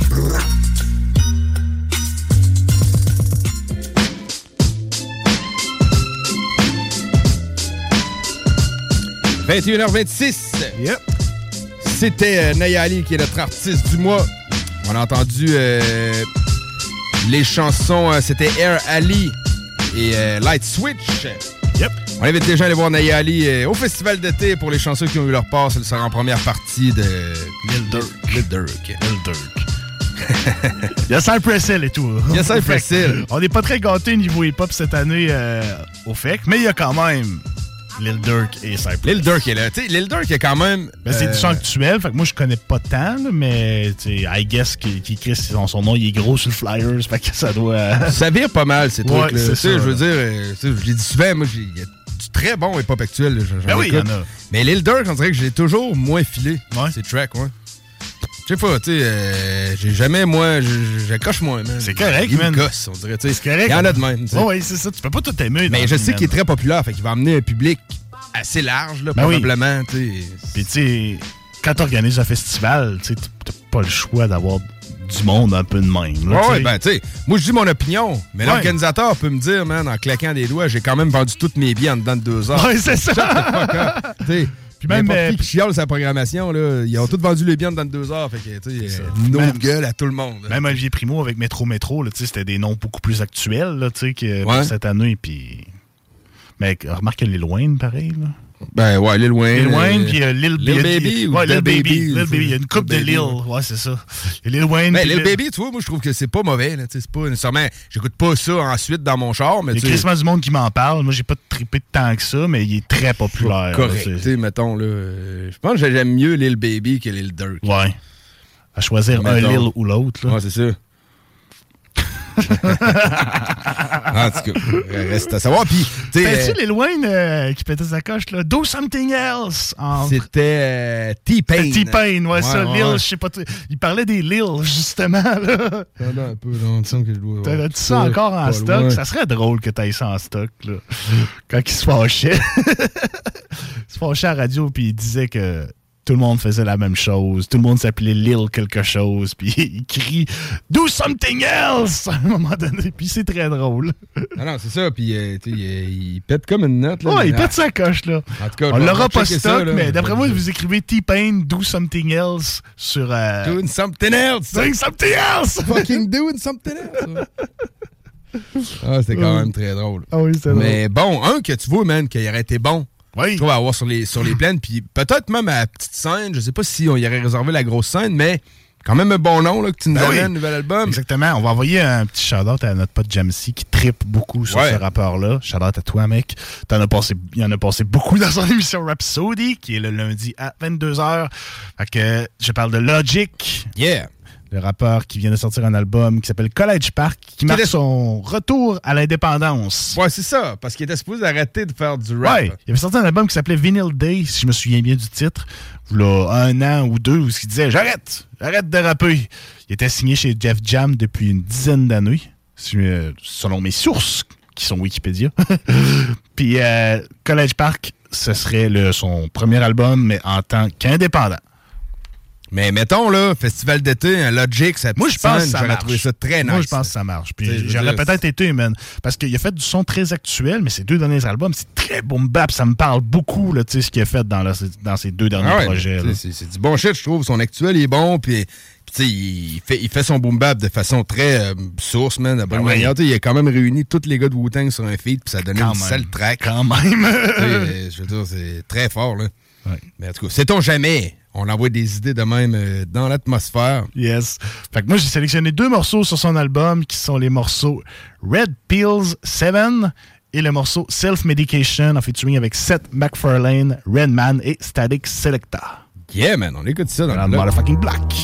vingt et une heures vingt-six. Yep. C'était euh, Naya Ali qui est notre artiste du mois. On a entendu euh, les chansons, euh, c'était Air Ali et euh, Light Switch. Yep. On invite les gens à aller voir Naya Ali euh, au festival d'été pour les chansons qui ont eu leur part. Ça sera en première partie de Lil Durk. Lil Durk. Lil Durk. Il y a Cypress Hill et tout. Il y a Cypress Hill. On n'est pas très gâtés niveau hip-hop cette année euh, au F E C, mais il y a quand même Lil Durk et Cypress. Lil Durk est là. Tu sais, Lil Durk est quand même... Ben, c'est euh... du chant actuel, fait que moi je connais pas tant, là, mais I guess qu'il qu écrit son, son nom, il est gros sur le Flyers, fait que ça doit... Ça vire pas mal ces ouais, trucs-là. Tu sais, je veux dire, euh, je l'ai dit souvent, moi, j'ai... très bons hip-hop actuels. Là, ben oui, il y en a. Mais Lil Durk, on dirait que je l'ai toujours moins filé. Ouais. Ces tracks, ouais. Je sais pas, tu sais, euh, j'ai jamais, moi, j'accroche moins, man. C'est correct, il man. Il gosse, on dirait, tu sais. C'est correct. Il y en a de même, tu sais. Oh, oui, c'est ça, tu peux pas tout aimer. Mais je sais qu'il est très populaire, fait qu'il va amener un public assez large, là, ben probablement, oui. tu sais. Puis, tu sais, quand tu organises un festival, tu sais, t'as pas le choix d'avoir du monde un peu de même. Là, ouais, ben, tu sais, moi, je dis mon opinion, mais ouais. l'organisateur peut me dire, man, en claquant des doigts, j'ai quand même vendu toutes mes billets en dedans de deux heures. Ouais, c'est ça. Tu sais. Puis même euh, qui chiale sa programmation, là, ils ont tous vendu les biens dans deux heures. Fait que, tu sais, nos même, gueules à tout le monde. Même Olivier Primo avec Métro Métro, c'était des noms beaucoup plus actuels là, que ouais. cette année. Puis... Mais remarque que Lil Wayne, pareil. Là. Ben ouais, Lil Wayne. Lil Wayne, puis euh, Lil, Lil Baby. Ouais, Lil Baby. Lil Baby. Il y a une couple de Lil. Ouais, c'est ça. Et Lil Wayne. Ben, Lil Baby, tu vois, moi, je trouve que c'est pas mauvais. Là, c'est pas nécessairement. J'écoute pas ça ensuite dans mon char. Mais il y a quasiment du monde qui m'en parle. Moi, j'ai pas trippé de tant que ça, mais il est très populaire. Correct. Tu sais, mettons, là. Euh, je pense que j'aime mieux Lil Baby que Lil Durk. Ouais. À choisir mettons. un Lil ou l'autre. Ouais, c'est ça. En tout cas, reste à savoir. Puis, tu sais, Lil Wayne euh, qui pétait sa coche, là, Do Something Else. En... C'était euh, T-Pain. T-Pain, ouais, ouais, ça. Ouais, Lil, ouais. je sais pas. Il parlait des Lil, justement, là. T'as un peu, là, on sent que je dois. T'as-tu ça encore en stock? Loin. Ça serait drôle que t'ailles ça en stock, là. Quand il se fâchait. Il se fâchait à la radio, puis il disait que. Tout le monde faisait la même chose. Tout le monde s'appelait Lil quelque chose. Puis il crie « Do something else! » à un moment donné. Puis c'est très drôle. Non, non, c'est ça. Puis euh, il, il pète comme une note. Là, ouais, il pète sa coche. Là. En tout cas, on l'aura pas stock, ça, là, mais d'après moi, vous écrivez T-Pain « Do something else » sur... Euh... Doing something else! Doing something else! Fucking doing something else! Ah, c'était quand même très drôle. Ah oui, c'est drôle. Mais bon, un que tu vois, man, qui aurait été bon. Oui. Je trouve à avoir sur les, sur les plaines, puis peut-être même à la petite scène, je sais pas si on y aurait réservé la grosse scène, mais quand même un bon nom là, que tu nous ben amènes, oui. nouvel album. Exactement. On va envoyer un petit shout-out à notre pote Jamsey qui trippe beaucoup sur ouais. ce rapport-là. Shout-out à toi, mec. T'en as passé, il en a passé beaucoup dans son émission Rhapsody, qui est le lundi à vingt-deux heures. Fait que je parle de Logic. Yeah. Le rappeur qui vient de sortir un album qui s'appelle College Park, qui, qui marque était... son retour à l'indépendance. Ouais, c'est ça, parce qu'il était supposé arrêter de faire du rap. Ouais, il avait sorti un album qui s'appelait Vinyl Day, si je me souviens bien du titre, là, un an ou deux, où il disait « J'arrête, j'arrête de rapper ». Il était signé chez Def Jam depuis une dizaine d'années, selon mes sources, qui sont Wikipédia. Puis euh, College Park, ce serait le, son premier album, mais en tant qu'indépendant. Mais mettons, là, festival d'été, un Logic, ça Moi, je pense que ça j'aurais marche. trouvé ça très nice. Moi, je pense que ça marche. Puis j'aurais peut-être été, man. Parce qu'il a fait du son très actuel, mais ses deux derniers albums, c'est très boom bap. Ça me parle beaucoup, là, tu sais, ce qu'il a fait dans, la, dans ses deux derniers ah ouais, projets. C'est, c'est du bon shit, je trouve. Son actuel, il est bon, puis... T'sais, il fait, il fait son boom bap de façon très euh, source, man, de bonne ah manière. Ouais. Il a quand même réuni tous les gars de Wu-Tang sur un feat, puis ça a donné quand une même. Sale track. Quand même! euh, je veux dire, c'est très fort, là. Ouais. Mais en tout cas, sait-on jamais? On envoie des idées de même euh, dans l'atmosphère. Yes. Fait que moi, j'ai sélectionné deux morceaux sur son album, qui sont les morceaux Red Pills sept et le morceau Self Medication, en featuring avec Seth MacFarlane, Redman et Static Selecta. Yeah, man, on écoute ça dans, dans le motherfucking black.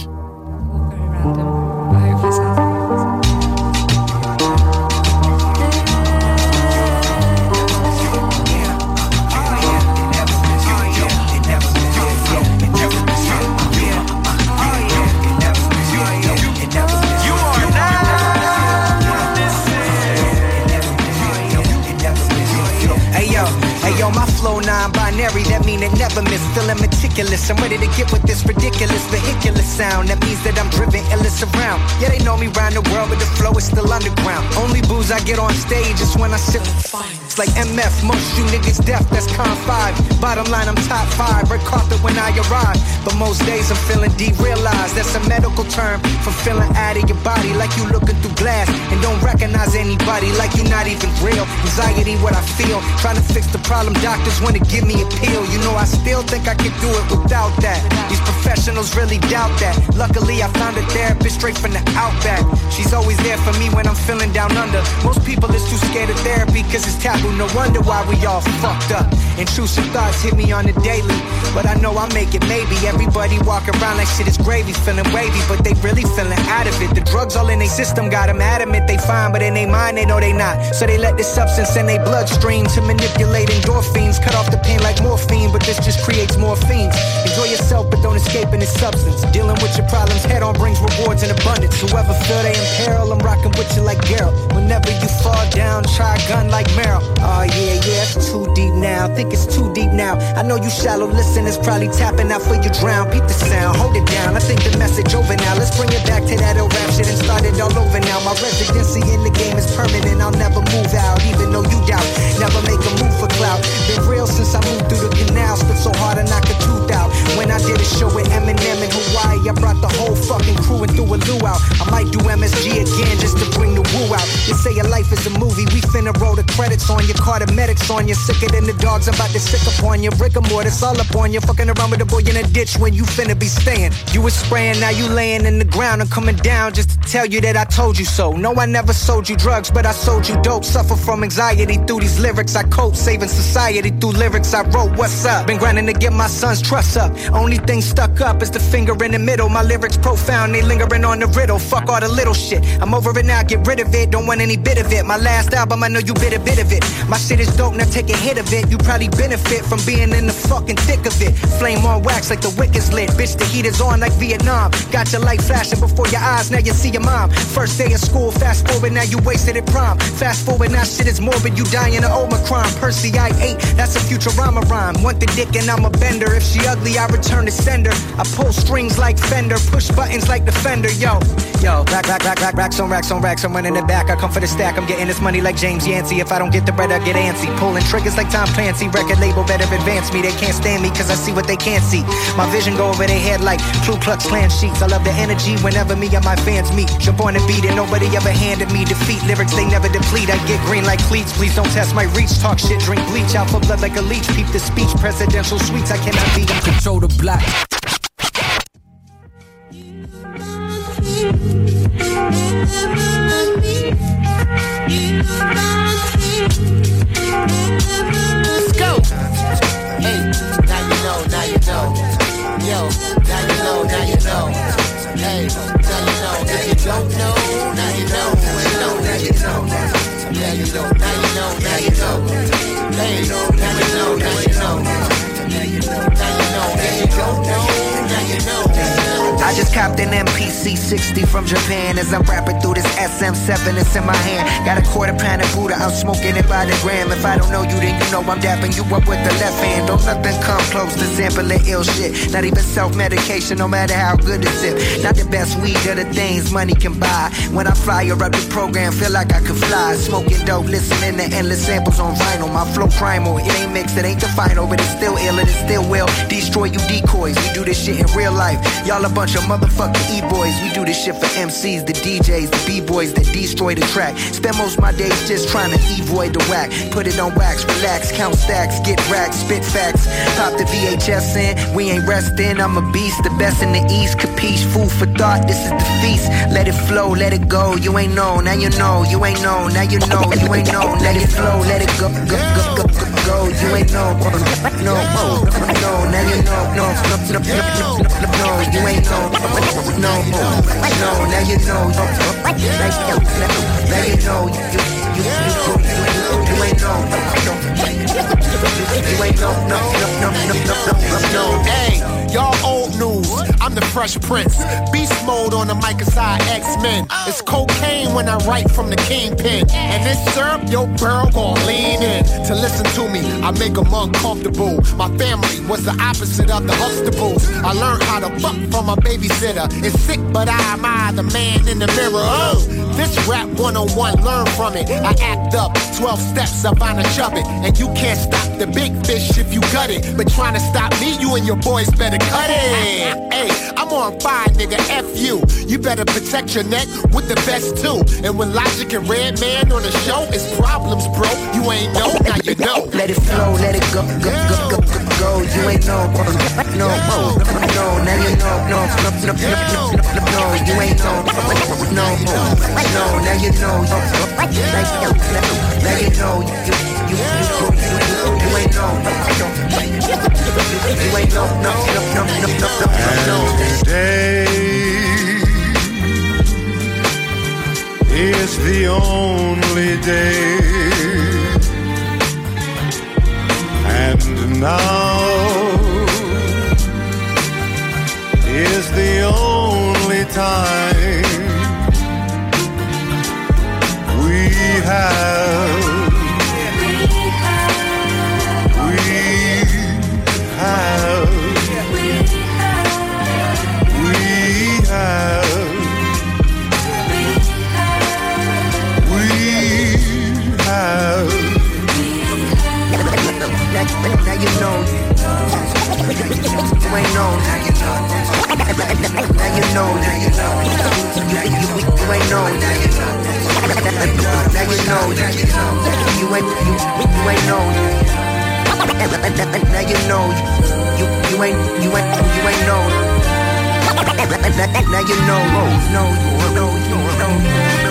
Yo, my flow non-binary, that mean it never miss. Feeling meticulous, I'm ready to get with this ridiculous vehicular sound. That means that I'm driven illness around. Yeah, they know me round the world, but the flow is still underground. Only booze I get on stage is when I sip. It's like M F, most you niggas deaf, that's con five. Bottom line, I'm top five, red carpet when I arrive. But most days I'm feeling derealized. That's a medical term for feeling out of your body, like you looking through glass and don't recognize anybody, like you're not even real. Anxiety, what I feel, trying to fix the problem. Doctors wanna give me a pill. You know I still think I can do it without that. These professionals really doubt that. Luckily I found a therapist straight from the outback. She's always there for me when I'm feeling down under. Most people is too scared of therapy cause it's taboo. No wonder why we all fucked up. Intrusive thoughts hit me on the daily, but I know I make it maybe. Everybody walk around like shit is gravy, feeling wavy, but they really feeling out of it. The drugs all in their system got them adamant they fine, but in their mind they know they not. So they let this substance in their bloodstream to manipulate endorphins cut off the pain like morphine, but this just creates more fiends. Enjoy yourself, but don't escape in its substance. Dealing with your problems head on brings rewards in abundance. Whoever feel they in peril, I'm rocking with you like Geralt. Whenever you fall down, try a gun like Meryl. Oh yeah, yeah, it's too deep now. Think it's too deep now. I know you shallow listeners probably tapping out for you drown. Beat the sound, hold it down. I think the message over now. Let's bring it back to that old rap shit and start it all over now. My residency in the game is permanent. I'll never move out, even though you doubt. Never make a move for clout. Been real since I moved through the canal. Spit so hard I knock a tooth out. When I did a show with Eminem in Hawaii, I brought the whole fucking crew and threw a luau. I might do M S G again just to bring the woo out. You say your life is a movie, we finna roll the credits on you. Call the medics on you. Sicker than the dogs, I'm about to sick upon you. Rigor mortis all up on you. Fucking around with a boy in a ditch when you finna be staying. You was spraying, now you laying in the ground and coming down just to tell you that I told you so. No, I never sold you drugs, but I sold you dope. Suffer from anxiety through these lyrics I cope. Saving society through lyrics I wrote. What's up? Been grinding to get my son's trust up. Only thing stuck up is the finger in the middle. My lyrics profound, they lingering on the riddle. Fuck all the little shit. I'm over it now, get rid of it. Don't want any bit of it. My last album, I know you bit a bit of it. My shit is dope, now take a hit of it. You probably benefit from being in the fucking thick of it. Flame on wax like the wick is lit. Bitch, the heat is on like Vietnam. Got your light flashing before your eyes, now you see your mom. First day of school, fast forward, now you wasted at prom. Fast forward, now shit is morbid, you dying of Omicron. Percy, I ate, that's a Futurama rhyme. Want the dick and I'm a bender. If she ugly, I return to sender. I pull strings like Fender, push buttons like Defender. Yo, yo, rack, rack, rack, rack, racks on racks on racks. I'm running it back, I come for the stack. I'm getting this money like James Yancey. If I don't get the bread, I get antsy. Pulling triggers like Tom Clancy. Record label better advance me. They can't stand me cause I see what they can't see. My vision go over their head like Ku Klux Klan sheets. I love the energy whenever me and my fans meet. Jump on the beat and nobody ever handed me defeat. Lyrics they never deplete. I get green like cleats. Please don't test my reach. Talk shit, drink bleach. Out for blood like a leech. Peep the speech. Presidential suites. I cannot be. Control the black. Let's go. Hey, now you know, now you know. Yo, now you know, now you know. Hey, now you know. If you don't know, now you know. Know, now you know. Yeah, you know. Now you know, now you know. Hey, now you know, now you know. Now you know. If you don't know, now you know. I just copped an M P C sixty from Japan as I'm rapping through this S M seven that's in my hand. Got a quarter pound of Buddha, I'm smoking it by the gram. If I don't know you, then you know I'm dapping you up with the left hand. Don't nothing come close to sampling ill shit. Not even self-medication, no matter how good it's it. Not the best weed or the things money can buy. When I fire up the program, feel like I could fly. Smoking dope, listening to endless samples on vinyl. My flow primal, it ain't mixed, it ain't the final, but it's still ill and it still will destroy you decoys. We do this shit in real life. Y'all a bunch of motherfucking E-boys. We do this shit for M Cs, the D Js, the B-boys that destroy the track. Spend most of my days just trying to avoid the whack. Put it on wax, relax, count stacks, get racks, spit facts. Pop the V H S in, we ain't resting. I'm a beast, the best in the East. Capiche, food for thought, this is the feast. Let it flow, let it go. You ain't know, now you know. You ain't know, now you know. You ain't know, let it flow, let it go, go, go, go, go, go. You ain't know, no, no, no, now you know, no, no, no, no, no, no, you ain't know. No, no, now you know. Now you know. You, you, you, you, you ain't know. You ain't know. No, no, no, no, no, no, no. Hey, y'all old news. I'm the Fresh Prince. Beast mode on the mic aside X-Men. It's cocaine when I write from the kingpin. And this syrup, your girl gon' lean in. To listen to me, I make them uncomfortable. My family was the opposite of the Huxtables. I learned how to fuck from a babysitter. It's sick, but I admire the man in the mirror. Oh, this rap one oh one, learn from it. I act up, twelve steps up on a chubbin'. And you can't stop the big fish if you gut it. But trying to stop me, you and your boys better cut it. Hey, I'm on fire, nigga, F you. You better protect your neck with the best too. And when Logic and Redman on the show, it's problems, bro. You ain't know, now you know. Let it flow, let it go, go, go, go, go, go. You ain't know, no, no, no, now you know, no, no, no, no, no, no, you ain't know, no, no, no, now you know, now you know, you, you, you, you ain't know, you ain't know, no, no, no, no, no, no, today is the only day, and Now is the only time we have, we have, we have, we have, we have. Now you know you ain't known. Now you know. Now you know. Now you know. You ain't known. Now you know. Now you know. You ain't you you ain't known. Now you know. You you ain't you ain't you ain't known. Now you know. No no no no.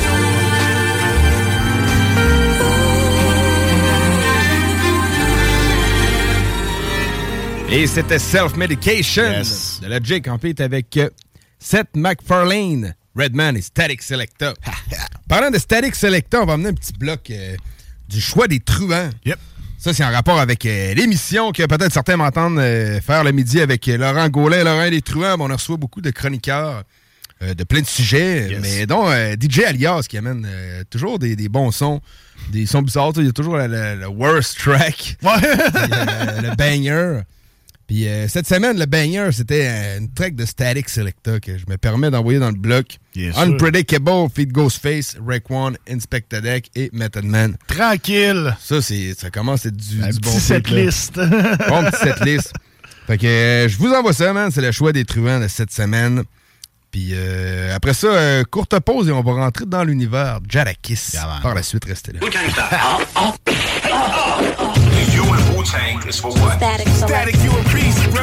Et c'était Self-Medication yes. de la J Campite avec euh, Seth MacFarlane, Redman et Static Selecta. Parlant de Static Selecta, on va emmener un petit bloc euh, du choix des truands. Yep. Ça, c'est en rapport avec euh, l'émission que peut-être certains m'entendent euh, faire le midi avec euh, Laurent Gaulet, Laurent des Truands. Bon, on reçoit beaucoup de chroniqueurs euh, de plein de sujets, yes. mais dont euh, D J Alias qui amène euh, toujours des, des bons sons, des sons bizarres. Il y a toujours le, le, le worst track, ouais. le, le banger. Puis euh, cette semaine, le banger, c'était euh, une track de Static Selecta que je me permets d'envoyer dans le bloc. Yes, Unpredictable, Feed Ghostface, Raekwon, Inspector Deck et Method Man. Tranquille. Ça, c'est, ça commence à être du, un du petit bon setlist. Bon petit setlist. Fait que euh, je vous envoie ça, man. C'est le choix des truands de cette semaine. Puis euh, après ça, euh, courte pause et on va rentrer dans l'univers Jadakiss. Yeah, par la suite, restez là. You and Wu-Tang is for what? Static, Static, you a beast, bro.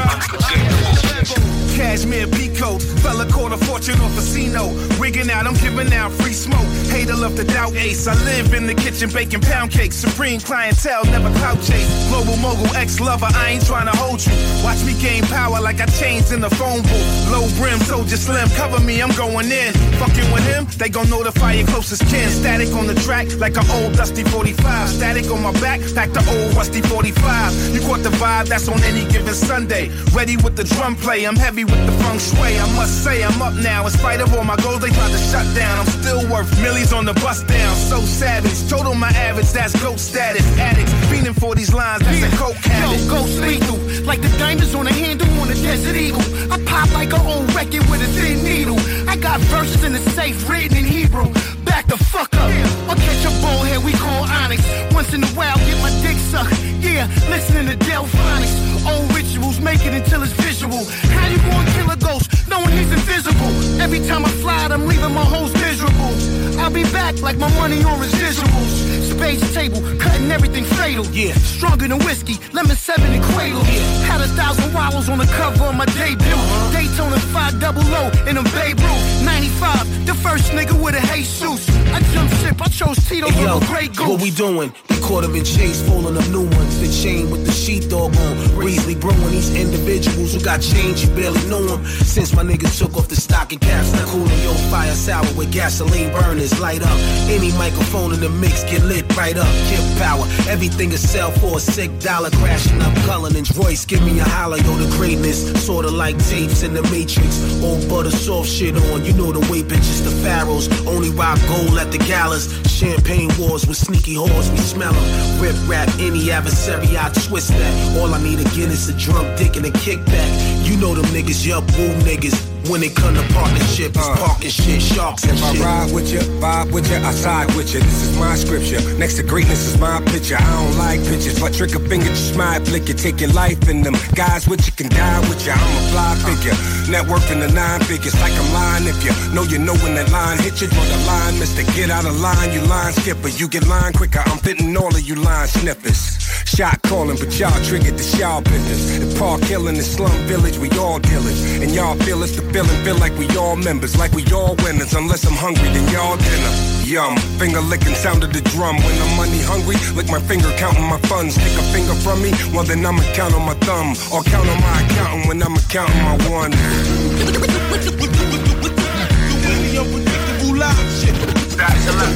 Cashmere Peacoat, fella caught a fortune off a casino. Rigging out, I'm giving out free smoke. Hater love to doubt ace. I live in the kitchen baking pound cakes. Supreme clientele, never clout chase. Global mogul, ex-lover, I ain't trying to hold you. Watch me gain power like I changed in the phone booth. Low brim, soldier slim, cover me, I'm going in. Fucking with him, they gon' notify your closest kin. Static on the track like an old dusty forty-five. Static on my back, like the old rusty forty-five. You caught the vibe, that's on any given Sunday. Ready with the drum play, I'm heavy with the feng shui. I must say I'm up now. In spite of all my goals, they tried to shut down. I'm still worth millies on the bust down. So savage, total my average, that's goat status. Addicts, fiending for these lines, that's yeah. a coke habit. Yo, ghost lethal, like the diamonds on the handle on a Desert Eagle. I pop like an old record with a thin needle. I got verses in the safe written in Hebrew. Back the fuck up. I'll catch a bullhead we call Onyx. Once in a while, get my dick sucked. Yeah, listening to Delphonics. Old rituals, make it until it's visual. How you gonna kill a ghost knowing he's invisible? Every time I fly, I'm leaving my hoes miserable. I'll be back like my money on residuals. Space table, cutting everything fatal. Yeah, stronger than whiskey, lemon seven and cradle. Yeah, had a thousand wallows on the cover of my debut. Uh-huh. Daytona five double O in a Babe Ruth. ninety-five, the first nigga with a Jesus. I jump ship, I chose Tito hey, yo, Grey Goose. What we doing? We caught him in chase, falling up new ones. The chain with the sheepdog on. Breezely brewing these individuals who got change, you barely know them. Since my nigga took off the stocking caps, now cooling your fire sour with gasoline burners. Light up, any microphone in the mix get lit right up. Kip power, everything is sell for a sick dollar. Crashing up Cullinan's Royce, give me a holler, yo, the greatness. Sorta like tapes in the Matrix. Old butter soft shit on, you know the way bitches the pharaohs. Only rock gold at the galas. Champagne wars with sneaky whores, we smell them. Rip rap, any adversary, I twist that. All I need again is a drunk dick and a kickback. You know them niggas, yup, woo niggas. When it come to partnership, it's uh, parking shit, sharks and shit. If I ride with you, vibe with you, I side with you. This is my scripture. Next to greatness is my picture. I don't like pictures, but trick a finger, just my flick you. Take your life in them. Guys with you can die with you. I'm a fly figure. Network in the nine figures, like I'm lying. If you know you know when that line hit you, draw the line, mister. Get out of line, you line skipper. You get line quicker. I'm fitting all of you line sniffers. Shot calling, but y'all triggered the y'all business. The park hill in the slum village, we all dealers. And y'all feel it's the feeling, feel like we all members, like we all winners. Unless I'm hungry, then y'all dinner. Yum, finger licking sound of the drum. When I'm money hungry, lick my finger counting my funds. Take a finger from me, well then I'ma count on my thumb. Or count on my accountant when I'm counting my one.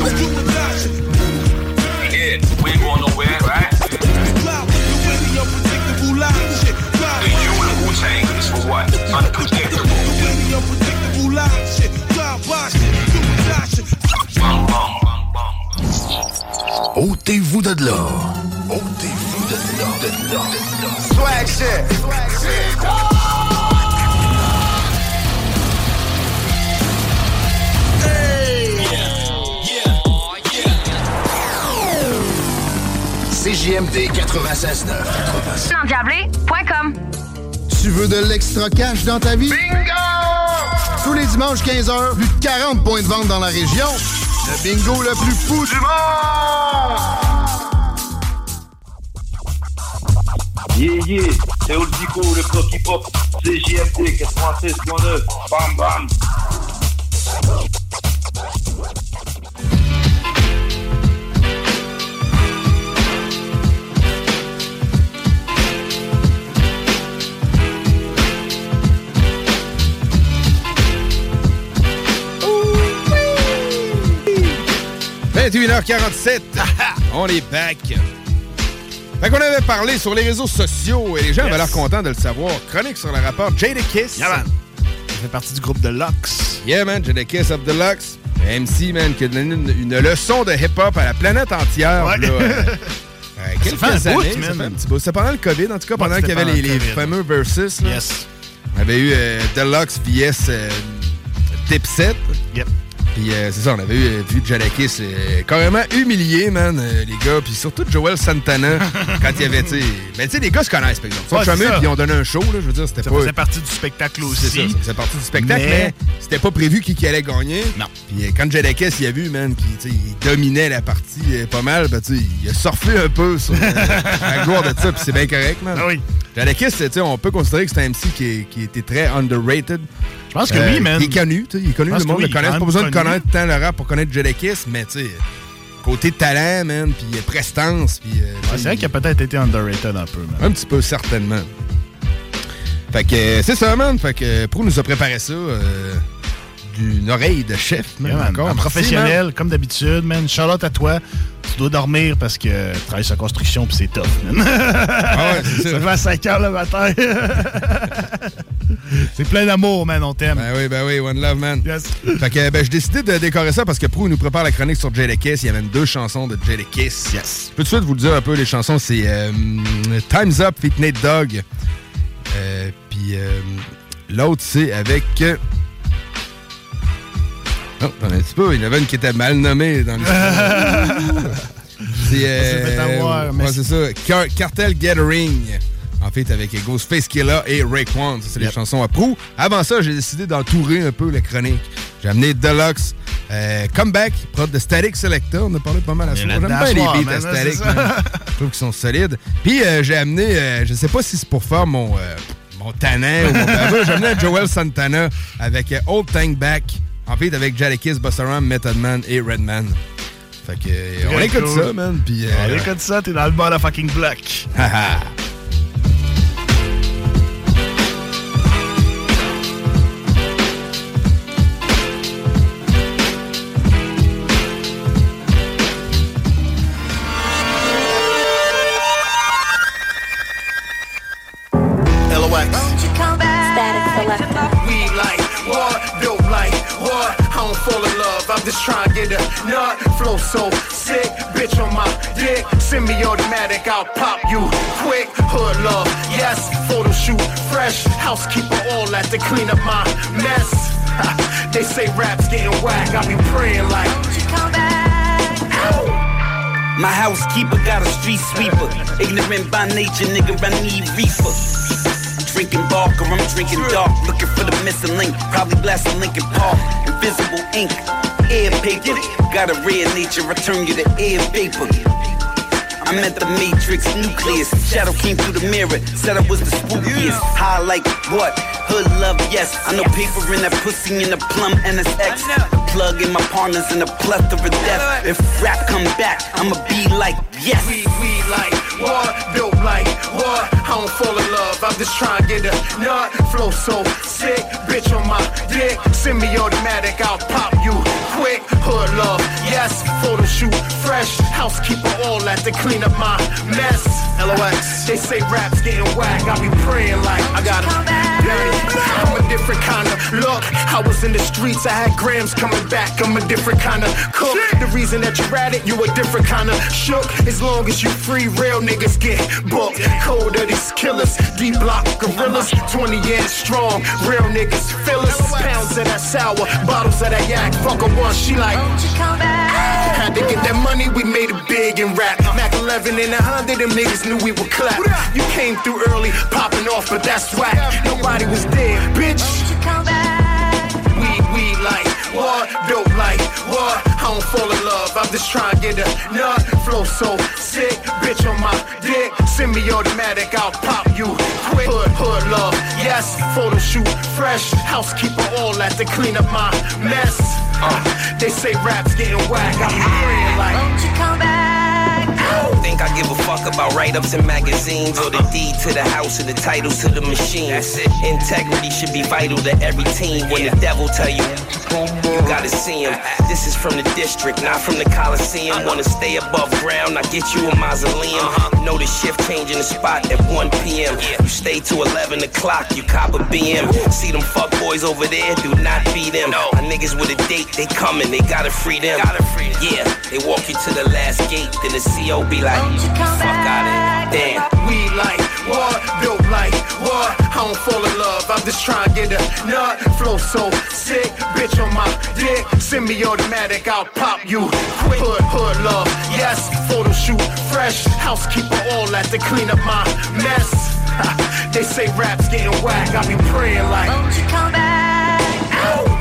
Yeah, we ain't going nowhere, right? l'or. Ôtez-vous de l'or, de l'or, de l'or. Swag shit. Swag shit. C J M D quatre-vingt-seize neuf. endiablé point com. Tu veux de l'extra cash dans ta vie? Bingo! Tous les dimanches quinze heures, plus de quarante points de vente dans la région. Le bingo le plus fou du monde! Yeah, yeah, c'est Old Dico, le bloc hip-hop, C J M D quatre-vingt-seize neuf. Bam, bam! vingt et une heures quarante-sept, on est back. Fait qu'on avait parlé sur les réseaux sociaux et les gens yes. avaient l'air contents de le savoir. Chronique sur le rapport Jadakiss. Yeah, man. Ça fait partie du groupe de Lux. Yeah, man, Jadakiss of the Lux. M C, man, qui a donné une, une leçon de hip-hop à la planète entière. Ouais. Là, euh, euh, quelques ça fait un années, bout, ça man. fait un petit bout. C'était pendant le COVID, en tout cas, pendant ouais, qu'il y avait les, les fameux versus. Là. Yes. On avait eu euh, Deluxe V S euh, Dipset. Yep. Puis euh, c'est ça, on avait eu, vu Jadakiss euh, carrément humilié, man, euh, les gars. Puis surtout Joel Santana, quand il y avait, tu sais... Ben, tu sais, les gars se connaissent, par exemple. Ils sont ouais, chumés, puis ils ont donné un show, là, je veux dire, c'était ça pas... Ça faisait partie du spectacle aussi. C'est ça, ça faisait partie du spectacle, mais, mais c'était pas prévu qui, qui allait gagner. Non. Puis euh, quand Jadakiss, il a vu, man, qu'il dominait la partie euh, pas mal, ben, tu sais, il a surfé un peu sur euh, la gloire de ça, puis c'est bien correct, man. Ah oui. Jadakiss, tu sais, on peut considérer que c'est un M C qui, qui était très underrated. Je pense que euh, oui, man. Il est connu, tu sais, il est connu, le monde oui, le connaît. Pas besoin de connaître tant le rap pour connaître Jadakiss, mais tu sais, côté talent, man, puis prestance, puis... Euh, ouais, c'est vrai qu'il a peut-être été underrated un peu, man. Un petit peu, certainement. Fait que euh, c'est ça, man. Fait que Pro nous a préparé ça euh, d'une oreille de chef, man. Yeah, man. Encore. Un Merci, professionnel, man. comme d'habitude, man. Shout-out à toi. Tu dois dormir parce que tu travailles sur la construction puis c'est tough, man. Ah ouais, c'est ça. Ça fait à cinq heures le matin. C'est plein d'amour, man, on t'aime. Ben oui, ben oui, one love, man. Yes. Fait que ben, j'ai décidé de décorer ça parce que Pro nous prépare la chronique sur Jadakiss. Il y avait deux chansons de Jadakiss. Yes. Je peux tout de suite vous le dire un peu, les chansons, c'est euh, Time's Up feat. Nate Dogg. Euh, Puis euh, l'autre, c'est avec... Euh... Oh, attends un petit peu, il y en avait une qui était mal nommée dans l'histoire. C'est euh, avoir, mais ouais, c'est ça. Car- Cartel Gathering. En fait, avec Ghostface Killah et Raekwon. Ça, c'est yep. les chansons à Pro. Avant ça, j'ai décidé d'entourer un peu la chronique. J'ai amené Deluxe. Euh, Comeback, prod de Static Selector. On a parlé pas mal à ça. J'aime bien les beats à Static. Je trouve qu'ils sont solides. Puis, euh, j'ai amené, euh, je sais pas si c'est pour faire mon, euh, mon tannant ou mon baveux. J'ai amené Joel Santana avec euh, Old Tank Back. En fait, avec Jadakiss, Busta Rhymes, Method Man et Redman. Fait que, euh, on écoute cool. ça, man. Puis, euh, on écoute ça, t'es dans le bas de fucking bloc. Haha. I'm just trying to get a nut, flow so sick, bitch on my dick, semi-automatic, I'll pop you quick, hood love, yes, photo shoot, fresh, housekeeper all that to clean up my mess, they say rap's getting whack, I be praying like, you come back, ow. My housekeeper got a street sweeper, ignorant by nature, nigga, I need reefer. Drinking Barker, I'm drinking dark, looking for the missing link, probably blasting Linkin Park, invisible ink, air paper, got a rare nature, I turn you to air vapor. I'm at the matrix nucleus, shadow came through the mirror, said I was the spookiest, high like what? Hood love, yes, I know paper in that pussy in the plum and it's X, the plug in my partners in the plethora of death, if rap come back, I'ma be like, yes. We, we like, what? Built like, what? I don't fall in love, I'm just trying to get a nut, flow so sick, bitch on my dick, semi-automatic, I'll pop you quick, hood love, yes, photo shoot, fresh, housekeeper all that to clean up my mess. L O X. They say rap's getting whack, I be praying like I got it. I'm a different kind of look. I was in the streets, I had grams coming back. I'm a different kind of cook. The reason that you're at it, you a different kind of shook. As long as you free, real niggas get booked. Cold of these killers, D-block gorillas, twenty years strong. Real niggas fill us. Pounds of that sour, bottles of that yak. Fuck her once, she like, won't you come back? Had to get that money, we made it big and rap. Mac eleven and a hundred, them niggas knew we would clap. You came through early, popping off, but that's whack. Nobody was there, bitch. Won't you come back? Weed, weed like what? Dope like what? I don't fall in love, I'm just trying to get a nut. Flow so sick, bitch on my dick. Semi-automatic, I'll pop you quick. Hood, hood love, yes. Photo shoot, fresh. Housekeeper all at to clean up my mess. Uh, they say rap's getting whack, I'm praying like, won't you come back? Think I give a fuck about write-ups in magazines or the deed to the house or the titles to the machine. That's it. Integrity should be vital to every team. When the devil tell you, you gotta see him. This is from the district, not from the Coliseum. Wanna stay above ground, I get you a mausoleum. Know the shift changing the spot at one p.m. You stay to eleven o'clock, you cop a B M. See them fuck boys over there, do not be them. My niggas with a date, they coming, they gotta free them. Yeah, they walk you to the last gate, then the C O be like, fuck out of it, damn. We like what? Dope like what? I don't fall in love, I'm just trying to get a nut. Flow so sick, bitch on my dick. Semi-automatic, I'll pop you quick. Hood, hood love, yes. Photo shoot, fresh. Housekeeper all at to clean up my mess. They say rap's getting whack, I be praying like, won't you come back? Ow.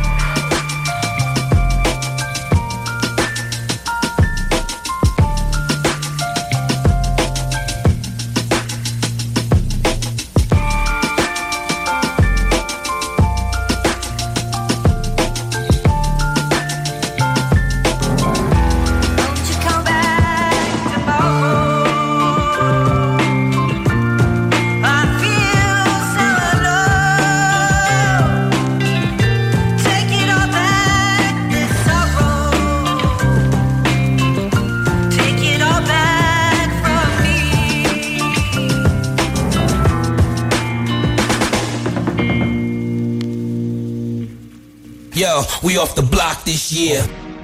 Yo, we off the block this year.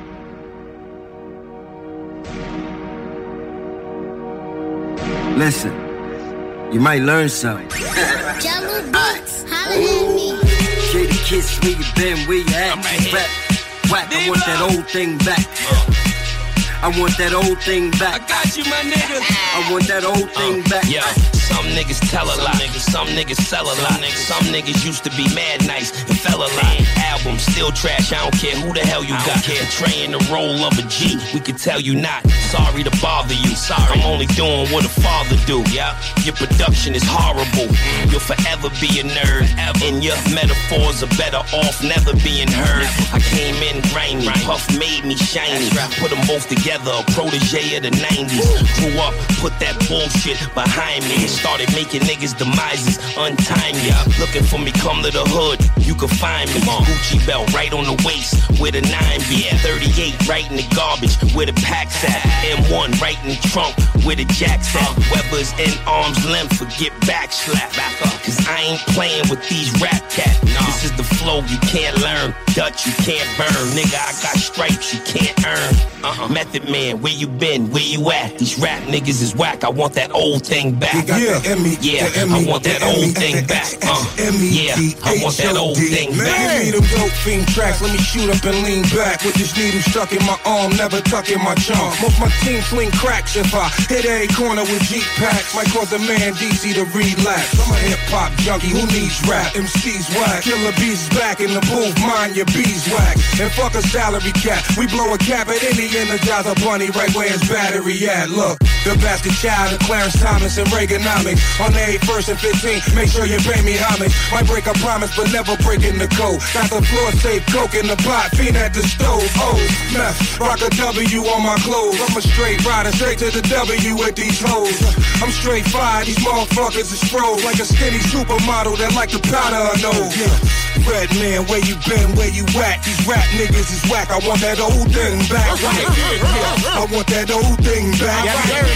Listen, you might learn something. Jello Beats, holla at me. J D Kiss, where you been, where you at? I'm right here. Rap, whack, I want that old thing back. I want that old thing back. I got you, my nigga. I want that old thing uh, back. Yo, some niggas tell a lot. Some niggas sell a lot. Some niggas used to be mad nice and fell a lot. Album still trash. I don't care who the hell you got. Portraying the role of a G. We could tell you not. Sorry to bother you. Sorry. I'm only doing what a father do. Yeah. Your production is horrible. You'll forever be a nerd. And your metaphors are better off never being heard. I came in grimy. Puff made me shiny. Put them both together. A protege of the nineties. Grew up, put that bullshit behind me. Started making niggas' demises untimely. Looking for me, come to the hood, you can find me. Gucci belt right on the waist, where the nine be at. thirty-eight right in the garbage, where the pack's at. M one right in the trunk, where the jack's at. Weber's in arm's length, forget back slap. Back up, cause I ain't playing with these rap cats. This is the flow you can't learn, Dutch you can't burn. Nigga, I got stripes you can't earn. Uh-uh. Method Man, where you been, where you at? These rap niggas is whack, I want that old thing back. Yeah, yeah, I want that old thing back. Uh, yeah, I want that old thing back. Give me them dope fiend tracks, let me shoot up and lean back. With this needle stuck in my arm, never tuck in my charm. Most my team swing cracks if I hit a corner with Jeep packs. Might cause a man D C to relapse. I'm a hip-hop junkie who needs rap. M C's whack, Killer Bees back in the booth, mind your beeswax. And fuck a salary cap, we blow a cap at any Energizer bunny right where his battery at. Look, the bastard child of Clarence Thomas and Reagan homage. On the first and fifteenth, make sure you pay me homage. Might break a promise, but never breaking the code. Got the floor safe, coke in the pot, fiend at the stove. Oh, meth, rock a W on my clothes. I'm a straight rider, straight to the W with these hoes. I'm straight fired, these motherfuckers is froze like a skinny supermodel that like to powder her nose. Yeah. Red man, where you been, where you at? These rap niggas is whack, I want that old thing back. Yeah, I want that old thing back.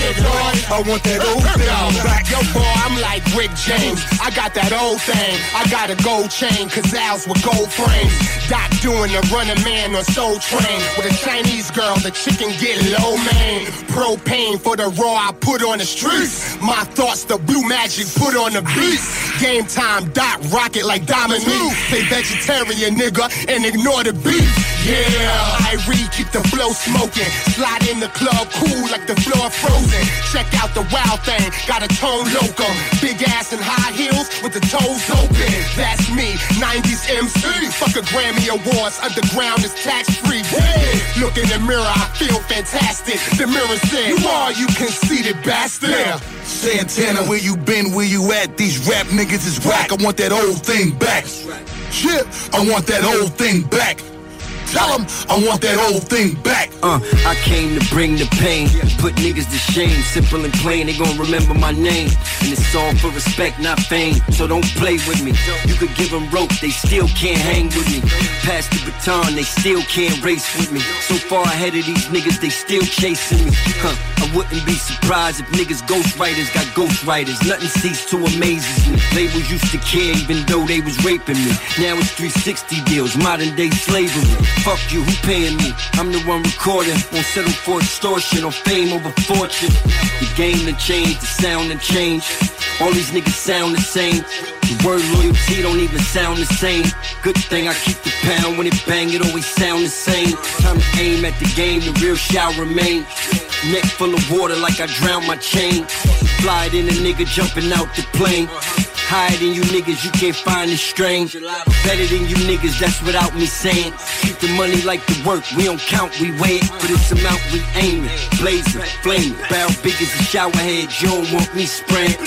I want that old thing back. Yo, boy, I'm like Rick James. I got that old thing. I got a gold chain, Cazals with gold frames. Doc doing the running man on Soul Train. With a Chinese girl, the chicken get low, man. Propane for the raw I put on the streets. My thoughts, the blue magic put on the beat. Game time, Doc rocket like Dominique. Say vegetarian, nigga, and ignore the beef. Yeah, I read, keep the flow smoking. Slide in the club, cool like the floor frozen. Check out the wild thing, got a tone loco. Big ass and high heels with the toes open. That's me, nineties M C. Fuck a Grammy Awards, underground is tax free. Yeah. Look in the mirror, I feel fantastic. The mirror said, you are, you conceited bastard. Yeah. Santana, where you been, where you at? These rap niggas is whack, I want that old thing back. Shit, I want that old thing back. Tell them I want that old thing back. Uh, I came to bring the pain, put niggas to shame. Simple and plain, they gon' remember my name. And it's all for respect, not fame. So don't play with me. You could give them rope, they still can't hang with me. Pass the baton, they still can't race with me. So far ahead of these niggas, they still chasing me. Huh, I wouldn't be surprised if niggas ghostwriters got ghostwriters. Nothing ceased to amaze me. Labels used to care even though they was raping me. Now it's three sixty deals, modern day slavery. Fuck you, who paying me? I'm the one recording. Won't settle for extortion or fame over fortune. The game done changed, the sound done changed. All these niggas sound the same. The word loyalty don't even sound the same. Good thing I keep the pound. When it bang, it always sound the same. Time to aim at the game, the real shall remain. Neck full of water like I drowned my chain. Fly it in a nigga jumping out the plane. Higher than you niggas, you can't find the strain. Better than you niggas, that's without me saying. Keep the money like the work, we don't count, we weigh it. But it's amount we aiming, blazing, flaming. Barrel big as a shower head, you don't want me spraying.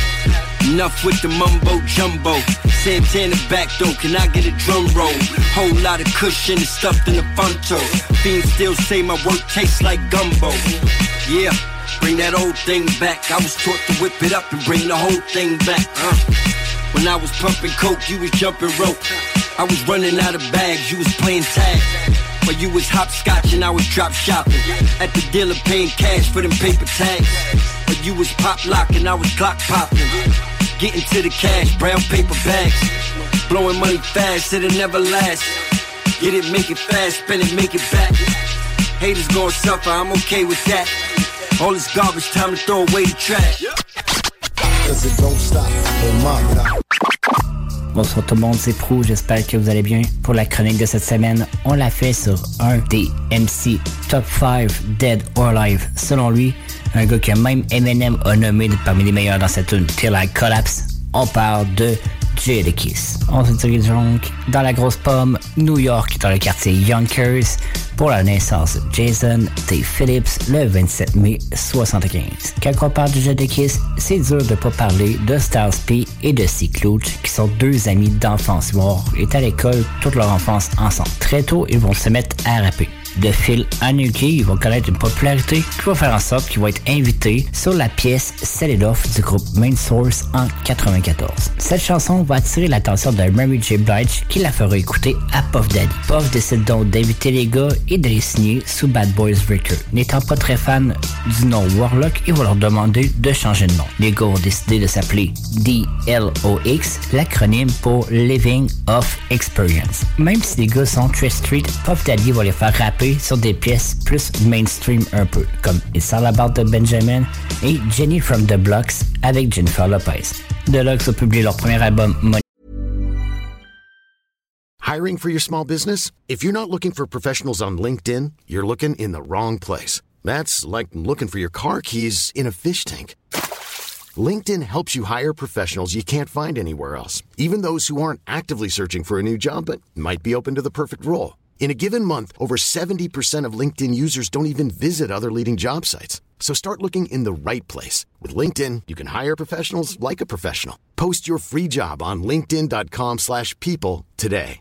Enough with the mumbo jumbo. Santana back though, can I get a drum roll? Whole lot of cushion and stuffed in the funto. Fiends still say my work tastes like gumbo. Yeah. Bring that old thing back. I was taught to whip it up and bring the whole thing back. Uh. When I was pumping coke, you was jumping rope. I was running out of bags, you was playing tag. But you was hopscotch and I was drop shopping. At the dealer paying cash for them paper tags. But you was pop locking, I was clock popping. Getting to the cash, brown paper bags. Blowing money fast, it'll never last. Get it, make it fast, spend it, make it back. Haters gon' suffer, I'm okay with that. All this garbage, time to throw away the trash. Bonsoir tout le monde, c'est Prou, j'espère que vous allez bien. Pour la chronique de cette semaine, on l'a fait sur un des M C Top cinq Dead or Alive. Selon lui, un gars que même Eminem a nommé parmi les meilleurs dans cette tune Till I Collapse. On parle de Jadakiss. On se dirige donc dans la grosse pomme, New York, dans le quartier Yonkers, pour la naissance de Jason T. Phillips le vingt-sept mai soixante-quinze. Quand on parle de Jadakiss, c'est dur de pas parler de Styles P et de C-Clutch, qui sont deux amis d'enfance. Ils vont être à l'école toute leur enfance ensemble. Très tôt, ils vont se mettre à rapper. De fil en aiguille, ils vont connaître une popularité qui va faire en sorte qu'ils vont être invités sur la pièce Set It Off du groupe Main Source en quatre-vingt-quatorze. Cette chanson va attirer l'attention de Mary J. Blige qui la fera écouter à Puff Daddy. Puff décide donc d'inviter les gars et de les signer sous Bad Boys Records. N'étant pas très fan du nom Warlock, il va leur demander de changer de nom. Les gars ont décidé de s'appeler D L O X, l'acronyme pour Living Off Experience. Même si les gars sont très street, Puff Daddy va les faire rapper sur des pièces plus mainstream un peu, comme It's All About the Benjamin et Jenny from the Blocks avec Jennifer Lopez. Deluxe a publié leur premier album Money. Hiring for your small business? If you're not looking for professionals on LinkedIn, you're looking in the wrong place. That's like looking for your car keys in a fish tank. LinkedIn helps you hire professionals you can't find anywhere else, even those who aren't actively searching for a new job but might be open to the perfect role. In a given month, over seventy percent of LinkedIn users don't even visit other leading job sites. So start looking in the right place. With LinkedIn, you can hire professionals like a professional. Post your free job on linkedin.com slash people today.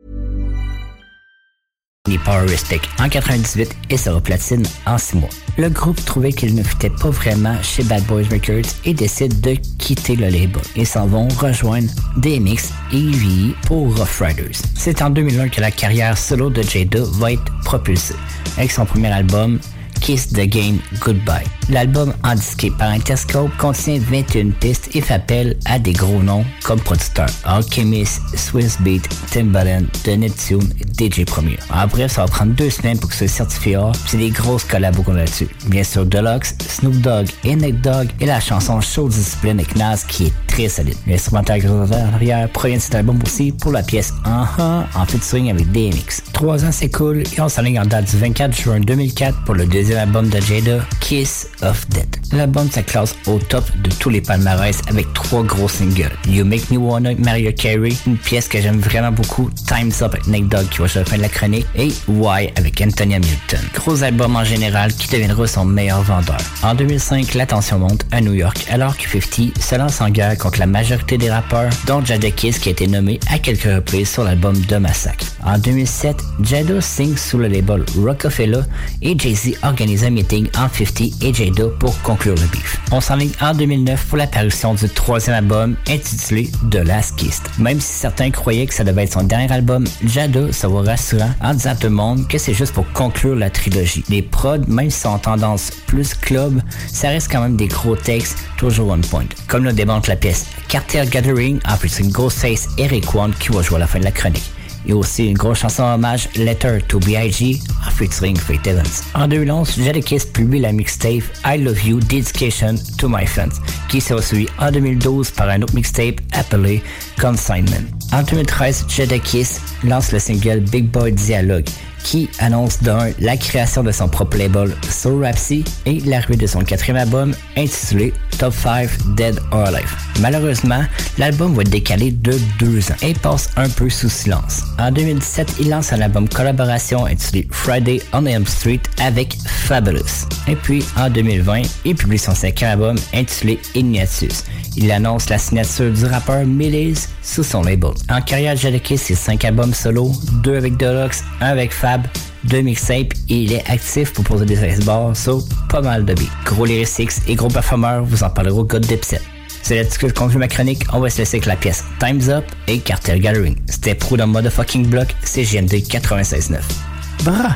Power Respect en quatre-vingt-dix-huit et sera platine en six mois. Le groupe trouvait qu'il ne fitait pas vraiment chez Bad Boys Records et décide de quitter le label et s'en vont rejoindre D M X et E V E pour Rough Riders. C'est en deux mille un que la carrière solo de Jada va être propulsée avec son premier album Kiss the Game Goodbye. L'album endisqué par Interscope contient vingt et une pistes et fait appel à des gros noms comme producteurs Alchemist, Swiss Beat, Timbaland, The Neptune et D J Premier. En bref, ça va prendre deux semaines pour que ce soit certifié A, c'est des grosses collabos qu'on a là-dessus. Bien sûr, Deluxe, Snoop Dogg et Nate Dogg et la chanson Show Discipline avec Nas qui est très solide. L'instrumental en arrière provient de cet album aussi pour la pièce Uh-huh en featuring avec D M X. Trois ans s'écoulent et on s'enligne en date du vingt-quatre juin deux mille quatre pour le deuxième album de Jada, Kiss of Death. L'album se classe au top de tous les palmarès avec trois gros singles. You Make Me Wanna avec Mariah Carey, une pièce que j'aime vraiment beaucoup, Time's Up avec Nate Dogg qui va jouer à la fin de la chronique, et Why avec Anthony Hamilton. Gros album en général qui deviendra son meilleur vendeur. En deux mille cinq, la tension monte à New York alors que cinquante se lance en guerre contre la majorité des rappeurs, dont Jadakiss qui a été nommé à quelques reprises sur l'album de Massacre. En deux mille sept, Jada signe sous le label Rockefeller et Jay-Z organise un meeting entre cinquante et Jada pour conclure le beef. On s'enligne en deux mille neuf pour l'apparition du troisième album intitulé The Last Kiss. Même si certains croyaient que ça devait être son dernier album, Jada se voit rassurant en disant à tout le monde que c'est juste pour conclure la trilogie. Les prods, même si sont en tendance plus club, ça reste quand même des gros textes toujours on point. Comme le démontre la pièce Cartel Gathering en featuring Ghostface et Rick One qui va jouer à la fin de la chronique. Et aussi une grosse chanson hommage Letter to B I G en featuring Faith Evans. En deux mille onze, Jadakiss publie la mixtape I Love You Dedication to My Fans, qui sera suivi en deux mille douze par un autre mixtape appelé Consignment. En deux mille treize, Jadakiss lance le single Big Boy Dialogue, qui annonce d'un la création de son propre label Soul Rapsy et l'arrivée de son quatrième album intitulé Top cinq Dead or Alive. Malheureusement, l'album va être décalé de deux ans et passe un peu sous silence. En deux mille dix-sept, il lance un album collaboration intitulé Friday on Elm Street avec Fabulous. Et puis, en deux mille vingt, il publie son cinquième album intitulé Ignatius. Il annonce la signature du rappeur Millies sous son label. En carrière, Jadakiss, c'est cinq albums solo, deux avec Deluxe, un avec Fab, deux mixtapes et il est actif pour poser des ice-bars sur pas mal de beats. Gros lyrics et gros performeurs, vous en parlerez au God Dipset. C'est là-dessus que je conclue ma chronique, on va se laisser avec la pièce Time's Up et Cartel Gathering. C'était Pro dans Motherfucking Block, C J M D quatre-vingt-seize neuf. Bra!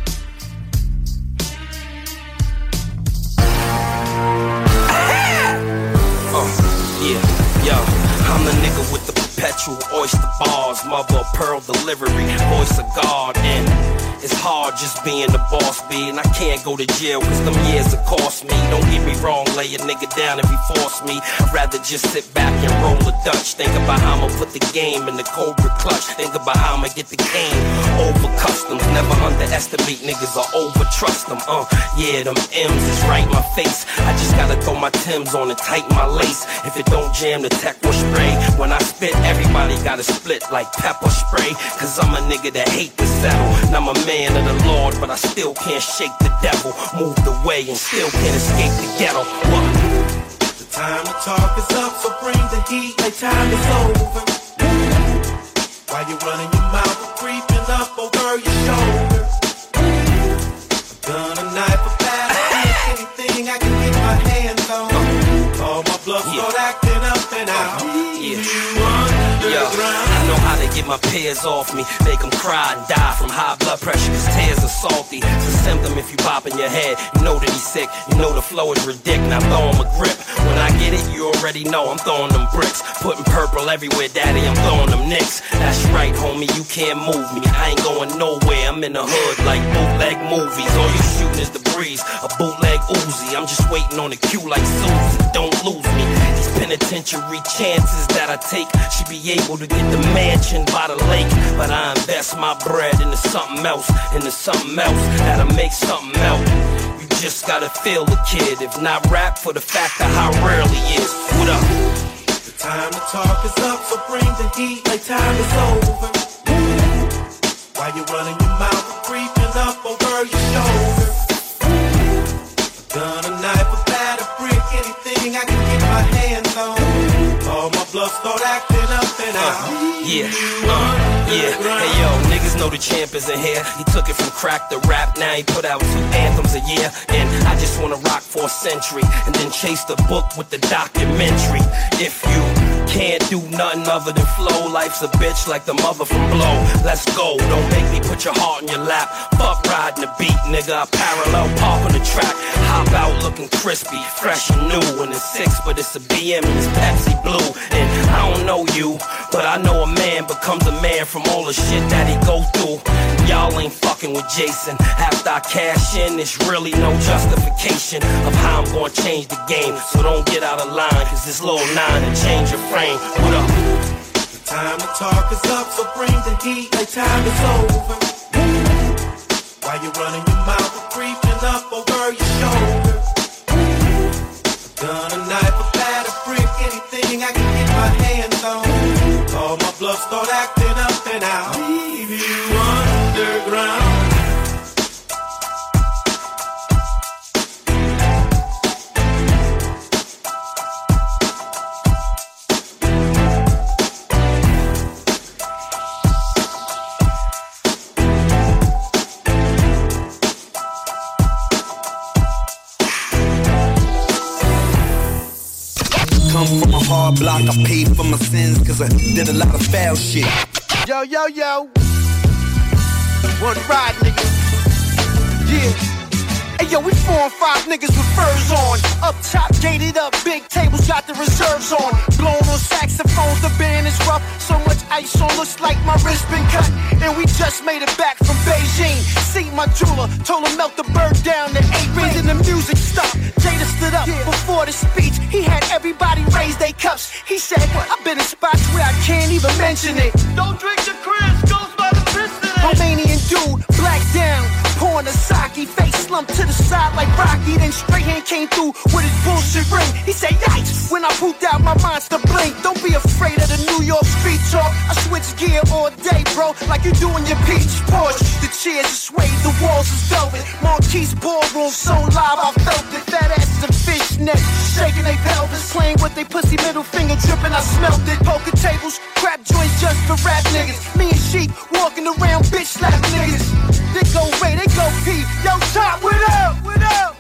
Perpetual oyster bars, mother of pearl delivery, voice of God, and it's hard just being the boss, B, and I can't go to jail cause them years have cost me. Don't get me wrong, lay a nigga down if he force me. I'd rather just sit back and roll a Dutch. Think about how I'ma put the game in the Cobra clutch. Think about how I'ma get the game over customs. Never underestimate niggas or over trust them. Uh, yeah, them M's is right in my face. I just gotta throw my Timbs on and tighten my lace. If it don't jam, the tech will spray. When I spit, everybody gotta split like pepper spray. Cause I'm a nigga that hate to settle. And I'm a man of the Lord, but I still can't shake the devil. Moved away and still can't escape the ghetto. What? The time to talk is up, so bring the heat, like time is over. While you running your mouth, creeping up over your shoulder. A gun, a knife, a bat, anything I can get my hands on. All my blood Yeah. start acting up and out. Yeah. You Yo, I know how to get my peers off me, make them cry and die from high blood pressure cause tears are salty. It's a symptom if you pop in your head, you know that he's sick, you know the flow is ridiculous, now throw him a grip. When I get it, you already know I'm throwing them bricks, putting purple everywhere, daddy, I'm throwing them nicks. That's right, homie, you can't move me, I ain't going nowhere, I'm in the hood like bootleg movies. All you shooting is the breeze, a bootleg Uzi, I'm just waiting on the cue like Susie, don't lose me. These penitentiary chances that I take should be able to get the mansion by the lake, but I invest my bread into something else, into something else that'll make something else. You just gotta feel the kid, if not rap for the fact of how rare he is. What up? The time to talk is up, so bring the heat, like time is over. While you running your mouth, creeping up over your shoulder. A gun, a bluff start acting up and out. Uh, yeah, uh, yeah. Hey yo, niggas know the champ is in here. He took it from crack to rap, now he put out two anthems a year. And I just wanna rock for a century and then chase the book with the documentary. If you can't do nothing other than flow, life's a bitch like the mother from Blow. Let's go, don't make me put your heart in your lap. Fuck riding the beat, nigga, I parallel park on the track. Hop out looking crispy, fresh and new. And it's six, but it's a B M and it's Pepsi Blue. And I don't know you, but I know a man becomes a man from all the shit that he go through. Y'all ain't fucking with Jason. After I cash in, there's really no justification of how I'm gonna change the game. So don't get out of line, cause this little nine to change your frame. What up? The time to talk is up, so bring the heat, like time is over. While you're running your mouth and creeping up over your shoulder. A gun, a knife, a bat, a brick, anything I can get my hands on. All my bluff start acting up and I'll leave you underground. Come from a hard block, I paid for my sins, cause I did a lot of foul shit. Yo, yo, yo. One ride, nigga. Yeah. Hey, yo, we four and five niggas with furs on. Up top, gated up, big tables, got the reserves on. Blowing on saxophones, the band is rough. So much ice on, looks like my wrist been cut. And we just made it back from Beijing. See my jeweler, told him melt the bird down to eight rings and the music stopped. Jada stood up before the speech. He had everybody raise their cups. He said, I've been in spots where I can't even mention it. Don't drink the Chris, goes by the piston. Romanian dude, black down, pouring a sake, face slumped to the side like Rocky. Then straight hand came through with his bullshit ring. He said, yikes, when I pooped out my monster blink. Don't be afraid of the New York street talk. I switch gear all day, bro, like you do in your peach Porsche. The chairs are suede, the walls is velvet. Marquise ballroom, so live, I felt it. Fat asses and fishnet, shaking they pelvis, playing with they pussy, middle finger dripping, I smelt it. Poker tables, crap joints just for rap niggas. Me and Sheep walking around, bitch slap niggas. They go Ray, they go P. Yo, Top, what up? What up?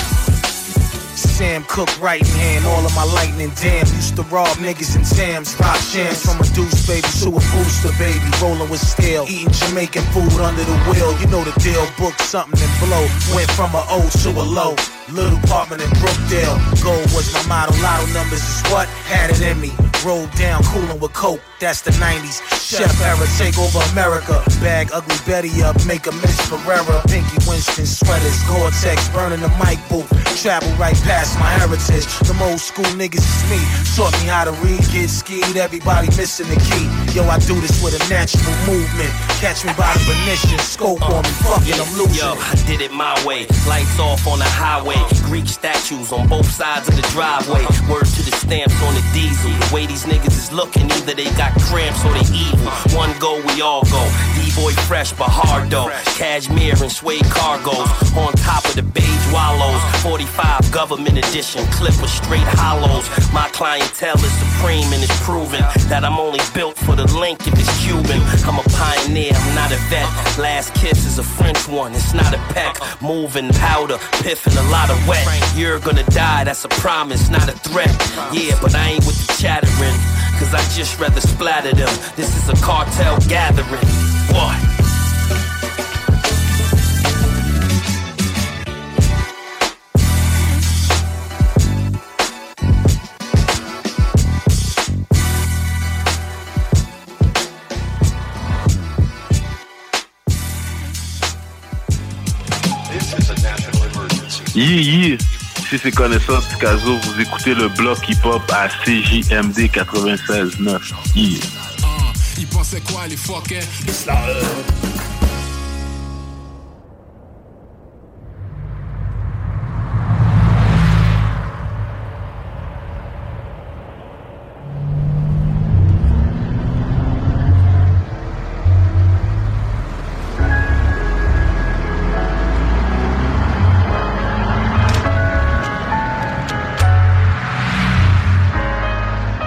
Sam Cooke, right hand, all of my lightning damn. Used to rob niggas in Sam's, rock shams. From a deuce baby to a booster baby, rolling with scale. Eating Jamaican food under the wheel, you know the deal. Book something and blow, went from a O to a low. Little apartment in Brookdale, gold was my motto. Lotto numbers is what had it in me. Rolled down, coolin' with coke, that's the nineties. Chef era, take over America. Bag Ugly Betty up, make a Miss Ferrera. Pinky Winston sweaters, Gore-Tex, burning the mic booth. Travel right past my heritage. Them old school niggas is me. Taught me how to read, get skied, everybody missing the key. Yo, I do this with a natural movement. Catch me by the Venetian, scope on me, fucking I'm losing. Yo, I did it my way. Lights off on the highway. Greek statues on both sides of the driveway. Word to the stamps on the diesel. The way these niggas is looking, either they got cramps or they evil. One go, we all go. D-boy fresh but hard though. Cashmere and suede cargos on top of the beige wallows. forty-five government edition, clip with straight hollows. My clientele is supreme and it's proven that I'm only built for the link if it's Cuban. I'm a pioneer, I'm not a vet. Last kiss is a French one, it's not a peck. Moving powder, piff and a lot of wet. You're gonna die, that's a promise, not a threat. Yeah, but I ain't with the chattering, cause I just rather splatter them. This is a cartel gathering. What? Yeah, yeah. Si c'est connaissance Picasso, vous écoutez le bloc hip-hop à C J M D quatre-vingt-seize neuf. Yeah. Uh, ils pensaient quoi les fuckers?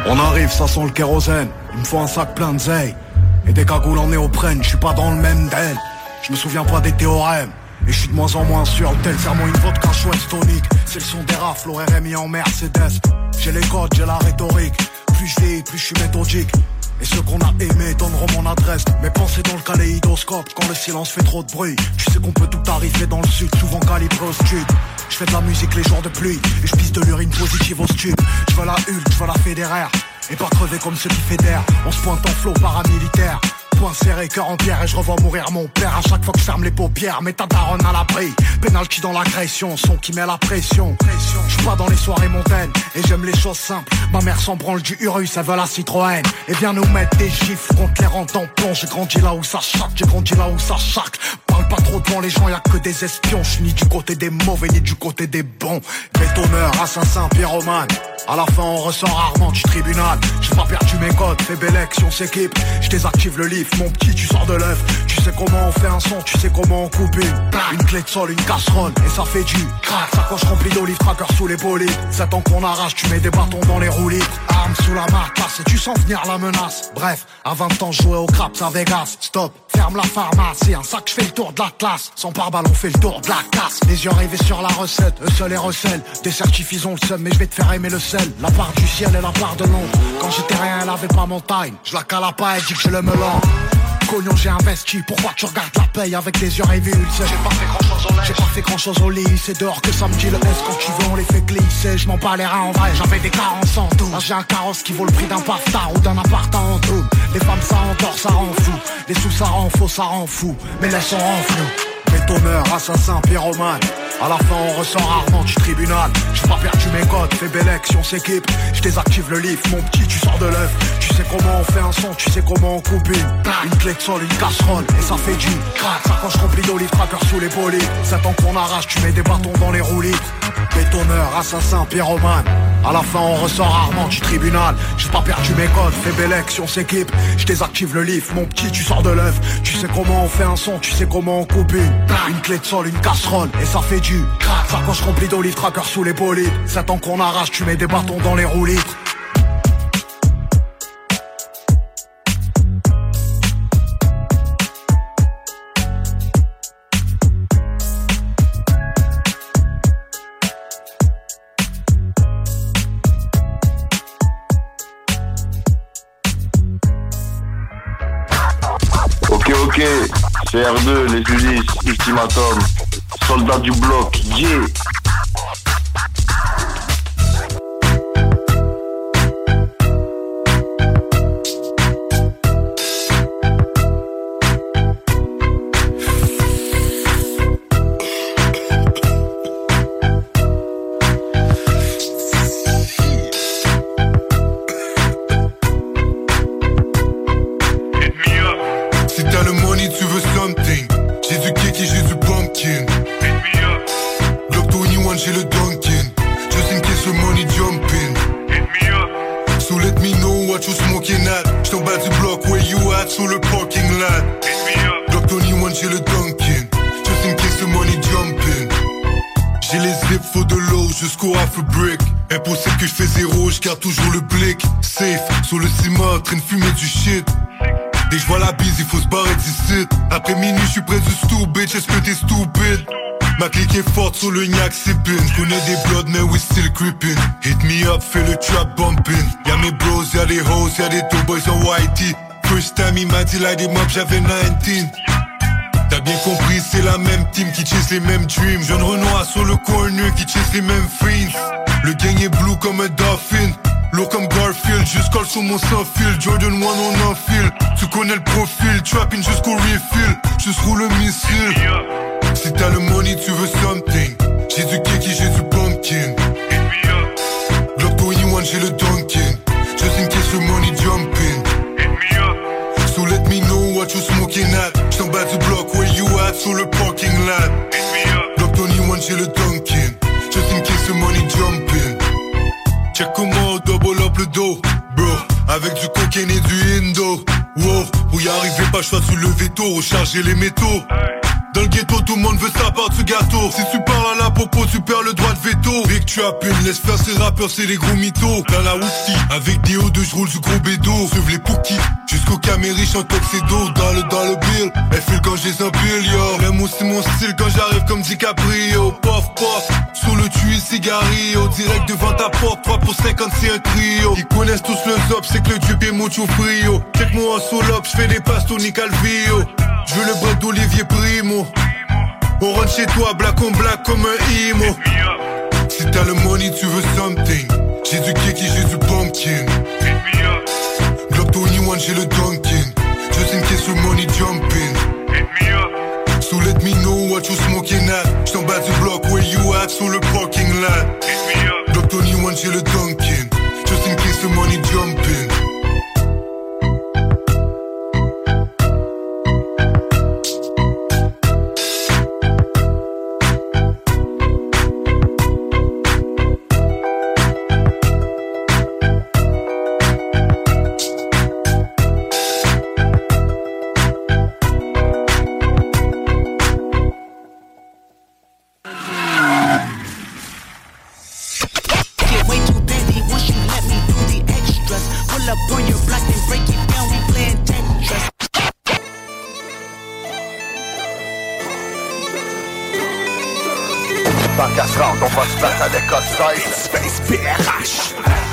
On arrive, ça sent le kérosène. Il me faut un sac plein de zeille et des cagoules en néoprène. Je suis pas dans le même d'elle. Je me souviens pas des théorèmes. Et je suis de moins en moins sûr, tel serment une vodka chouette tonique. C'est le son des rafles, au R M I en Mercedes. J'ai les codes, j'ai la rhétorique. Plus je vieillis, plus je suis méthodique. Et ceux qu'on a aimés donneront mon adresse. Mes pensées dans le kaléidoscope, quand le silence fait trop de bruit. Tu sais qu'on peut tout arriver dans le sud, souvent calibré au stud. Je fais de la musique les jours de pluie, et je pisse de l'urine positive au stud. Je veux la Hulk, je veux la fédéraire, et pas crever comme ceux qui fédèrent. On se pointe en flot paramilitaire. Point serré, cœur en pierre, et je revois mourir mon père. À chaque fois que je ferme les paupières, mets ta daronne à l'abri. Penalty dans l'agression, son qui met la pression. Je suis pas dans les soirées montaines, et j'aime les choses simples. Ma mère s'en branle du Urus, elle veut la Citroën. Et viens nous mettre des gifles contre les rangs tampons. J'ai grandi là où ça chaque, j'ai grandi là où ça chaque. Parle pas trop devant les gens, y'a que des espions. Je suis ni du côté des mauvais, ni du côté des bons. Bétonneur, assassin, pyromane. À la fin on ressort rarement du tribunal. J'ai pas perdu mes codes, fais belle action, s'équipe. Je désactive le livre, mon petit tu sors de l'œuf. Tu sais comment on fait un son, tu sais comment on coupe une. Une clé de sol, une casserole, et ça fait du crack. Sacoche remplie d'olives, tracker sous les bolides. sept ans qu'on arrache, tu mets des bâtons dans les roulis. Armes sous la matelasse, et tu sens venir la menace. Bref, à vingt ans je jouais au craps à Vegas. Stop, ferme la pharmacie, un sac je fais le tour de la classe. Sans pare-balles on fait le tour de la casse. Les yeux rivés sur la recette, eux seuls et recèlent. Des certifs ils ont le seum, mais je vais te faire aimer le sel. La part du ciel et la part de l'ombre. Quand j'étais rien, elle avait pas mon time. Je la cala pas, elle dit que je le melon. Cognon j'ai investi, pourquoi tu regardes la paye avec des yeux révulsés? J'ai pas fait grand chose au lait, j'ai pas fait grand chose au lit. C'est dehors que ça me dit le S, quand tu veux on les fait glisser. Je m'en bats les reins en vrai, j'avais des carences en tout. Là j'ai un carrosse qui vaut le prix d'un paftard ou d'un appart en tout. Les femmes ça endort, ça rend fou. Les sous ça rend faux, ça rend fou. Mais laisse on rend flou. Bétonneur, assassin, pyromane. À la fin on ressort rarement du tribunal. J'ai pas perdu mes codes, fais belle action, s'équipe. Je désactive le livre, mon petit tu sors de l'œuf. Tu sais comment on fait un son, tu sais comment on coupe une. Une clé de sol, une casserole, et ça fait du crack. Sacoche remplie d'olives, tracker sous les polies. sept ans qu'on arrache, tu mets des bâtons dans les roulis. Bétonneur, assassin, pyromane. À la fin on ressort rarement du tribunal. J'ai pas perdu mes codes, fais belle action, s'équipe. Je désactive le livre, mon petit tu sors de l'œuf. Tu sais comment on fait un son, tu sais comment on coupe une. Une clé de sol, une casserole, et ça fait du crack. Sacoche remplie d'olives, tracker sous les polies. sept ans qu'on arrache, tu mets des bâtons dans les roulis. Ok, ok, c'est R deux, les Ulysses, Ultimatum, soldat du bloc, yeah. Sur le parking lot. Glock vingt et un, j'ai le Dunkin. Just in case the money jumping. J'ai les zips, faut de l'eau jusqu'au half a brick. Impossible que je fais zéro, je garde toujours le blick. Safe, sur le ciment, train de fumer du shit. Dès que je vois la bise, il faut se barrer d'ici. Après minuit, je suis près du stu, bitch, est-ce que t'es stupide? Ma clique est forte sur le gnac, c'est pin. J'connais des bloods, mais we still creeping. Hit me up, fais le trap bumping. Y'a mes bros, y'a des hoes, y'a des two boys en whitey. First time il m'a dit light him up, j'avais dix-neuf. T'as bien compris, c'est la même team qui chase les mêmes dreams. Jeune Renoir sur le corner qui chase les mêmes fiends. Le gang est blue comme un dolphin, low comme Garfield. Juste colle sur mon sans fil, Jordan un on enfile. Tu connais le profil, trapping jusqu'au refill. Juste roule le missile. Si t'as le money, tu veux something. J'ai du kiki, j'ai du pumpkin. Glock vingt et un, j'ai le Dunkin. Just in case the money jumping. So let me know what you smoking at. J't'en bas du bloc, where you at? Sur le parking lot. Glock vingt et un, j'ai le Dunkin. Just in case the money jumping. Check comment on double up le dos, bro. Avec du cocaine et du indo. Wow, pour y arriver, pas choix de se lever tôt, recharger les métaux. Dans le ghetto, tout le monde veut sa part du gâteau. Si tu parles à la popo, tu perds le droit de veto. Dès que tu appelles, laisse faire ces rappeurs, c'est les gros mythos. Dans la Woofty, avec des hauts de j'roule du gros bédo. Suive les Pookies, jusqu'au Caméry, en tuxedo. Dans le, dans le bill, elle file quand j'ai un bill, yo. L'aime aussi mon style quand j'arrive comme DiCaprio. Pof, pof, sous le tuyau, cigarillo. Direct devant ta porte, trois pour cinquante, c'est un trio. Ils connaissent tous le zop, c'est que le dieu est mucho frio. Check-moi en solo, j'fais des passes, Tony Calvillo. Je veux le bras d'Olivier Primo. On rentre chez toi, black on black comme un imo. Si t'as le money, tu veux something. J'ai du kiki, j'ai du pumpkin. Glock vingt-et-un, j'ai le Dunkin. Just in case your money jumping. So let me know what you smoking at. J't'en bas du bloc, where you at, sur le parking lot. Glock vingt-et-un, j'ai le Dunkin. Just in case your money jumping. On va se battre avec Osseuse Space P R H.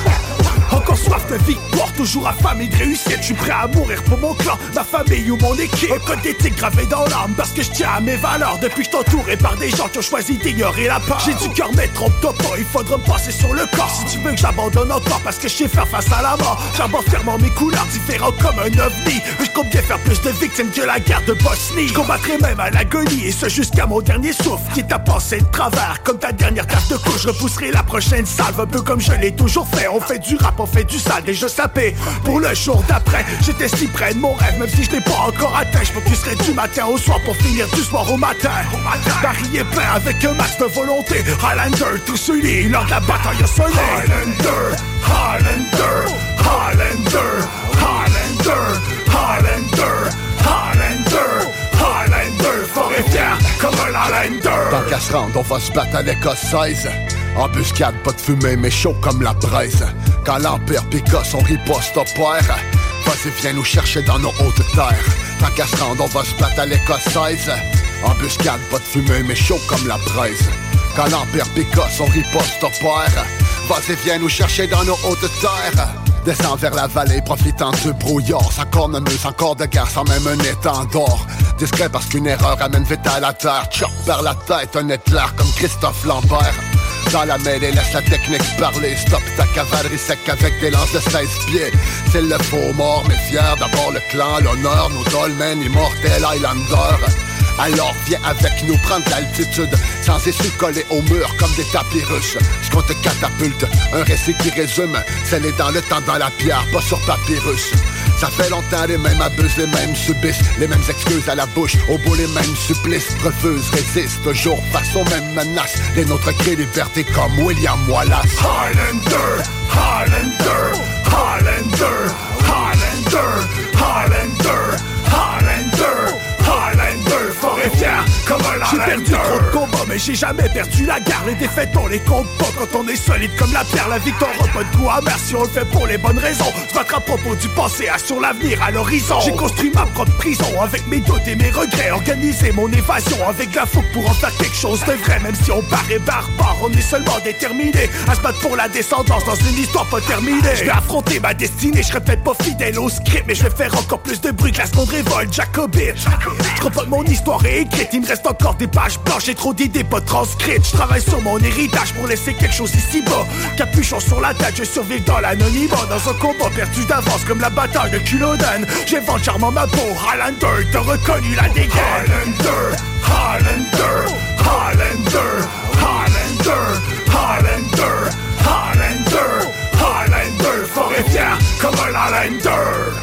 Encore soif de victoire, toujours affamé de réussite. Je suis prêt à mourir pour mon clan, ma famille ou mon équipe. Un code d'éthique gravé dans l'âme parce que je tiens à mes valeurs. Depuis que je t'entourais par des gens qui ont choisi d'ignorer la peur. J'ai du cœur mais trompe-toi pas, il faudra me passer sur le corps. Si tu veux que j'abandonne encore parce que je sais faire face à la mort. J'aborde fermement mes couleurs, différents comme un ovni. Je compte bien faire plus de victimes que la guerre de Bosnie. Je combattrai même à l'agonie et ce jusqu'à mon dernier souffle. Qui t'a pensé de travers comme ta dernière tache de couche. Je repousserai la prochaine salve un peu comme je l'ai toujours fait. On fait du rap, on fait du sale, déjà sapé pour le jour d'après. J'étais si près de mon rêve, même si je l'ai pas encore atteint. Je m'occuperai du matin au soir pour finir du soir au matin. Paris est plein avec un max de volonté. Highlander, tout celui lors de la bataille a sonné. Highlander, Highlander, Highlander, Highlander, Highlander, Highlander, Highlander, fort et fier comme un Highlander. Tant qu'à se rendre, on va se battre avec Osseuse. Embuscade, pas de fumée, mais chaud comme la braise. Quand l'Empire pica, son riposte opère. Vas-y, viens nous chercher dans nos hautes terres. Tant qu'à se rendre, on va se battre à l'écossaise. Embuscade, pas de fumée, mais chaud comme la braise. Quand l'Empire pica, son riposte opère. Vas-y, viens nous chercher dans nos hautes terres. Descends vers la vallée, profitant du brouillard. Sans cornemuse, encore de guerre, sans même un étendard. Discret parce qu'une erreur amène vite à la terre. Chop par la tête, un éclair comme Christophe Lambert. Dans la mêlée, laisse la technique parler. Stop ta cavalerie sec avec des lances de seize pieds. C'est le faux mort, mais fier d'abord le clan, l'honneur, nos dolmens, immortels Highlander. Alors viens avec nous prendre l'altitude, sans essuie collés au mur comme des tapis russes. Ce qu'on te catapulte, un récit qui résume, c'est les dans le temps dans la pierre, pas sur papyrus. Ça fait longtemps les mêmes abusent, les mêmes subissent, les mêmes excuses à la bouche, au bout les mêmes supplices. Refusent, résistent, toujours face aux mêmes menaces. Les nôtres créent liberté comme William Wallace. Highlander, Highlander, Highlander, Highlander, Highlander, Highlander, Highlander, fort et fier comme un Highlander. J'ai perdu trop de combats, mais j'ai jamais perdu la guerre. Les défaites, on les compte pas quand on est solide comme la pierre. La victoire a pas de goût amer si on le fait pour les bonnes raisons. Se battre à propos du passé, assure l'avenir à l'horizon. J'ai construit ma propre prison avec mes doutes et mes regrets. Organisé mon évasion avec la fougue pour en faire quelque chose de vrai. Même si on paraît barbare, on est seulement déterminé à se battre pour la descendance dans une histoire pas terminée. Je vais affronter ma destinée, je serai peut-être pas fidèle au script, mais je vais faire encore plus de bruit que la seconde révolte jacobite. Je crois pas que mon histoire est écrite, il me reste encore des pages blanches. J'ai trop d'idées pas transcrites. Je travaille sur mon héritage pour laisser quelque chose ici bas. Capuchon sur la tête, je survive dans l'anonymat. Dans un combat perdu d'avance comme la bataille de Culloden. J'invente charmant ma peau, Highlander, t'as reconnu la dégaine. Highlander, Highlander, Highlander, Highlander, Highlander, Highlander, Highlander, fort et fier comme un Highlander.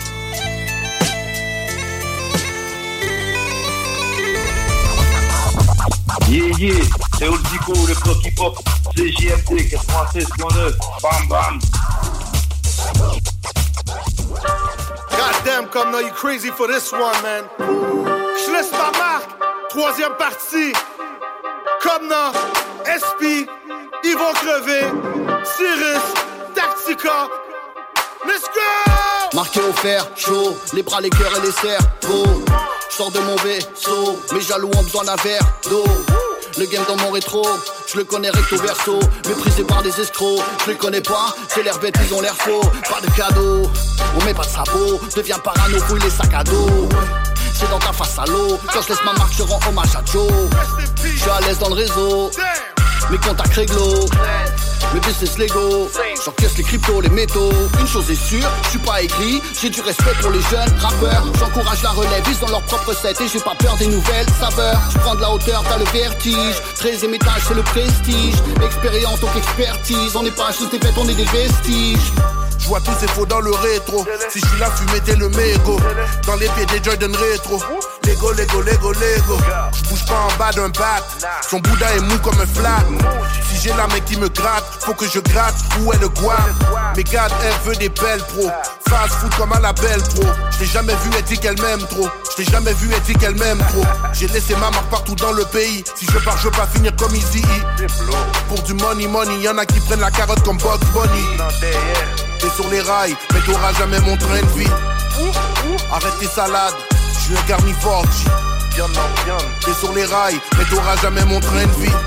Yeah, yeah, c'est Oldico, le bloc hip-hop, C J M D quatre-vingt-seize point neuf, bam bam. Goddamn, come now, you crazy for this one, man. Je laisse ma marque, Troisième partie. Comme dans S P, ils vont crever. Cyrus, Tactica. Let's go! Marqué au fer, chaud, les bras, les cœurs et les cerveaux. J'sors de mon vaisseau, mes jaloux ont besoin d'un verre d'eau. Le game dans mon rétro, je le connais recto verso. Méprisé par des escrocs, je les connais pas. C'est l'air bête, ils ont l'air faux. Pas de cadeau, on met pas de sabot. Deviens parano, fouille les sacs à dos. C'est dans ta face à l'eau. Quand je laisse ma marque, je rends hommage à Joe. Je suis à l'aise dans le réseau, mes contacts réglo. Mes business Lego, j'encaisse les cryptos, les métaux. Une chose est sûre, je suis pas aigri. J'ai du respect pour les jeunes rappeurs. J'encourage la relève, ils ont leur propre set. Et j'ai pas peur des nouvelles saveurs. Je prends de la hauteur, t'as le vertige. treizième étage, c'est le prestige. Expérience, donc expertise. On n'est pas juste des fêtes, on est des vestiges. Je vois tous ces faux dans le rétro. Si je suis là, fumé t'es le mégot. Dans les pieds des Jordan rétro. Lego, Lego, Lego, Lego. Je bouge pas en bas d'un bat. Son Bouddha est mou comme un flat. Si j'ai la mec qui me gratte, faut que je gratte. Où est le guap? Mais garde, elle veut des belles pros. Fast food comme à la belle pro. Je l'ai jamais vu, elle dit qu'elle m'aime trop. Je l'ai jamais vu, elle dit qu'elle m'aime trop. J'ai laissé ma marque partout dans le pays. Si je pars, je veux pas finir comme Easy. Pour du money, money, y'en a qui prennent la carotte comme Bugs Bunny. T'es sur les rails, mais t'auras jamais mon train de vie. Arrête tes salades, je suis un carnivore. T'es sur les rails, mais t'auras jamais mon train de vie.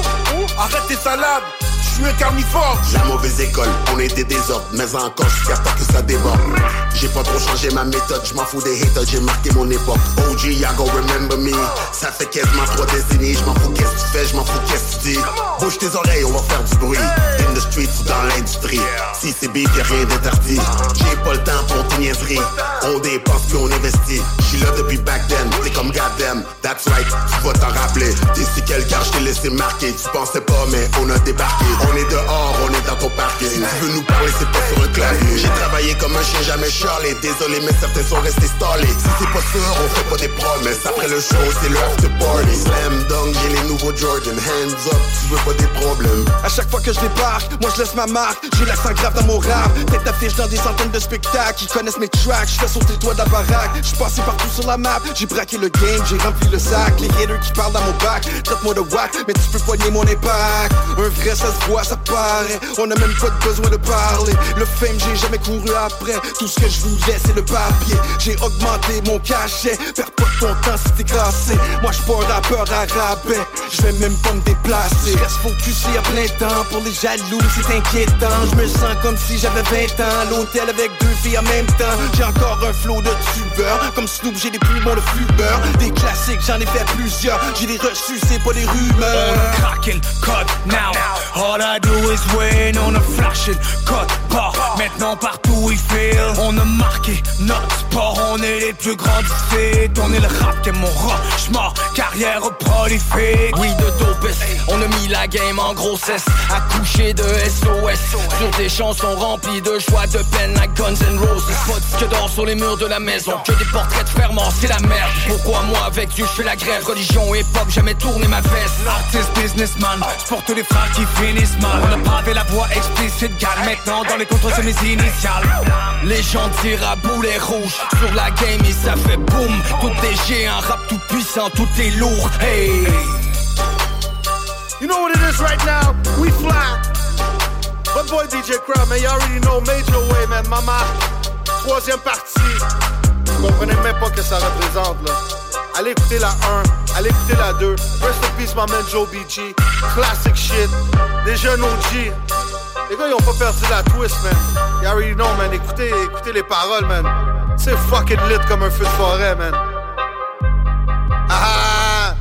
Arrête tes salades, je suis un carnivore. La mauvaise école, on est des désordres, mais encore jusqu'à temps que ça déborde. J'ai pas trop changé ma méthode, je m'en fous des haters, j'ai marqué mon époque. O G, ya go remember me. Ça fait quasiment trois décennies, je m'en fous qu'est-ce que tu fais, je m'en fous qu'est-ce que tu dis. Bouge tes oreilles, on va faire du bruit. In the street ou dans l'industrie. Si c'est beef, y'a rien d'interdit. J'ai pas le temps pour tes niaiseries. On dépense puis on investit. J'suis là depuis back then, t'es comme goddamn. That's right, tu vas t'en rappeler. T'es si quelqu'un, je t'ai laissé marquer. Tu pensais pas, mais on a débarqué. On est dehors, on est dans ton parking. Si tu veux nous parler, c'est pas sur un clavier. J'ai travaillé comme un chien, jamais charlé. Désolé, mais certains sont restés stallés. Si c'est pas sûr, on fait pas des promesses. Après le show, c'est le after party. Slam dunk, j'ai les nouveaux Jordan. Hands up, tu veux pas des problèmes. À chaque fois que je débarque, moi je laisse ma marque. J'ai l'accent grave dans mon rap. Tête d'affiche dans des centaines de spectacles. Ils connaissent mes tracks, je fais sauter le toit de la baraque. J'suis passé partout sur la map. J'ai braqué le game, j'ai rempli le sac. Les haters qui parlent dans mon bac, traite-moi de whack, mais tu peux poigner mon impact. Un vrai, ça se voit, ça paraît. On a même pas besoin de parler. Le fame, j'ai jamais couru après. Tout ce que je voulais, c'est le papier. J'ai augmenté mon cachet. Perds pas ton temps si t'es classé. Moi, j'suis pas un rappeur à rabais. J'vais même pas me déplacer. J'reste focusé à plein temps. Pour les jaloux, c'est inquiétant. J'me sens comme si j'avais vingt ans. L'hôtel avec deux filles en même temps. J'ai encore un flow de tubeur. Comme Snoop, j'ai des poumons de flubeur. Des classiques, j'en ai fait plusieurs. J'ai des reçus, c'est pas des rumeurs. On crack and cut now. All I do is win. On a flashing cut bar. Maintenant partout il feel. On a marqué notre sport. On est les plus grands du fait. On est le rap qui est mon roche-mort. Carrière prolifique. Oui de dopes. On a mis la game en grossesse. Accouché de S O S. Sur des chansons remplies de joie, de peine à Guns N' Roses. Pas que d'or sur les murs de la maison. Que des portraits de ferments, c'est la merde. Pourquoi moi avec Dieu je fais la grève. Religion et pop, jamais tourné ma veste. Artist, businessman, j'porte les frères qui finissent mal. On a pavé la voie explicite, gal. Maintenant dans les contrôles c'est mes initiales. Les gens tirent à boulet rouge. Sur la game et ça fait boum. Tout est géant, rap tout puissant, tout est lourd. Hey. You know what it is right now? We fly. My boy D J Crowd, man, you already know Major Way, man. Mama, troisième partie. Vous comprenez même pas que ça représente, là. Allez écouter la un, allez écouter la deux. Rest in peace, my man Joe B G. Classic shit. Des jeunes O G. Les gars, ils ont pas perdu la twist, man. You already know, man. Écoutez, écoutez les paroles, man. C'est fucking lit comme un feu de forêt, man. Ah!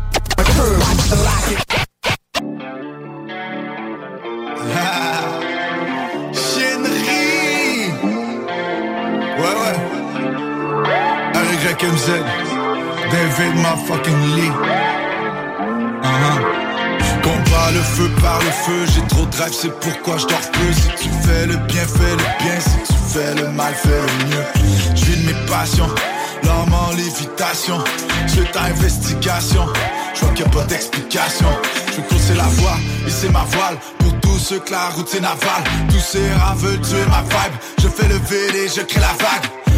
Chénerie. Ouais, ouais. Avec M Z. David motherfucking Lee. Uh-huh. Je combats le feu par le feu. J'ai trop de drive, c'est pourquoi je dors peu. Si tu fais le bien, fais le bien. Si tu fais le mal, fais le mieux. Je vis de mes passions. L'homme en lévitation. Je fais ta investigation. Je vois qu'il n'y a pas d'explication. Je veux courser la voie, hisser ma voile. Pour tous ceux que la route c'est navale. Tous ces rats veulent tuer ma vibe. Je fais le V D, je crée la vague.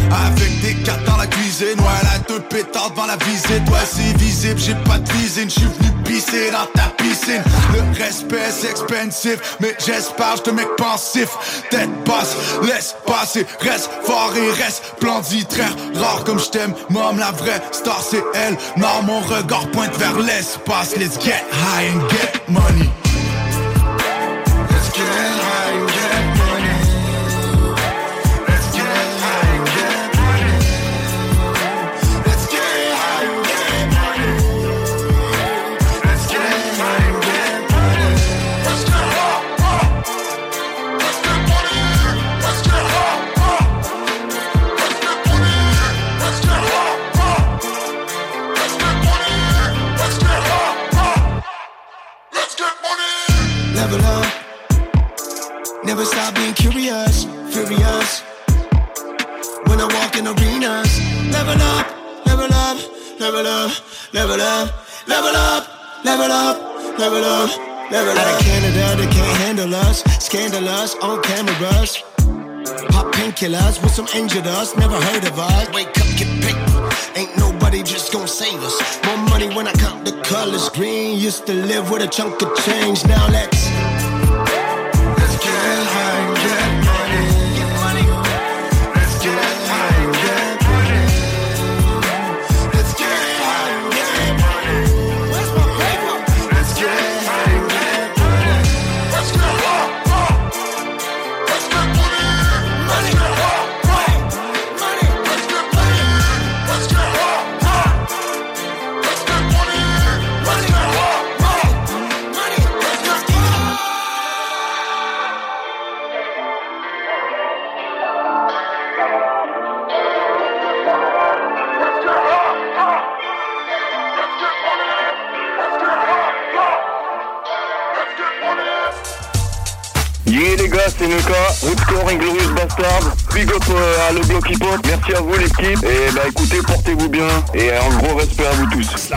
Avec des cartes dans la cuisine, ouais, la deux pétards devant la visite. Ouais, c'est visible, j'ai pas de visine, j'suis venu pisser dans ta piscine. Le respect c'est expensive, mais j'espère j'te mec pensif. Tête basse, laisse passer, reste fort et reste splendide. Très rare comme j't'aime, mom, la vraie star c'est elle. Non, mon regard pointe vers l'espace. Let's get high and get money. Let's get high and get money. Let's get high and get money. Let's get high and get money. Let's get high and get money. Let's get high, high. Let's get money. Let's get high, high. Let's get money. Let's get high, high. Let's get money. Let's get high, high. Let's get money. Level up. Never stop being curious, furious. When I walk in arenas, level up, level up, level up, level up, level up, level up, level up, level up. Out of Canada, they can't handle us. Scandalous on cameras. Pop painkillers with some injured us. Never heard of us. Wake up, get paper. Ain't nobody just gon' save us. More money when I count the colors. Green used to live with a chunk of change. Now let's Let's get high and get money. Let's get high and get money. Let's get high and get money. Where's my paper? Let's get high and get money. Let's get high, high. Let's get money. Let's get high, high. Money. Let's get money. Let's get high, high. Let's get money. Let's get high, high. Money. Let's get money. Yeah les gars, c'est Nuka, Rootscore, Inglorious Bastard, big up euh, à le bloc hip hop, merci à vous l'équipe, et bah écoutez, portez-vous bien, et un gros respect à vous tous. Cause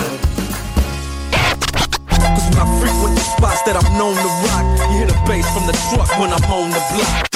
when I frequent the spots that I'm known to rock, you hear the bass from the truck when I'm on the block.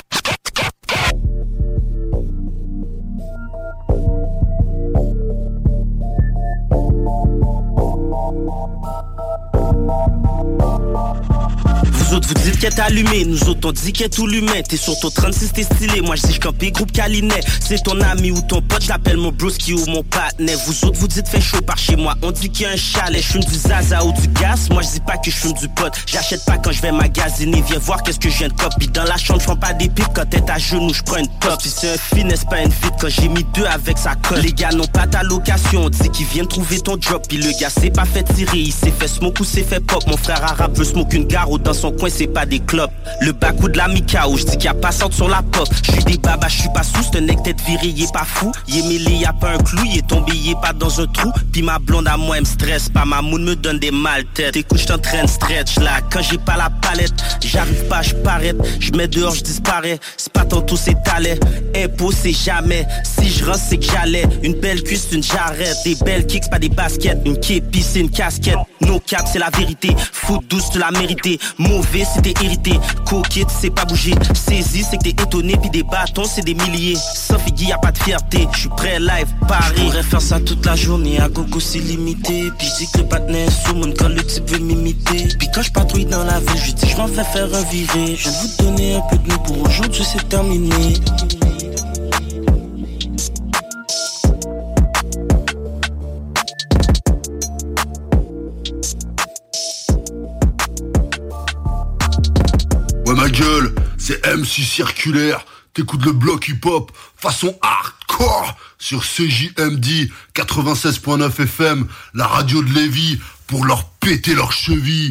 Vous autres vous dites qu'elle est allumée, nous autres on dit qu'elle est tout l'humain. T'es sur ton trente-six t'es stylé, moi je dis j'campais groupe Calinet. C'est ton ami ou ton pote, j'appelle mon broski ou mon partenaire. Vous autres vous dites fait chaud par chez moi, on dit qu'il y a un chalet. J'fume du zaza ou du gaz, moi je dis pas que j'fume du pot. J'achète pas quand je vais magasiner, viens voir qu'est-ce que je viens de copie. Dans la chambre j'prends pas des pipes, quand t'es à genoux j'prends une top. Si c'est un finesse pas une fit, quand j'ai mis deux avec sa colle. Les gars n'ont pas ta location, on dit qu'ils viennent trouver ton drop. Puis le gars s'est pas fait tirer, il s'est fait smoke ou s'est fait pop. Mon frère arabe veut smoke une garo dans son coin, c'est pas des clopes. Le bac ou de la Mikao, j'dis qu'il y a pas sorte sur la pop. J'suis des babas, j'suis pas sous, c'est un nec tête viré, il est pas fou. Il est mêlé, y'a pas un clou, il est tombé, il est pas dans un trou. Pis ma blonde à moi, elle me stresse pas, ma moune me donne des mal têtes. Écoute, j't'entraîne stretch là, quand j'ai pas la palette, j'arrive pas, j'paraît, j'mets dehors, j'disparais. C'est pas tantôt, c'est talent, impôt c'est jamais. Si j'rentre, c'est que j'allais. Une belle cuisse, une jarrette, des belles kicks, pas des baskets. Une képi, c'est une casquette. No cap, c'est la vérité. Foot douce, tu l'as mérité. Mauvais, c'est t'es irrité. Coquette, c'est pas bouger. Saisi, c'est que t'es étonné. Puis des bâtons, c'est des milliers. Sauf Iggy, y'a pas de fierté. J'suis prêt, live, Paris. J'pourrais faire ça toute la journée. À gogo, c'est limité. Puis j'dis que le partenaire est sous mon quand le type veut m'imiter. Puis quand j'patrouille dans la ville, j'dis j'm'en vais faire un viré. Je viens de vous donner un peu de nous pour aujourd'hui, c'est terminé. Ouais ma gueule, c'est M C Circulaire, t'écoutes le bloc hip-hop façon hardcore sur C J M D quatre-vingt-seize point neuf F M, la radio de Lévis, pour leur péter leurs chevilles.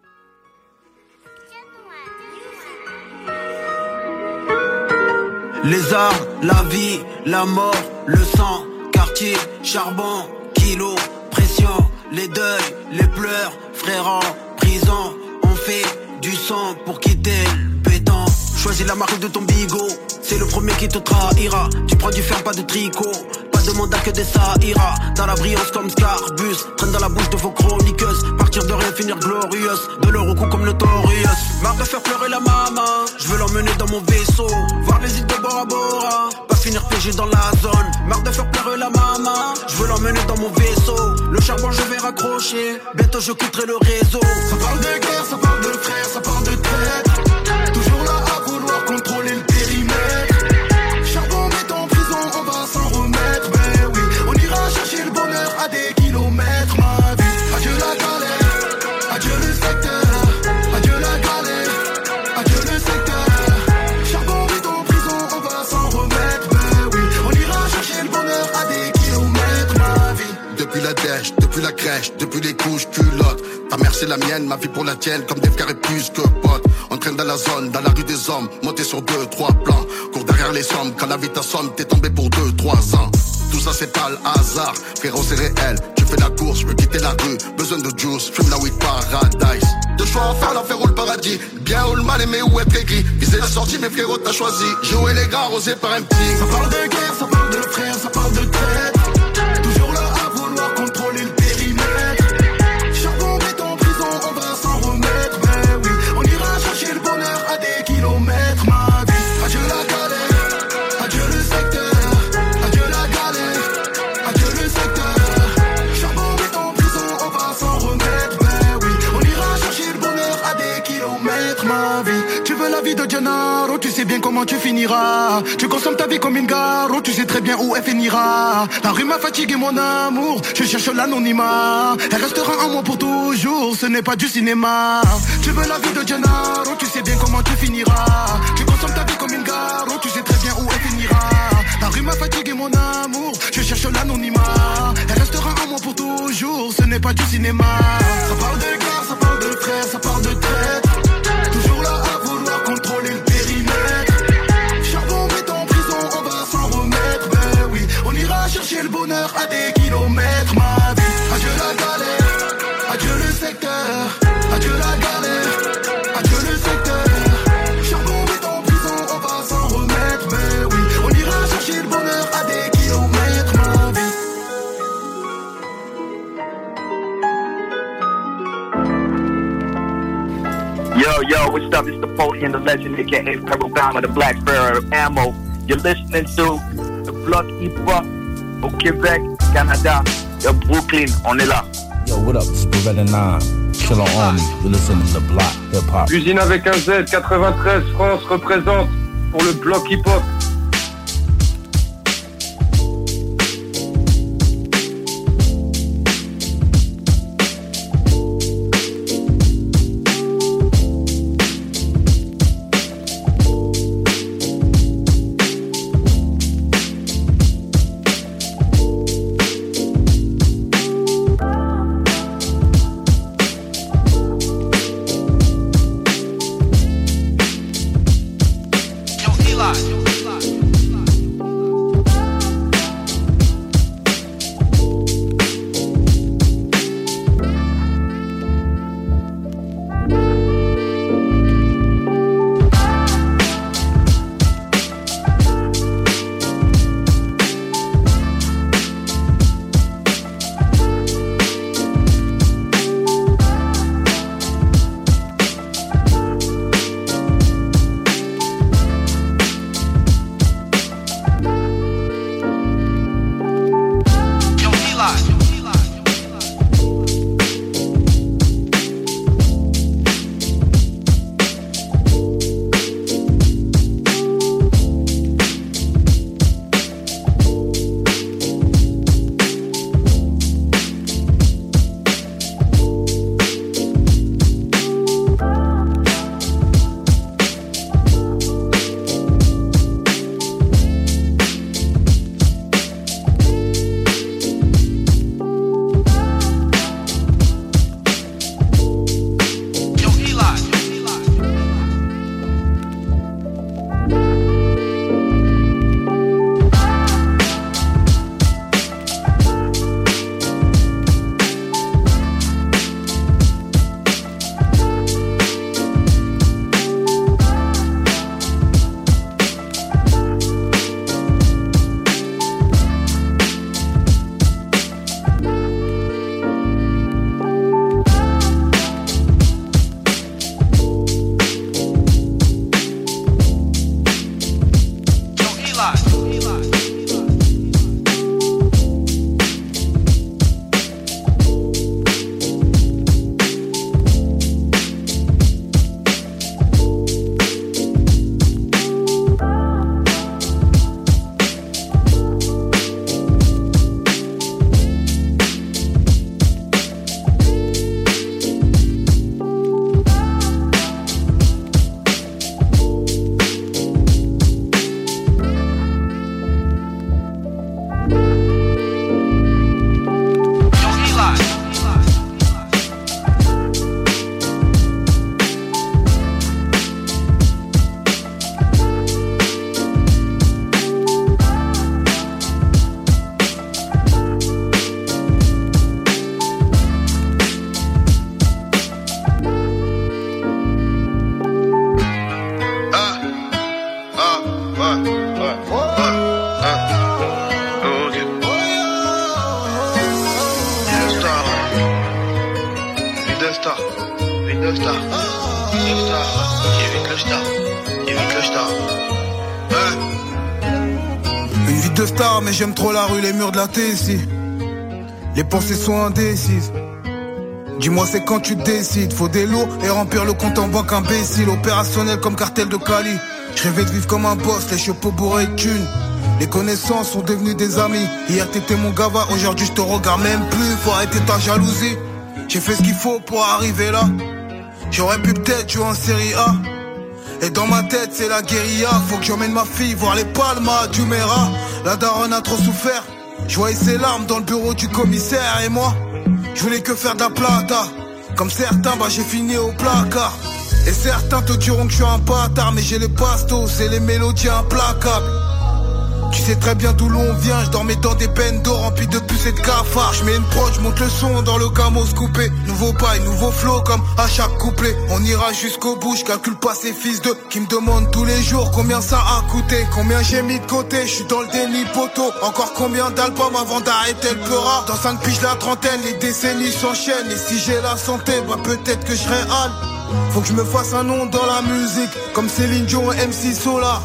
Les armes, la vie, la mort, le sang, quartier, charbon, kilo, pression, les deuils, les pleurs, frères en prison, on fait du sang pour quitter le béton. Choisis la marque de ton bigot, c'est le premier qui te trahira. Tu prends du fer, pas de tricot, pas de mandat que des saïras. Dans la brillance comme Scarbus, traîne dans la bouche de vos chroniqueuses. Partir de rien, finir glorieuse, de leur au cou comme le Torius. Marre de faire pleurer la maman, je veux l'emmener dans mon vaisseau, voir les îles de Bora Bora. Pas finir devenir P G dans la zone. Marre de faire pleurer la maman, je veux l'emmener dans mon vaisseau. Le charbon je vais raccrocher, bientôt je quitterai le réseau. Ça parle de guerre, ça parle de frères, ça parle de traître. Toujours là à vouloir contrôler le périmètre. Charbon met en prison, on va s'en remettre. Mais oui, on ira chercher le bonheur à des kilomètres. Ma vie, adieu la galère, adieu le secteur, adieu la galère, adieu le secteur. Charbon met en prison, on va s'en remettre. Mais oui, on ira chercher le bonheur à des kilomètres. Ma vie. Depuis la dèche, depuis la crèche, depuis les couches culottes. Ta mère c'est la mienne, ma vie pour la tienne, comme des frères et plus que potes. On traîne dans la zone, dans la rue des hommes, monté sur deux, trois plans. Cours derrière les sommes, quand la vie t'assomme, t'es tombé pour deux, trois ans. Tout ça c'est pas le hasard, frérot c'est réel. Tu fais la course, je veux quitter la rue, besoin de juice, fume la weed paradise. Deux choix à faire, l'enfer ou le paradis. Bien ou le mal aimé ou être aigri. Viser la sortie, mais frérot t'as choisi. Jouer les gars, rosé par un petit. Ça parle de guerre, ça parle de frères, ça parle de traître. Toujours là à vouloir contrôler le périmètre. Charbon met en prison, on va s'en remettre. Mais oui, on ira chercher le bonheur à des kilomètres. Ma vie, adieu la galère, adieu le secteur, adieu la galère, adieu le secteur. Charbon met en prison, on va s'en remettre. Mais oui, on ira chercher le bonheur à des kilomètres. Ma vie, tu veux la vie de Gennaro, tu sais bien comment tu finiras. Tu consommes ta vie comme une garo, tu sais très bien où elle finira. La rue m'a fatigué mon amour, je cherche l'anonymat. Elle restera en moi pour toujours, ce n'est pas du cinéma. Tu veux la vie de Gennaro, tu sais bien comment tu finiras. Tu consommes ta vie comme une garo, tu sais très bien où elle finira. La rue m'a fatigué mon amour, je cherche l'anonymat. Elle restera en moi pour toujours, ce n'est pas du cinéma. Ça parle de guerre, ça parle de frères, ça parle de traître. Toujours là à vouloir contrôler le périmètre. Charbon met en prison, on va s'en remettre. Mais oui, on ira chercher le bonheur à des kilomètres. Ma vie, adieu la galère, adieu le secteur, adieu la galère, adieu le secteur. Charbon met en prison, on va s'en remettre. Mais oui, on ira chercher le bonheur à des kilomètres. Ma vie. Yo, yo, what's up? It's the Foley and the Legend, aka Pharaoh Bama, the Black Pharaoh Ammo. You're listening to the Block Hip Hop au Québec, Canada. Yo, Brooklyn, on est là. Yo, what up? It's Beretta nine. Chill on Army. You're listening to the Block Hip Hop. Usine avec un Z, quatre-vingt-treize, France représente pour le Block Hip Hop. Eli. Vie de star mais j'aime trop la rue, les murs de la T ici. Les pensées sont indécises. Dis-moi c'est quand tu décides. Faut des lots et remplir le compte en banque imbécile. Opérationnel comme cartel de Cali. Je rêvais de vivre comme un boss, les chapeaux bourrés de thunes. Les connaissances sont devenues des amis. Hier t'étais mon gava, aujourd'hui je te regarde même plus. Faut arrêter ta jalousie. J'ai fait ce qu'il faut pour arriver là. J'aurais pu peut-être jouer en série A. Et dans ma tête c'est la guérilla. Faut que j'emmène ma fille voir les palmas du Mera. La daronne a trop souffert. Je voyais ses larmes dans le bureau du commissaire. Et moi, je voulais que faire de la plata. Comme certains, bah j'ai fini au placard. Et certains te diront que je suis un bâtard. Mais j'ai les bastos, c'est les mélodies implacables. Tu sais très bien d'où l'on vient. Je dormais dans des bendos remplis de puces et de cafards. Je mets une prod, je monte le son dans le camos coupé. Nouveau bail, nouveau flow comme à chaque couplet. On ira jusqu'au bout, je calcule pas ces fils de qui me demandent tous les jours combien ça a coûté, combien j'ai mis de côté. Je suis dans le déni poteau. Encore combien d'albums avant d'arrêter le pleura. Dans cinq piges la trentaine, les décennies s'enchaînent. Et si j'ai la santé, bah peut-être que je serai Al. Faut que je me fasse un nom dans la musique, comme Céline Dion et M C Solar.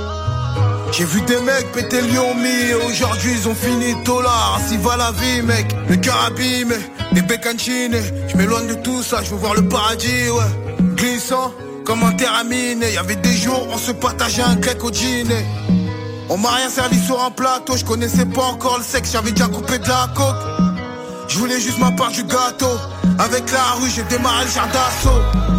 J'ai vu des mecs péter le Lyon et aujourd'hui ils ont fini tolard. Ainsi va la vie mec, le cœur abîmé, des bécancines. Je m'éloigne de tout ça, je veux voir le paradis, ouais. Glissant comme un teraminé. Y'avait des jours on se partageait un grec au dîner. On m'a rien servi sur un plateau, je connaissais pas encore le sexe, j'avais déjà coupé de la coke. Je voulais juste ma part du gâteau. Avec la rue j'ai démarré le char d'assaut.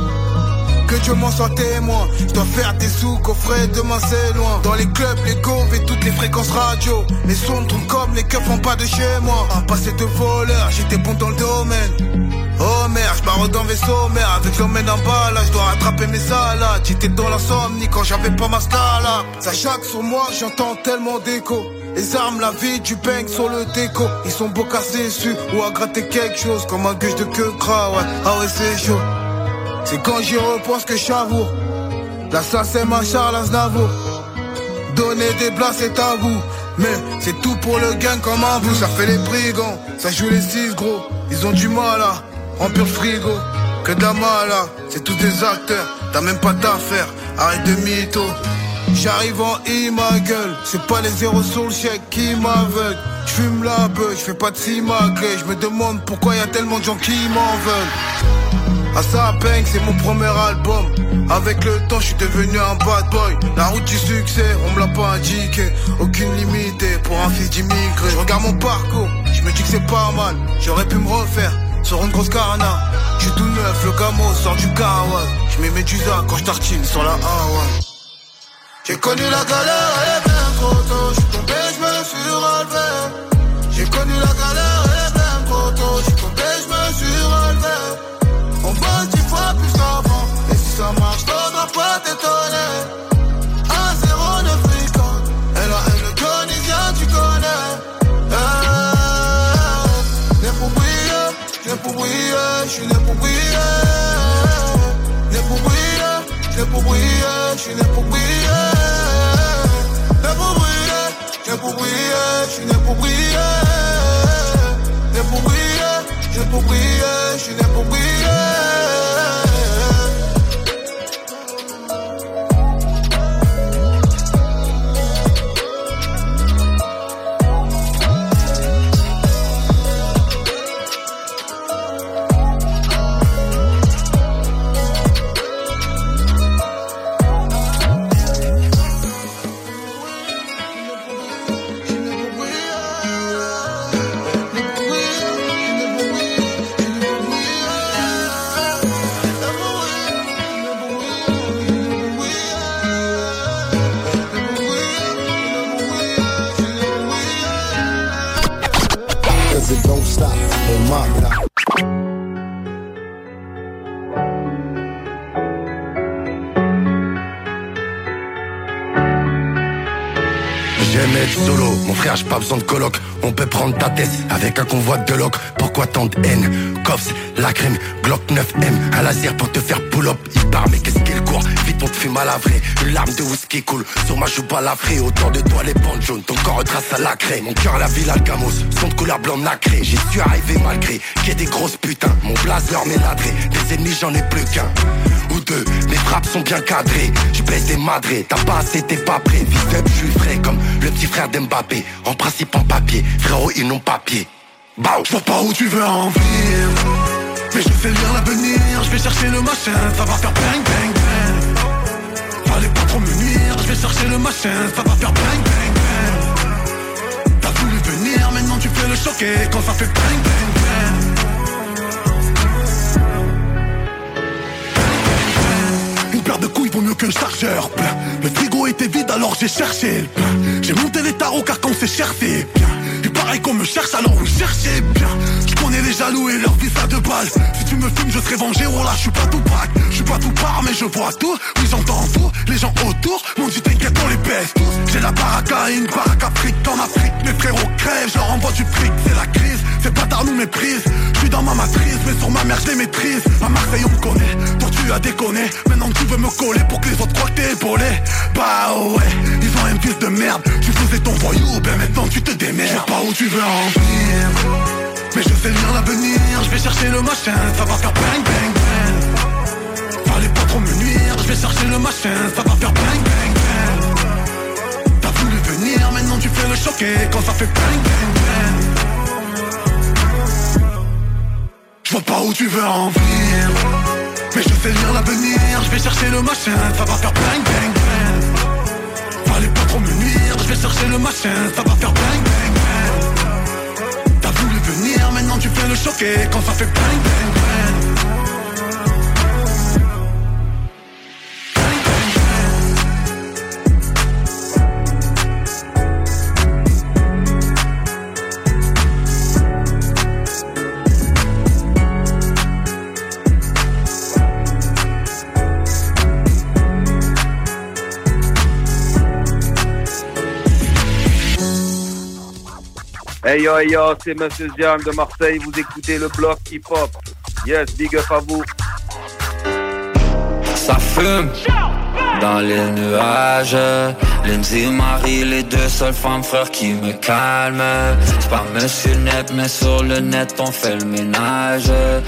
Que Dieu m'en soit témoin. Je dois faire des sous, coffret, demain c'est loin. Dans les clubs, les gaufres et toutes les fréquences radio. Les sons tournent comme les keufs font pas de chez moi. Un passé de voleur, j'étais bon dans le domaine. Oh merde, j'barre dans vaisseau mère. Avec l'emmène en bas là, je dois rattraper mes salades. J'étais dans l'insomnie quand j'avais pas ma scala. Ça jaque sur moi, j'entends tellement d'écho. Les armes, la vie, du bang sur le déco. Ils sont beaux cassés dessus ou à gratter quelque chose. Comme un gueule de queue gras, ouais. Ah ouais c'est chaud. C'est quand j'y repense que j'avoue. Là ça c'est ma Charles Aznavour. Donner des blagues c'est tabou. Mais c'est tout pour le gain comme un bout. Ça fait les brigands, ça joue les six gros. Ils ont du mal à remplir le frigo. Que de la mala, c'est tous des acteurs. T'as même pas d'affaires, arrête de mytho. J'arrive en I ma gueule. C'est pas les zéros sur le chèque qui m'aveuglent. J'fume la beuh, j'fais pas de simagré. J'me demande pourquoi y a tellement de gens qui m'en veulent. Ah ça bang, c'est mon premier album. Avec le temps, je suis devenu un bad boy. La route du succès, on me l'a pas indiqué. Aucune limite pour un fils d'immigré. Je regarde mon parcours, je me dis que c'est pas mal. J'aurais pu me refaire sur une grosse carna. J'suis tout neuf, le camo sort du kawas. J'mets mes Médusa quand j'tartine sur la Hawaii. J'ai connu la galère, elle est bien trop tôt. J'suis tombé, j'me suis relevé. J'ai connu la galère, elle est bien trop tôt. J'suis tombé, j'me suis relevé. On bosse dix fois plus qu'avant. Et si ça marche, faudra pas t'étonner. un zéro neuf fréquente. Elle a elle le Tunisien, tu connais. Eh, né pour briller, né pour briller. J'suis né pour briller. Né pour briller, né pour briller. J'suis né pour briller. Né pour briller, né pour briller. J'suis né pour briller. Né pour briller, né pour briller. J'suis né pour briller. J'aime être solo, mon frère j'ai pas besoin de coloc. On peut prendre ta tête avec un convoi de loc. Pourquoi tant de haine? Cops, la crème, Glock neuf M, un laser pour te faire pull-up. Il part mais qu'est-ce qu'il court? Vite on te fume à la vraie. Une larme de whisky coule sur ma joue balafrée. Autour de toi les bandes jaunes, ton corps retrace à la craie. Mon cœur la ville Alcamos, son de couleur blanc nacré. J'y suis arrivé malgré qu'il y ait des grosses putains. Mon blazer m'est ladré, des ennemis j'en ai plus qu'un ou deux, mes frappes sont bien cadrées. Je baisse des madrés, t'as pas assez, t'es pas prêt. Vite up, je suis frais comme le petit frère frère d'Mbappé, en principe en papier, frérot ils n'ont pas pied. Bah, je vois pas où tu veux en venir, mais je sais lire l'avenir. Je vais chercher le machin, ça va faire bang bang bang. Fallait pas trop me nuire, je vais chercher le machin, ça va faire bang bang bang. T'as voulu venir, maintenant tu fais le choquer quand ça fait bang bang bang. Une paire de couilles vaut mieux qu'un chargeur plein. Le frigo était vide alors j'ai cherché le plein. J'ai monté les tarots car quand c'est cher c'est bien. Et pareil qu'on me cherche alors vous cherchez bien. Je connais les jaloux et leur vie ça de balle. Si tu me fumes je serai vengé, oh là je suis pas tout braque. Je suis pas tout part mais je vois tout. Oui j'entends tout, les gens autour m'ont dit t'inquiète on les baisse tous. J'ai la baraka et une baraka Afrique en Afrique. Mes frérots crèvent, je leur envoie du fric. C'est la crise, ces bâtards nous méprisent. Je suis dans ma matrice mais sur ma mère je les maîtrise. À Marseille on me connaît, toi tu as déconné. Maintenant tu veux me coller pour que les autres croient que t'es épaulé. Bah ouais, ils ont un fils de merde. Tu faisais ton voyou, ben maintenant tu te démerdes. Je sais pas où tu veux en venir, mais je sais lire l'avenir. Je vais chercher le machin, ça va faire bang bang bang. Fallait pas trop me nuire, je vais chercher le machin, ça va faire bang bang bang. T'as voulu venir, maintenant tu fais le choquer quand ça fait bang bang bang. Je vois pas où tu veux en venir, mais je sais lire l'avenir. Je vais chercher le machin, ça va faire bang bang bang. Fallait pas trop me nuire, je vais chercher le machin, ça va faire bang bang bang. T'as voulu venir, maintenant tu fais le choquer quand ça fait bang bang bang. Hey yo, hey yo, c'est Monsieur Ziam de Marseille, vous écoutez le bloc hip-hop. Yes, big up à vous. Ça fume dans les nuages. Lindsay et Marie, les deux seules femmes frères qui me calment. C'est pas Monsieur Net, mais sur le net on fait le ménage.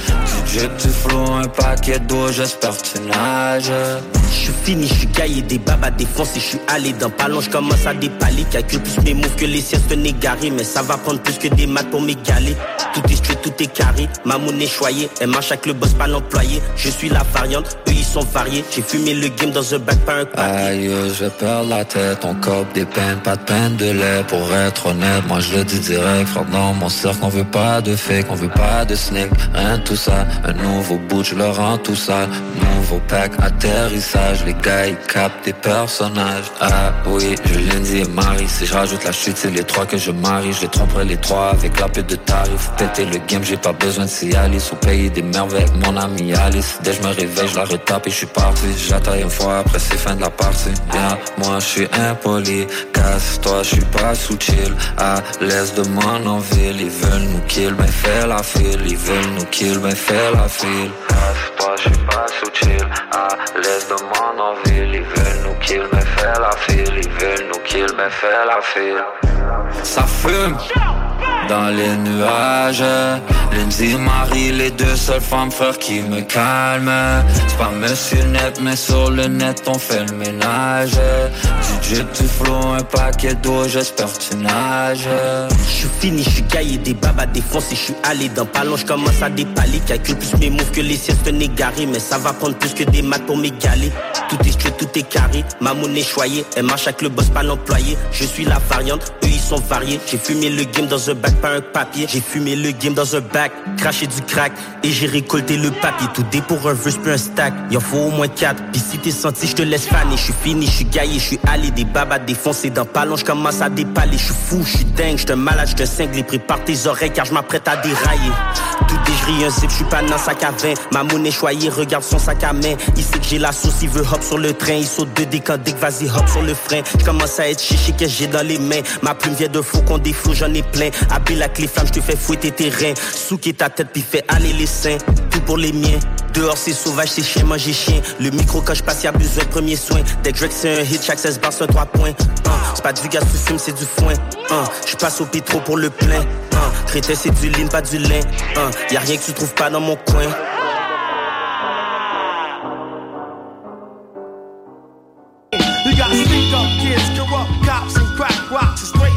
Du drip, du flow, un paquet d'eau, j'espère que tu nages. Je suis fini, je suis gaillé, des babas défoncés, je suis allé dans ballon, je commence à dépaler. Calcule plus mes moves que les siestes d'un égaré, mais ça va prendre plus que des maths pour m'égaler. Tout est straight, tout est carré, ma monnaie choyée, elle marche avec le boss pas l'employé. Je suis la variante, eux ils sont variés. J'ai fumé le game dans un bac, pas un papier. Aïe, je vais perdre la tête, on cope des peines, pas de peine de lait. Pour être honnête, moi je le dis direct, frère, dans mon cercle on veut pas de fake, on veut pas de snake, rien de tout ça. Un nouveau bout, je leur rends tout ça. Nouveau pack, atterrissage, les gars ils captent des personnages. Ah oui, je Lindsay et Marie, si je rajoute la chute c'est les trois que je marie. Je les tromperai les trois avec la pute de tarif. Péter le game, j'ai pas besoin de Cialis. Ou payer des merveilles avec mon ami Alice. Dès que je me réveille, je la retape et je suis parti. J'attaille une fois, après c'est fin de la partie. Bien, moi je suis impoli, casse-toi, je suis pas sous chill. À l'aise de mon enville, ils veulent nous kill, mais fais la file. Ils veulent nous kill, mais fais la file. Casse-toi, je suis pas sous chill. À l'aise de mon enville, ils veulent nous kill, mais fais la file. Ils veulent nous kill, mais fais la file. Ça fume dans les nuages. Lindsay et Marie, les deux seules femmes frères qui me calment. C'est pas Monsieur Net, mais sur le net on fait le ménage. Du drip, du flow, un paquet d'eau, j'espère que tu nages. Je suis fini, je suis gaillé, des babas défoncés, je suis allé dans ballon, je commence à dépaler. Calcule plus mes moves que les siestes d'un égaré, mais ça va prendre plus que des maths pour m'égaler. Tout est straight, tout est carré, ma monnaie choyée, elle marche avec le boss pas l'employé. Je suis la variante, eux ils sont variés. J'ai fumé le game dans un bac, pas un papier. J'ai fumé le game dans un bac, craché du crack et j'ai récolté le papier. Tout dé pour un verse plus un stack, y'en faut au moins quatre. Pis si t'es senti, je te laisse faner. Je suis fini, je suis gaillé, je suis allé, des babas défoncés dans ballon, je commence à dépaler. Je suis fou, je suis dingue, je te malade, je te cingle. Prépare tes oreilles car je m'apprête à dérailler. Tout dégerie un zip, je suis pas dans un sac à vin. Ma monnaie choyée, regarde son sac à main. Il sait que j'ai la sauce, il veut hop sur le train. Il saute de décanter, vas-y hop sur le frein. Je commence à être chiché que j'ai dans les mains. Ma plume vient de faucon, des flots, j'en ai plein. Habille la clé flamme, je te fais fouetter tes reins. Souquer ta tête puis fais aller les seins. Tout pour les miens. Dehors c'est sauvage, c'est chien, manger chien. Le micro quand je passe y'a besoin de premier soin. Dès que c'est un hit, chaque seize bars c'est un trois points. uh, C'est pas du gaz sous fume, c'est du foin. uh, Je passe au pétro pour le plein. uh, Crétin c'est du lean, pas du lin. uh, Y'a rien que tu trouves pas dans mon coin. You got sneak up kids, corrupt cops and crack rocks.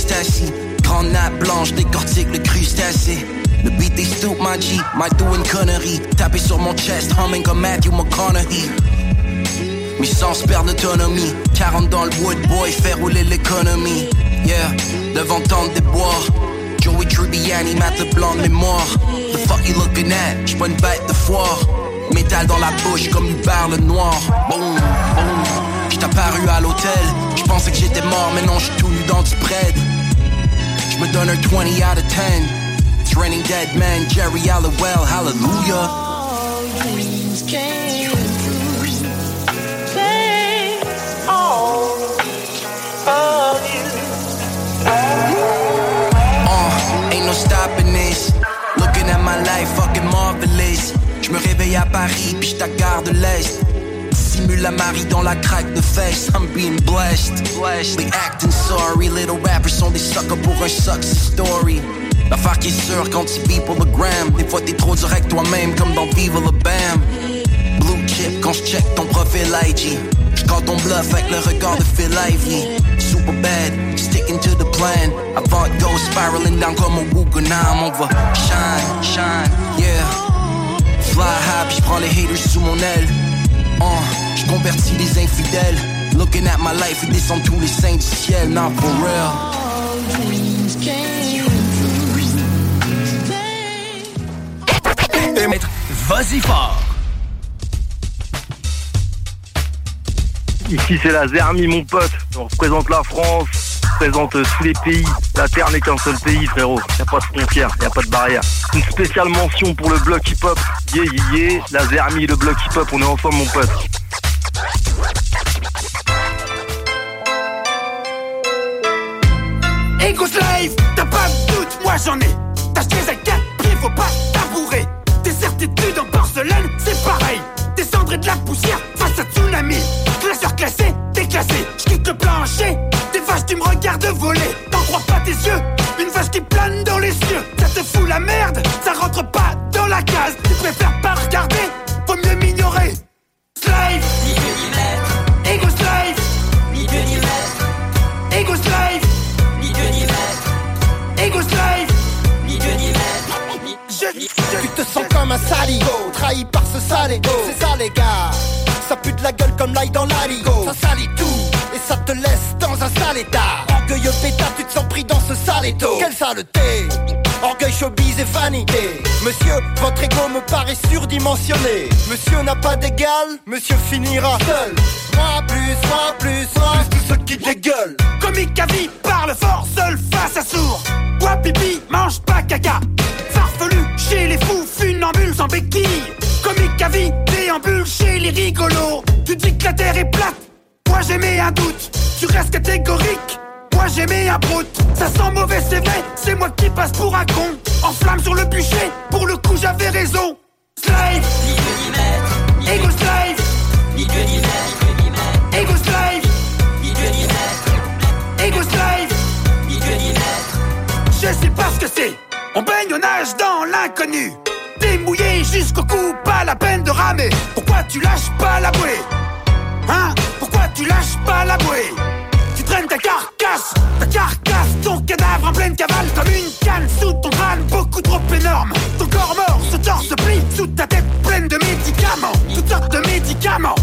Ecstasy. Grande nappe blanche, décortique le crustacé. Le beat des stoop, my G, my do une connerie. Taper sur mon chest, humming comme Matthew McConaughey. Mes sens perdent autonomie. quarante dans le wood, boy, fait rouler l'économie. Yeah, devant tente des bois. Joey Tribbiani, Matt LeBlanc de mémoire. The fuck you looking at? J'suis pas une bête de foire. Métal dans la bouche comme Hubert le noir. Boom, boom. J't'ai apparu à l'hôtel. J'pensais que j'étais mort, mais non, j'suis tout nu dans du bread. J'me donne un twenty out of ten. It's raining dead man, Jerry Halliwell, hallelujah. All dreams came true. Thanks all of you. Uh, ain't no stopping this. Looking at my life, fucking marvelous. J'me réveille à Paris, puis j't'à gare de l'Est. Simule la Marie dans la craque de fesses. I'm being blessed. They acting sorry. Little rappers sont des suckers pour un success story. L'affaire qui est sûre quand tu vis pour le gram. Des fois t'es trop direct toi-même comme dans Viva la Bam. Blue chip quand j'check ton profil I G. J'call ton bluff avec le regard de Phil Ivey. Super bad, sticking to the plan. Avant de go spiraling down comme un Wuganam. On va shine, shine, yeah. Fly high pis j'prends les haters sous mon aile. Uh, j'convertis les infidèles. Looking at my life, ils descendent tous les saints du ciel. Not for real. All dreams came Et maître, vas-y fort. Ici c'est la Zermie mon pote. On représente la France, on représente tous les pays. La terre n'est qu'un seul pays frérot. Y'a pas de frontières, y'a pas de barrière. Une spéciale mention pour le bloc hip-hop. Yeah yeah yeah, la Zermie, le bloc hip-hop, on est ensemble mon pote. Ego Slave, t'as pas de doute, moi j'en ai. T'as jeté à quatre pieds, faut pas tabourer. Tes certitudes en porcelaine, c'est pareil. Des cendres et de la poussière face à tsunami. Classeur classé, déclassé. J'quitte le plancher, des vaches qui me regardent voler. T'en crois pas tes yeux, une vache qui plane dans les cieux. Ça te fout la merde, ça rentre pas dans la case. Tu préfères pas regarder, faut mieux m'ignorer. Slave, ni Dieu ni maître. Ego Slave, ni Dieu ni maître. Ego Slave, ni Dieu ni maître. Ego Slave, ni Dieu ni maître. Je, je, Tu te sens comme un saligo, trahi par ce sale ego. C'est ça les gars, ça pue de la gueule comme l'ail dans l'aligo. Ça salit tout, et ça te laisse dans un sale état. Orgueilleux pétard, tu te sens pris dans ce sale étau. Quelle saleté, orgueil, showbiz et vanité. Monsieur, votre ego me paraît surdimensionné. Monsieur n'a pas d'égal, monsieur finira seul. Moi plus, moi plus, moi plus tous ceux qui dégueulent. Comique à vie, parle fort, seul face à sourd. Bois pipi, mange pas caca. Farfelu, chez les fous, funambules sans béquilles. Comique à vie, déambule chez les rigolos. Tu dis que la terre est plate, moi j'ai mis un doute. Tu restes catégorique, moi j'ai mis un brute. Ça sent mauvais, c'est vrai, c'est moi qui passe pour un con. En flamme sur le bûcher, pour le coup j'avais raison. Slave, ni Dieu ni maître. Ego Slave, ni Dieu ni maître. Ego Slave, ni Dieu ni maître. Ego Slave, ni Dieu ni maître. Je sais pas ce que c'est, on baigne, on nage dans l'inconnu. T'es mouillé jusqu'au cou, pas la peine de ramer. Pourquoi tu lâches pas la bouée? Hein? Pourquoi tu lâches pas la bouée? Tu traînes ta carcasse, ta carcasse, ton cadavre en pleine cavale. Comme une canne sous ton crâne, beaucoup trop énorme. Ton corps mort, ce torse se plie sous ta tête pleine de médicaments. Toutes sortes de médicaments.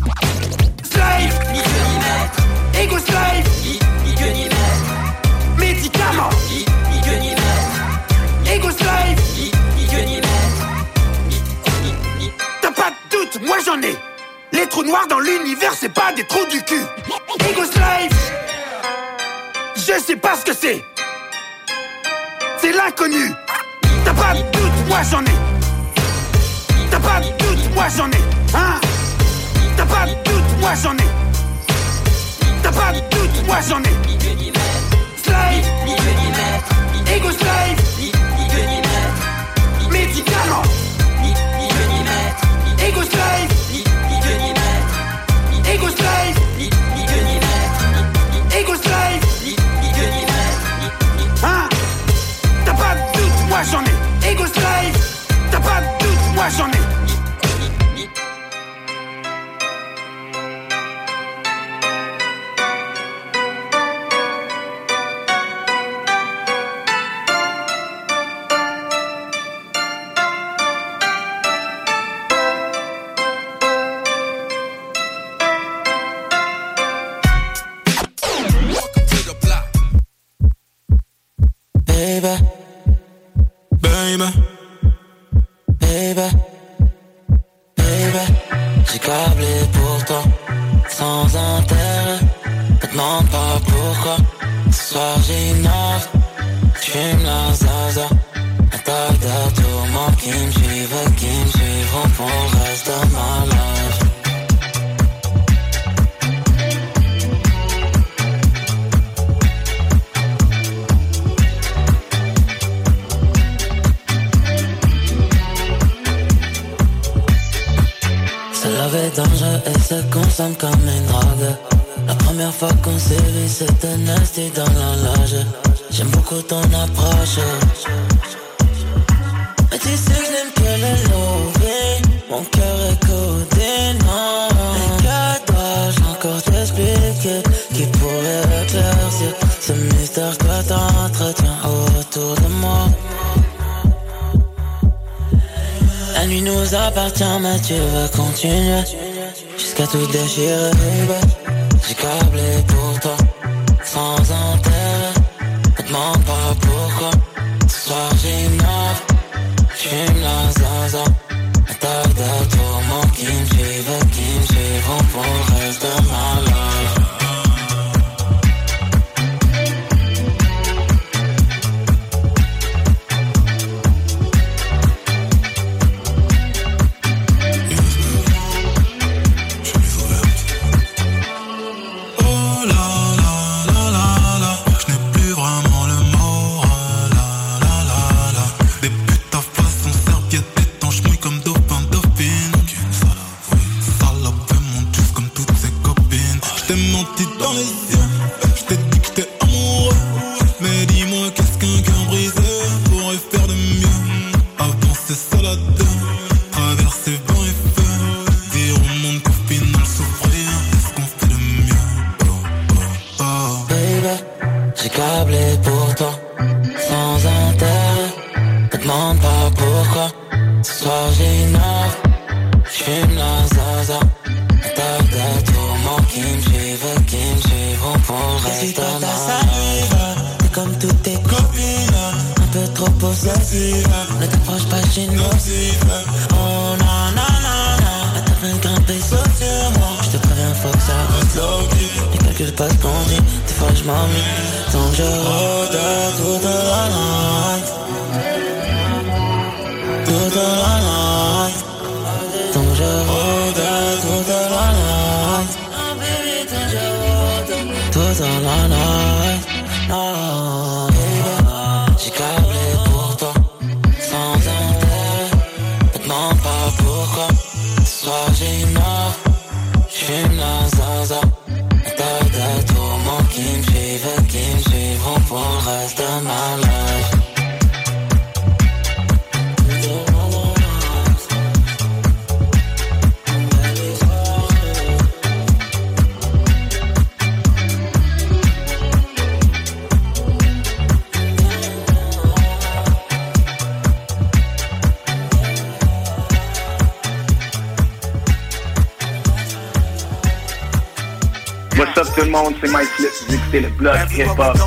Slave, ni Dieu ni maître. Ego Slave, ni, ni Dieu ni maître. Médicaments, ni, ni Dieu ni maître. Ego Slave, ni, ni Dieu ni maître. T'as pas de doute, moi j'en ai. Les trous noirs dans l'univers, c'est pas des trous du cul. Ego Slave, je sais pas ce que c'est. C'est l'inconnu. T'as pas de doute, moi j'en ai. T'as pas de doute, moi j'en ai. Hein? T'as pas de doute, moi j'en ai. T'as pas de doute, moi j'en ai. Slave, ni Dieu ni maître. Ego Slave, ni, ni Dieu ni maître. Médicaments, ni, ni Dieu ni maître. Ego Slave, ni, ni Dieu ni maître. Ego Slave, ni, ni Dieu ni maître. Ego Slave, ni, ni Dieu ni maître. Hein? T'as pas de doute, moi j'en ai. Ego Slave, t'as pas de doute, moi j'en ai. Baby, baby, baby, baby, j'ai câblé pour toi, sans intérêt. Me demande pas pourquoi. Ce soir j'innove, j'fume la zaza. Un tas de tourments qui me suivent, qui me suivront pour le reste de ma life. Ce love est dangereux et se consomme comme une drogue. La première fois qu'on s'est vu c'était nasty dans la loge. J'aime beaucoup ton approche. Mais tu sais que je n'aime que le loving. Mon cœur est codé, non. Mais que dois-je encore t'expliquer qui pourrait éclaircir ce mystère que t'entretiens autour de moi. La nuit nous appartient mais tu veux continuer jusqu'à tout déchirer, baby. J'ai câblé pour toi, sans intérêt. Me demande pas pourquoi. Ce soir j'innove, j'fume la zaza. Un tas de tourments qui me suivent, qui me suivront pour le reste de ma life. What's up tout le monde, c'est Mike Flip, vous écoutez le bloc hip-hop.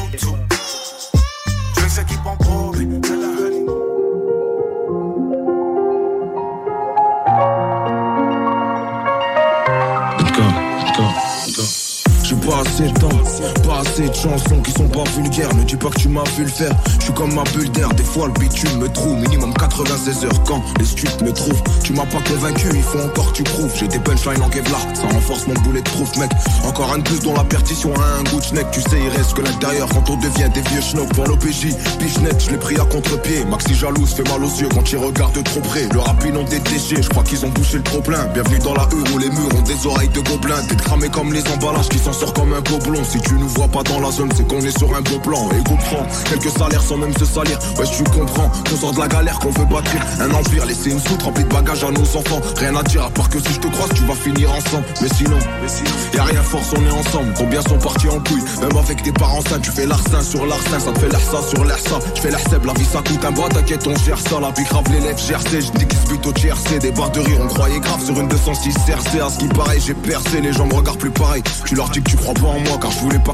Pas assez de temps, pas assez de chansons qui sont pas vulgaires. Ne dis pas que tu m'as vu le faire. Je suis comme ma bulle d'air, des fois le bitume me trouve. Minimum quatre-vingt-seize heures quand les streets me trouvent. Tu m'as pas convaincu, il faut encore que tu prouves. J'ai des punchlines en Kevlar, ça renforce mon boulet de proof, mec. Encore un de plus dont la perdition a un goût de schneck. Tu sais, il reste que l'intérieur quand on devient des vieux schnocks. Pour l'O P J, bichette, je l'ai pris à contre-pied. Maxi jalouse fait mal aux yeux quand il regarde de trop près. Le rap ils ont des déchets, je crois qu'ils ont bouché le trop plein. Bienvenue dans la rue où les murs ont des oreilles de gobelins. T'es cramé comme les emballages qui s'en sortent comme un gobelin. Si tu nous vois pas dans la zone, c'est qu'on est sur un beau plan. Et comprends, quelques salaires sans même se salir. Ouais, tu comprends, qu'on sort de la galère, qu'on veut bâtir un empire. Laisser une soute remplie de bagages à nos enfants. Rien à dire à part que si je te croise, tu vas finir ensemble. Mais sinon, y'a rien force, on est ensemble. Combien sont partis en couille, même avec tes parents sains. Tu fais l'arsin sur l'arsin, ça te fait l'air ça sur l'air ça. Je fais l'air seb, la vie ça coûte un bras, t'inquiète, on gère ça. La vie grave les lèvres, G R C, je dis qu'ils se butent au T R C. Des barres de rire, on croyait grave sur une deux cent six C R C. À ce qui paraît, j'ai percé, les gens me regardent plus pareil. Tu leur dis que tu crois pas en moi, car je voulais pas que tu me pareilles.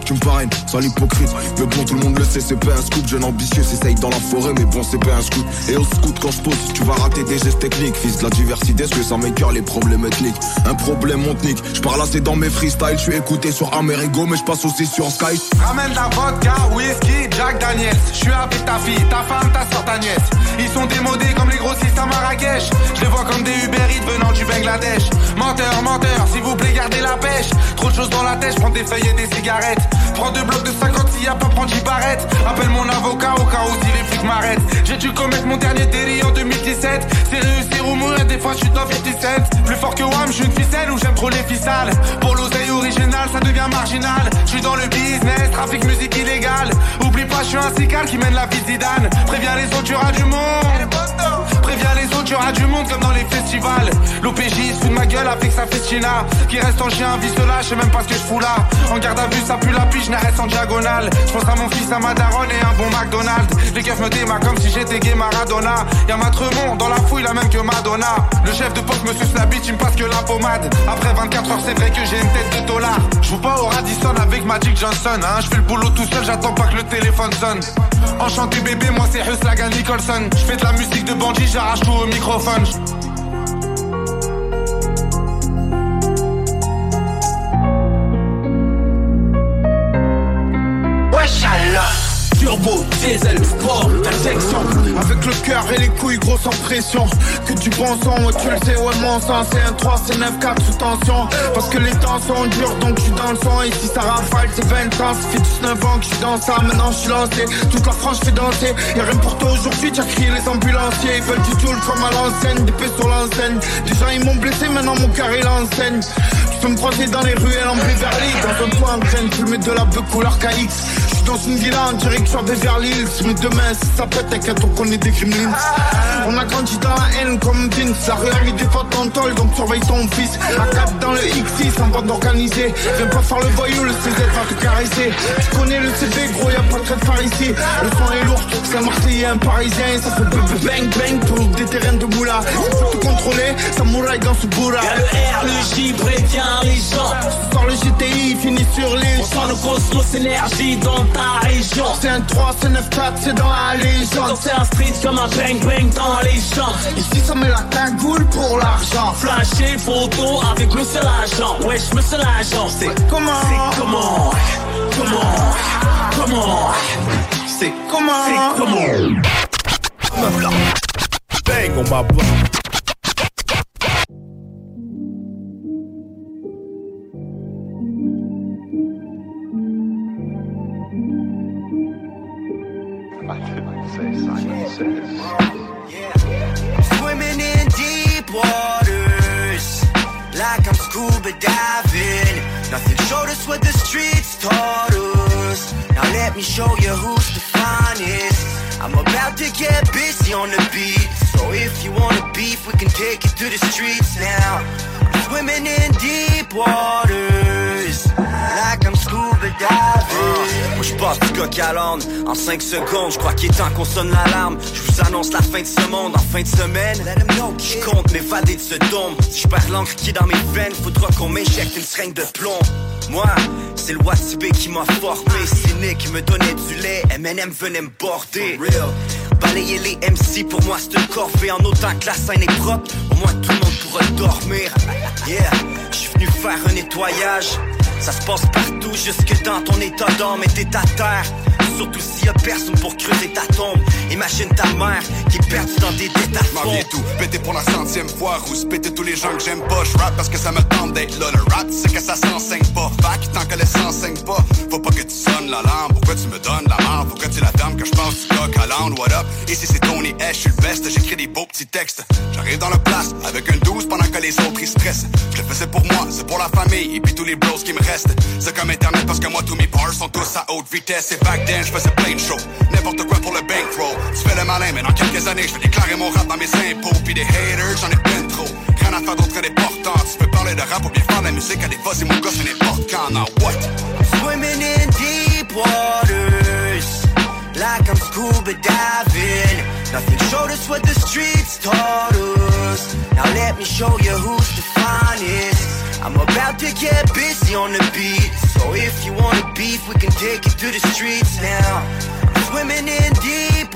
grind, sans l'hypocrite. Mais bon, tout le monde le sait, c'est pas un scoop. Jeune ambitieux, s'essaye dans la forêt, mais bon, c'est pas un scoop. Et au scout, quand je pose, tu vas rater des gestes techniques. Fils de la diversité, ce que ça m'écœure les problèmes ethniques. Un problème, mon nique. Je parle assez dans mes freestyles, je suis écouté sur Amerigo, mais je passe aussi sur Sky. Ramène la vodka, whisky, Jack Daniels. Je suis avec ta fille, ta femme, ta soeur, ta nièce. Ils sont démodés comme les grossistes à Marrakech. Je les vois comme des Uber Eats venant du Bangladesh. Menteur, menteur, s'il vous plaît, gardez la pêche. Trop de choses dans la tête, je prends des feuilles et des cigarettes. Prends deux blocs de cinquante s'il y a pas, prendre dix barrettes. Appelle mon avocat au cas où si les flics m'arrêtent. J'ai dû commettre mon dernier délit en deux mille dix-sept. C'est réussir ou mourir, des fois je suis dans cinquante-sept. Plus fort que Wham, je suis une ficelle ou j'aime trop les ficelles. Pour l'oseille originale, ça devient marginal. Je suis dans le business, trafic musique illégale. Oublie pas, je suis un cical qui mène la vie Zidane. Préviens les autres, tu auras du monde. Préviens les autres, tu auras du monde comme dans les festivals. L'O P J se fout de ma gueule avec sa festina. Qui reste en chien, vie cela, je sais même pas ce que je fous là. En garde à vue, ça pue la piche, n'arrête en diagonale. Je pense à mon fils, à ma daronne et un bon McDonald's. Les keufs me démarrent comme si j'étais gay Maradona. Y'a ma Tremont dans la fouille, la même que Madonna. Le chef de poste me suce la bite, il me passe que la pommade. Après vingt-quatre heures, c'est vrai que j'ai une tête de dollar. Je joue pas au Radisson avec Magic Johnson, hein. Je fais le boulot tout seul, j'attends pas que le téléphone sonne. Enchanté bébé, moi c'est Hus Lagan Nicholson. Je fais de la musique de bandit, j'arrache tout au microphone. Wesh alors Turbo, diesel, sport, injection. Avec le cœur et les couilles gros sans pression. Que du bon sang, ouais tu le sais, ouais mon sang. C'est un trois, c'est neuf quatre sous tension. Parce que les temps sont durs donc je suis dans le son. Et si ça rafale c'est vingt ans. Ça fait dix-neuf ans que je suis dans ça, maintenant je suis lancé. Toute la France je fais danser. Y'a rien pour toi aujourd'hui, t'as crié les ambulanciers. Ils veulent du tool comme à l'enseigne, des paix sur l'enseigne. Des gens ils m'ont blessé, maintenant mon cœur il enseigne. Tu peux me croiser dans les ruelles en Beverly. Dans un toit en graine, tu mets de la beuh couleur K X. Dans une villa en direction Beverly Hills. Mais demain si ça pète t'inquiète on connaît des gremlins. On a grandi dans la haine comme Vince. La rue a mis des potes en tôle donc surveille ton fils. À cap dans le X six en bande organisée. Viens pas faire le voyou, le C Z va te caresser. Tu connais le C V gros y'a pas de trait de phare ici. Le son est lourd, c'est un Marseillais, un Parisien. Ça fait bang bang pour des terrains de moula. Il faut te contrôler, samouraï dans ce bourra. Y'a le R, le J, prévient les gens. Ce soir le G T I finit sur les. On sent le cosmos énergie dans ta région. C'est un trois, c'est neuf quatre, c'est dans la légende. C'est un street comme un bang bang dans les champs. Ici ça met la cagoule pour l'argent. Flasher photo avec le seul agent. Wesh le seul agent. C'est comment? C'est comment? Comment? Comment? C'est comment? C'est comment? Bang on my block. Swimming in deep waters, like I'm scuba diving. Nothing showed us what the streets taught us. Now let me show you who's the finest. I'm about to get busy on the beat, so if you wanna beef, we can take it to the streets now. Swimming in deep waters, like I'm scuba diving. Moi j'passe du coq à l'âne en cinq secondes. J'crois qu'il est temps qu'on sonne l'alarme. J'vous annonce la fin de ce monde en fin de semaine. J'compte m'évader de ce dôme. Si j'perds l'encre qui est dans mes veines, faudra qu'on m'éjecte une seringue de plomb. Moi, c'est le Watibé qui m'a formé. C'est Nick qui me donnait du lait. M and M venait me border. Balayer les M C pour moi c'est une corvée. En autant que la scène est propre, au moins tout le monde pourra dormir. Yeah, j'suis venu faire un nettoyage. Ça se passe partout, jusque dans ton état d'âme et t'es à terre. Surtout s'il y a personne pour creuser ta tombe. Imagine ta mère qui est perdue dans des détats de m'en viens tout, péter pour la centième fois. Rousse péter tous les gens que j'aime pas. J'rappe parce que ça me tente d'être là. Le rap c'est que ça s'enseigne pas. Fac tant que le s'enseigne pas. Faut pas que tu sonnes l'alarme. Pourquoi tu me donnes la marde? Pourquoi tu la dame que je passe du coq à l'âne? What up? Ici c'est Tony H, je suis le best. J'écris des beaux petits textes. J'arrive dans le place avec un douze pendant que les autres ils stressent. Je le faisais pour moi, c'est pour la famille et puis tous les bros qui me restent. C'est comme internet parce que moi tous mes bars sont tous à haute vitesse. Et back then je faisais plein de shows, n'importe quoi pour le bankroll. Tu fais le malin mais dans quelques années je vais déclarer mon rap dans mes impôts. Puis des haters j'en ai plein trop. Rien à faire d'autre que des portants. Tu peux parler de rap ou bien faire de la musique à des fois c'est mon gars c'est n'importe quand. Now what? Swimming in deep waters, like I'm scuba diving. Nothing showed us what the streets taught us. Now let me show you who's the finest. I'm about to get busy on the beat. So if you wanna beef, we can take it to the streets now. I'm swimming in deep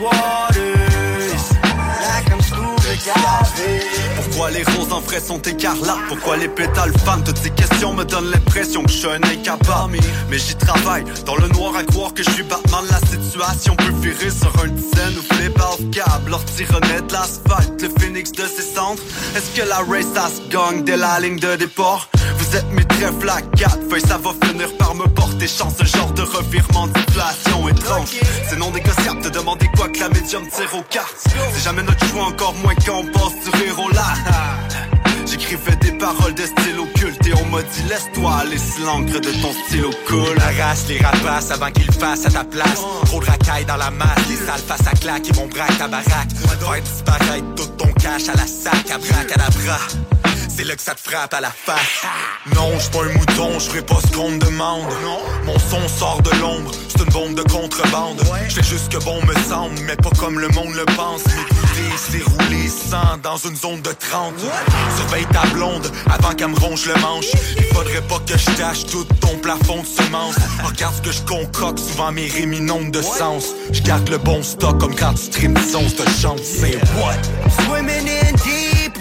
waters, like I'm scuba diving. Pourquoi les roses en vrai sont écarlates? Pourquoi les pétales fanent? Toutes ces questions me donnent l'impression que je suis un incapable. Mais j'y travaille, dans le noir à croire que je suis Batman. La situation peut virer sur un dizaine ou flip off câble. L'ortie renaît de l'asphalte, le phénix de ses cendres. Est-ce que la race ça se gagne dès la ligne de départ? Vous êtes mes trèfles à quatre feuilles, ça va finir par me porter chance. Ce genre de revirement d'inflation étrange. C'est non négociable, te demander quoi que la médium tire aux cartes. C'est jamais notre choix, encore moins quand on passe du rire au là. J'écrivais des paroles de style occulte et on m'a dit laisse-toi aller si l'encre de ton stylo cool. Arrache les rapaces avant qu'ils le fassent à ta place. Trop de racailles dans la masse, les sales face à claque et vont braque ta baraque. Faire disparaître tout ton cash à la sac, à braque à la bras. C'est là que ça te frappe à la face. Non, j'suis pas un mouton, j'ferai pas ce qu'on me demande. Mon son sort de l'ombre, c'est une bombe de contrebande. J'fais juste que bon me semble, mais pas comme le monde le pense. M'écouter, c'est rouler sans dans une zone de trente. Surveille ta blonde avant qu'elle me ronge le manche. Il faudrait pas que je tâche tout ton plafond de semences. Regarde ce que je concocte, souvent mes rimes n'ont de sens. J'garde le bon stock comme quand tu streams du son, cette chance, c'est what? Swimming in deep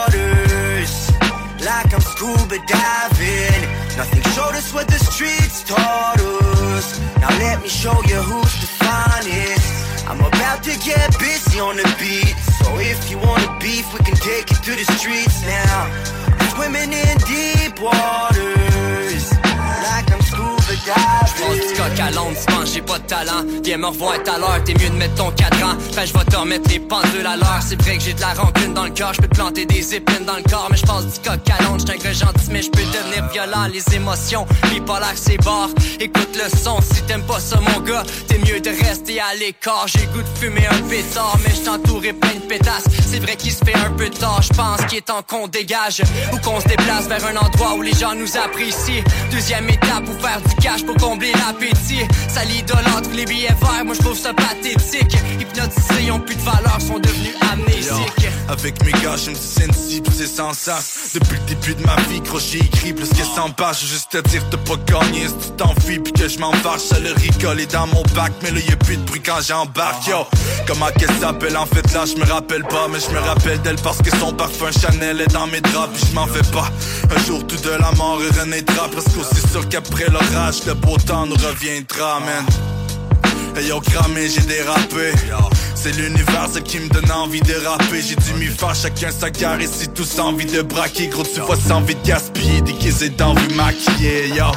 waters, like I'm scuba diving. Nothing showed us what the streets taught us. Now let me show you who's the finest. I'm about to get busy on the beat. So if you wanna beef, we can take it to the streets now. I'm swimming in deep waters, like I'm scuba diving. J'prends du coq à l'onde, tu penses j'ai pas de talent. Viens me revoir tout à l'heure, t'es mieux de mettre ton cadran. Fait je vais te remettre les pendules à l'heure. C'est vrai que j'ai de la rancune dans le cœur, j'peux te planter des épines dans le corps. Mais j'passe du coq à l'onde, j'suis un gars gentil mais j'peux devenir violent. Les émotions, bipolaire c'est barre. Écoute le son, si t'aimes pas ça mon gars, t'es mieux de rester à l'écart. J'ai goût de fumer un pétard, mais j't'entourais plein de pétasses. C'est vrai qu'il se fait un peu tard, j'pense qu'il est temps qu'on dégage. Ou qu'on se déplace vers un endroit où les gens nous apprécient. Deuxième étape, pour faire du cash, pour combler l'appétit. Ça l'idolâtre, les billets verts, moi j'trouve ça pathétique. Hypnotisés, ils ont plus de valeur, sont devenus amnésiques. Yo, avec mes gars, je me dis sensible, c'est sans sens. Depuis le début de ma vie, gros, j'ai écrit plus que cent pages. Juste te dire t'as pas gagné, si tu t'enfuis pis que je m'en fâche. Ça le rigole est dans mon bac, mais là y'a plus de bruit quand j'embarque. Yo, comment qu'elle s'appelle en fait là, je me rappelle pas. Mais je me rappelle d'elle parce que son parfum Chanel est dans mes draps. Pis je m'en fais pas, un jour tout de la mort renaîtra. Parce qu'aussi sûr qu'après l'orage, le beau temps nous reviendra, man. Hey yo, cramé, j'ai dérapé. C'est l'univers, celle qui me donne envie de rapper. J'ai dû m'y faire, chacun sa carre. Ici tous envie de braquer. Gros, tu vois, sans envie de gaspiller. Déguisé dans vue maquillée, yo.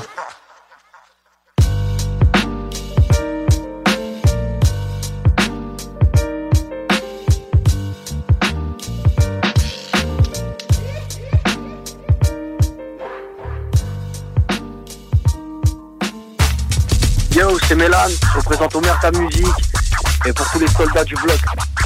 Yo, c'est Mélan, je représente Omerta Musique et pour tous les soldats du bloc.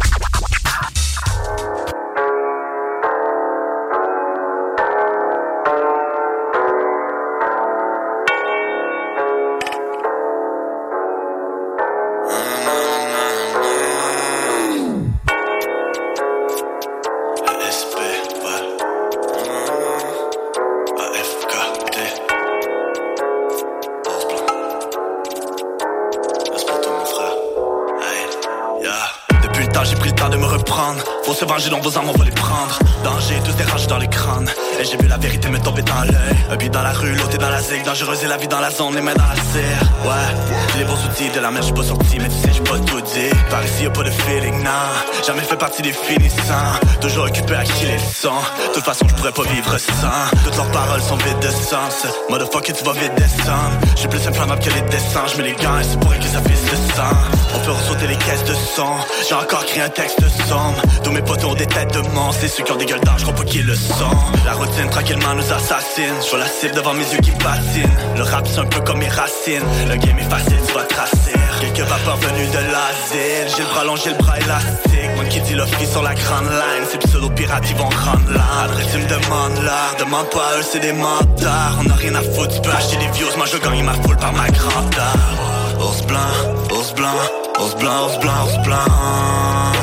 Faut se venger dans vos armes, on va les prendre. Danger, tous des rages dans les crânes. Et j'ai vu la vérité me tomber dans l'œil. Un beat dans la rue, l'autre est dans la zig. Dangereuse et la vie dans la zone, les mains dans la serre. Ouais, j'ai les bons outils de la mer, j'suis pas sorti, mais tu sais, j'suis pas tout dit. Par ici y'a pas de feeling, non. Jamais fait partie des finissants. Toujours occupé à qui les sons. De toute façon, j'pourrais pas vivre sans. Toutes leurs paroles sont vides de sens. Motherfucker, tu vas vite descendre. J'suis plus inflammable que les descends. J'mets les gants et c'est pour que ça fisse de sang. On peut ressauter les caisses de son. J'ai encore créé un texte sombre. Tous mes potos ont des têtes de monstres. Et ceux qui ont des gueules d'âge, j'crois pas qu'ils le sont. La routine tranquillement nous assassine. J'vois la cible devant mes yeux qui patinent. Le rap c'est un peu comme mes racines. Le game est facile, tu vas tracer. Quelques vapeurs venues de l'asile. J'ai le bras long, j'ai le bras élastique. Moi qui dis le free sur la grande line. Ces pseudo-pirates ils vont rendre l'art. Après tu me demandes l'art. Demande pas à eux, c'est des mentards. On a rien à foutre, tu peux acheter des views. Moi je gagne ma foule par ma grandeur. Ours blanc, ours blanc, ours blanc, ours blanc, ours blanc.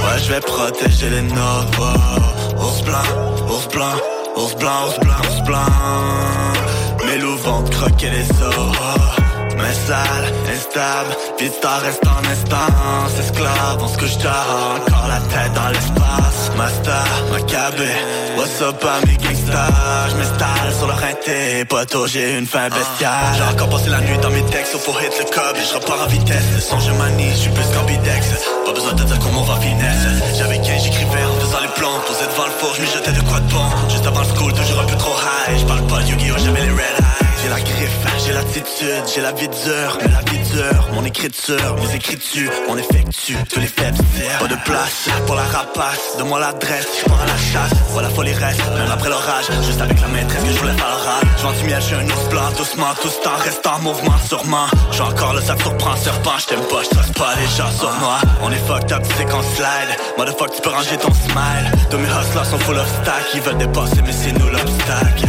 Ouais, je vais protéger les nôtres. Wow. Ours blanc, ours blanc, ours blanc, ours blanc, ours blanc. Mes loups vont croquer les os. Mais sale, instable, vite t'en reste en instance. Esclave, on se couche tard, encore la tête dans l'espace. Master, Maccabé, what's up à mes gangsters. J'm'installe sur le rinté, poteau, j'ai une fin bestiale. J'ai encore passé la nuit dans mes textes, faut hit le cob et j'repars en vitesse. Le son je manie, j'suis plus qu'ambidex. Pas besoin de dire comment on va finesse. J'avais quinze, j'écrivais en faisant les plans. Posé devant le four, j'm'y jetais de quoi de bon. Juste avant le school, toujours un peu trop high. J'parle pas de Yu-Gi-Oh, j'avais les red eyes. J'ai la griffe, j'ai l'attitude, j'ai la vie dure, mais la vie dure, mon écriture, mes écritures, on effectue tous les faits. Pas de place pour la rapace, donne-moi l'adresse, je pars à la chasse, voilà faut les restes, même après l'orage, juste avec la maîtresse que je voulais faire l'oral. Je vends du miel, je suis un ours blanc, doucement, tout ce temps reste en mouvement, sûrement. J'ai encore le sac surprend, serpent, je t'aime pas, je trace pas les gens sur moi. On est fucked up, tu sais qu'on slide, motherfuck, tu peux ranger ton smile. Tous mes hustlers sont full of stack, ils veulent dépasser, mais c'est nous l'obstacle.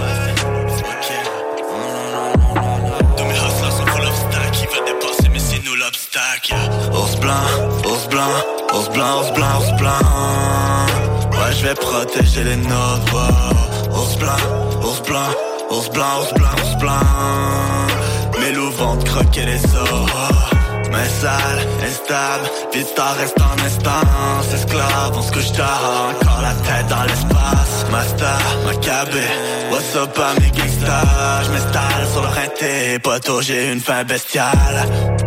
Ours blanc, ours blanc, ours blanc, ours blanc, ours blanc. Ouais, je vais protéger les nôtres. Wow. Ours blanc, ours blanc, ours blanc, ours blanc, ours blanc. Mes loups vont te croquer les os. Mais sale, instable, vite t'en reste en instance. Esclave, on se couche tard, encore la tête dans l'espace. Master, Maccabé, what's up à mes gangsters. J'm'installe sur le rinté, poteau, j'ai une fin bestiale.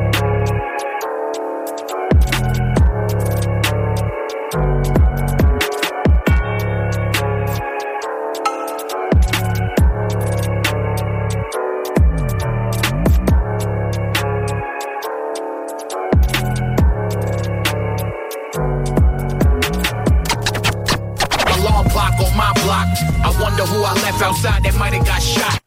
Outside, they might have got shot.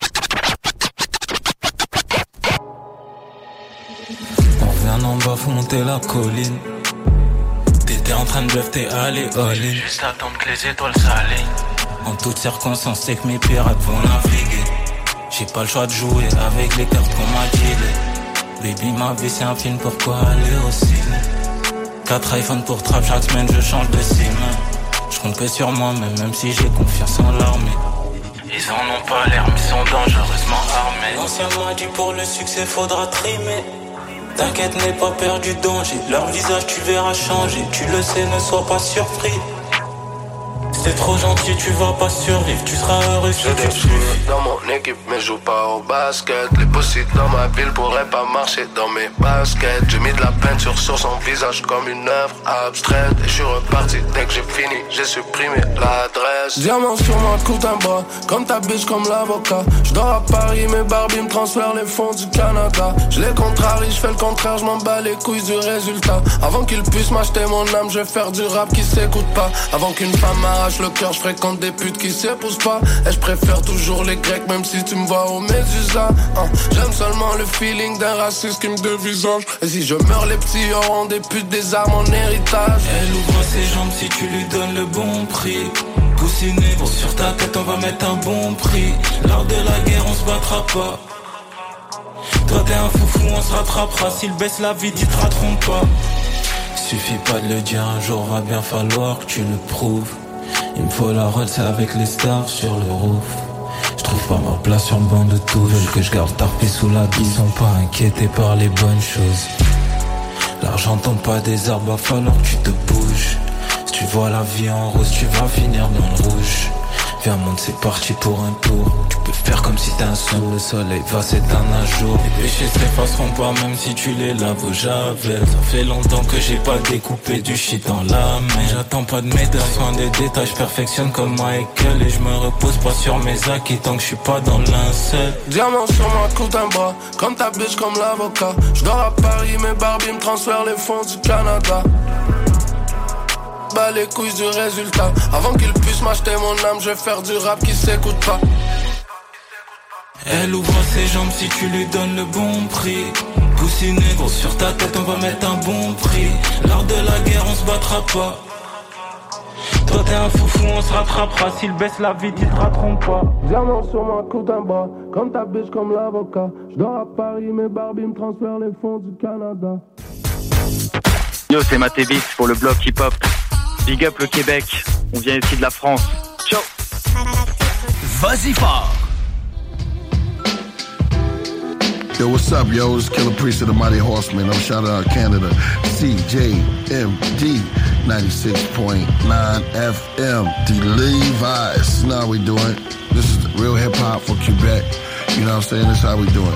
On vient en bas, faut monter la colline. T'étais en train de bluff, t'es allé all-in. Juste attendre que les étoiles s'alignent. En toutes circonstances, c'est que mes pirates vont naviguer. J'ai pas le choix de jouer avec les cartes qu'on m'a dealé. Baby, ma vie c'est un film, pourquoi aller au ciné? Quatre iPhones pour trap, chaque semaine je change de sim. Je compte que sur moi, mais même si j'ai confiance en l'armée. Ils en ont pas l'air, mais sont dangereusement armés. L'ancien m'a dit pour le succès faudra trimer. T'inquiète, n'aie pas peur du danger. Leur visage tu verras changer. Tu le sais, ne sois pas surpris. C'est trop gentil, tu vas pas survivre. Tu seras heureux si tu te suffis. Dans mon équipe, mais joue pas au basket. Les possibles dans ma ville pourraient pas marcher dans mes baskets. J'ai mis de la peinture sur son visage comme une œuvre abstraite. Et je suis reparti dès que j'ai fini, j'ai supprimé l'adresse. Diamant sur ma coupe d'un bras, comme ta biche, comme l'avocat. Je dors à Paris, mes Barbie me transfèrent les fonds du Canada. Je les contrarie, je fais le contraire, je m'en bats les couilles du résultat. Avant qu'ils puissent m'acheter mon âme, je vais faire du rap qui s'écoute pas. Avant qu'une femme m'arrache le cœur, je fréquente des putes qui s'épousent pas. Et je préfère toujours les Grecs, même si tu me vois au Médusa. hein. J'aime seulement le feeling d'un raciste qui me dévisage. Et si je meurs, les petits auront des putes, des armes en héritage. Elle ouvre ses jambes si tu lui donnes le bon prix. Coussiné, bon sur ta tête on va mettre un bon prix. Lors de la guerre on se battra pas. Toi t'es un foufou, on se rattrapera. S'il baisse la vie, ils te rateront pas. Suffit pas de le dire, un jour va bien falloir que tu le prouves. Il me faut la Rolls avec les stars sur le roof. Je trouve pas ma place sur le banc de tout. Veulent que je garde tarpé sous la douce. Ils sont pas inquiétés par les bonnes choses. L'argent tombe pas des arbres, va falloir que tu te bouges. Si tu vois la vie en rose, tu vas finir dans le rouge. Viens monte, c'est parti pour un tour. Tu peux faire comme si t'es un sourd. Le soleil va s'éteindre un jour. Les péchés s'effaceront pas même si tu les laves au javel. Ça fait longtemps que j'ai pas découpé du shit dans la main. J'attends pas de médailles, soin des détails. Je perfectionne comme Michael. Et je me repose pas sur mes acquis tant que je suis pas dans l'incel. Diamant sur ma coupe d'un bras, comme ta biche, comme l'avocat. Je dors à Paris, mes Barbie me transfèrent les fonds du Canada. Bas les couilles du résultat. Avant qu'ils puissent m'acheter mon âme, je vais faire du rap qui s'écoute pas. Elle ouvre ses jambes si tu lui donnes le bon prix. Coussiné, gros sur ta tête on va mettre un bon prix. Lors de la guerre on se battra pas. Toi t'es un foufou, on se rattrapera. S'ils baissent la vie, ils te rateront pas. Diamant sur ma coupe d'un bras, comme ta biche, comme l'avocat. Je dors à Paris, mes Barbie me transfèrent les fonds du Canada. Yo, c'est Matébis pour le bloc hip-hop. Big up le Québec, on vient ici de la France. Ciao. Vas-y fort. Yo, what's up, yo? It's Killer Priest of the Mighty Horsemen. I'm shouting out Canada. C J M D ninety-six point nine F M. The Levi's. You know how we doing. This is real hip-hop for Quebec. You know what I'm saying? This is how we doing.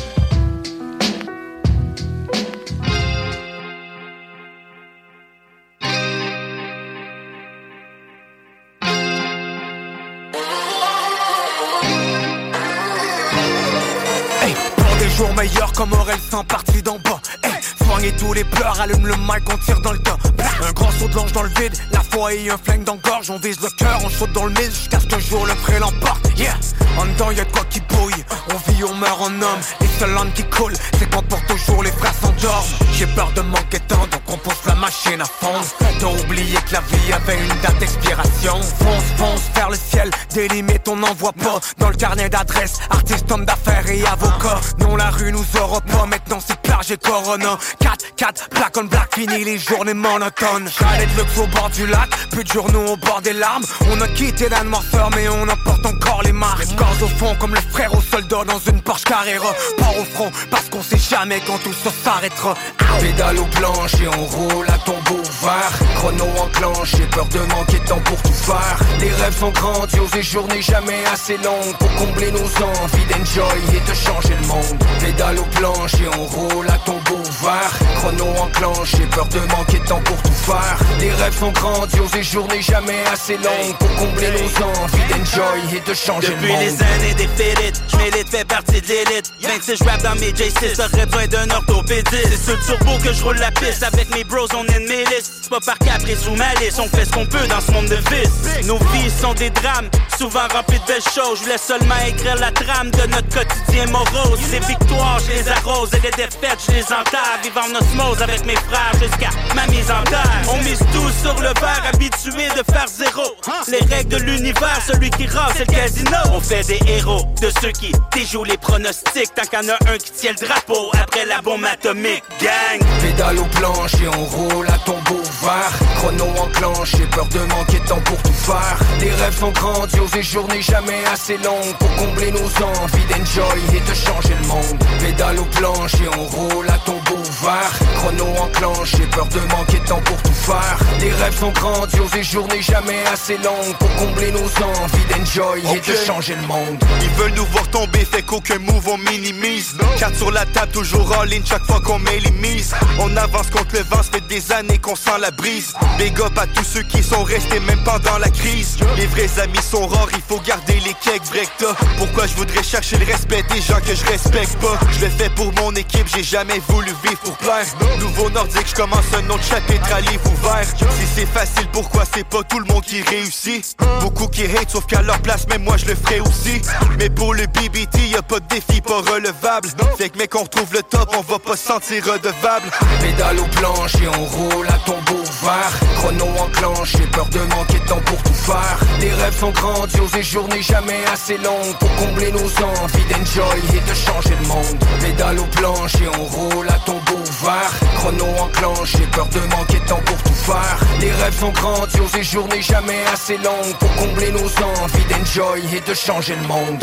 Jours meilleurs comme Aurel sans parti d'en bas. Hey, soignez tous les pleurs, allume le mic, on tire dans le tas. Un grand saut de l'ange dans le vide, la foi et un flingue dans gorge. On vise le cœur, on saute dans le mille jusqu'à ce qu'un jour le pré l'emporte. Yeah, en dedans y'a de quoi qui bouille. On vit, on meurt en homme. Les seuls langues qui coulent, c'est quand pour toujours les frères s'endorment. J'ai peur de manquer de temps, donc on pousse la machine à fond. T'as oublié que la vie avait une date d'expiration. Fonce, fonce vers le ciel, des limites on n'en voit pas. Dans le carnet d'adresse, artiste, homme d'affaires et avocat. Non, la rue nous aura pas, maintenant c'est plage et Corona. quatre quatre, black on black, fini les journées monotones. Chalet de luxe au bord du lac, plus de journaux au bord des larmes. On a quitté la noirceur mais on emporte encore les marques. Les corps au fond comme le frère au soldat dans une Porsche Carrera. Pas au front parce qu'on sait jamais quand tout ça s'arrêtera. Pédale au planche et on roule à tombeau ouvert. Chrono enclenché, peur de manquer de temps pour tout faire. Les rêves sont grandioses et journées jamais assez longues pour combler nos envies d'enjoy et de changer le monde. Pédale au planche et on roule à tombeau ouvert. Chrono enclenché, peur de manquer de temps pour tout faire. Les rêves sont grandioses et journées jamais assez longues pour combler nos envies d'enjoy et de changer Depuis le monde. Depuis les années des félites, j'm'élite, fais partie de l'élite. vingt-six j'rappe dans mes J six, j'aurais besoin d'un orthopédiste. C'est sur le turbo que je roule la piste, avec mes bros on est de mes listes. C'est pas par caprice ou malice, on fait ce qu'on peut dans ce monde de vices. Nos vies sont des drames, souvent remplies de belles choses. Je voulais seulement écrire la trame de notre quotidien morose. Les victoires, je les arrose et les défaites, je les enterre. Vivant en osmose avec mes frères jusqu'à ma mise en terre. On mise tout sur le verre, habitué de faire zéro. Les règles de l'univers, celui qui rase c'est le casino. On fait des héros de ceux qui déjouent les pronostics. Tant qu'il y en a un qui tient le drapeau après la bombe atomique. Gang! Pédale au planche et on roule à tombeau ouvert. Chrono enclenché, peur de manquer de temps pour tout faire. Les rêves sont grandioses et journées jamais assez longues pour combler nos envies d'enjoy et de changer le monde. Pédale au planche et on roule à tombeau ouvert. Chrono enclenché, peur de manquer de temps pour tout faire. Les rêves sont grandioses et journées jamais assez longues pour combler nos envies d'enjoy okay. et de changer le monde. Ils veulent nous voir tomber, fait qu'aucun move on minimise. Carte sur la table, toujours all in chaque fois qu'on met les mises. On avance contre le vent, ça fait des années qu'on sent la brise. Big up à tous ceux qui sont restés même pendant la crise. Les vrais amis sont rares, il faut garder les cakes vrecta. Pourquoi je voudrais chercher le respect des gens que je respecte pas? Je le fais pour mon équipe, j'ai jamais voulu vivre pour plaire. Nouveau nordique, je commence un autre chapitre à livre ouvert. Si c'est facile, pourquoi c'est pas tout le monde qui réussit? Beaucoup qui hate, sauf qu'à leur place, même moi je le ferai aussi. Mais pour le B B T, y'a pas de défi pas relevable. Fait que mec, on retrouve le top, on va pas se sentir redevable. Pédale au planche et on roule à tombeau ouvert. Chrono enclenché, peur de manquer de temps pour tout faire. Les rêves sont grandioses et journées jamais assez longues pour combler nos envies d'enjoy et de changer le monde. Pédale au planche et on roule à tombeau ouvert. Chrono enclenché, peur de manquer de temps pour tout faire. Les rêves sont grandioses et journées jamais assez longues pour combler nos envies d'enjoy et de changer le monde.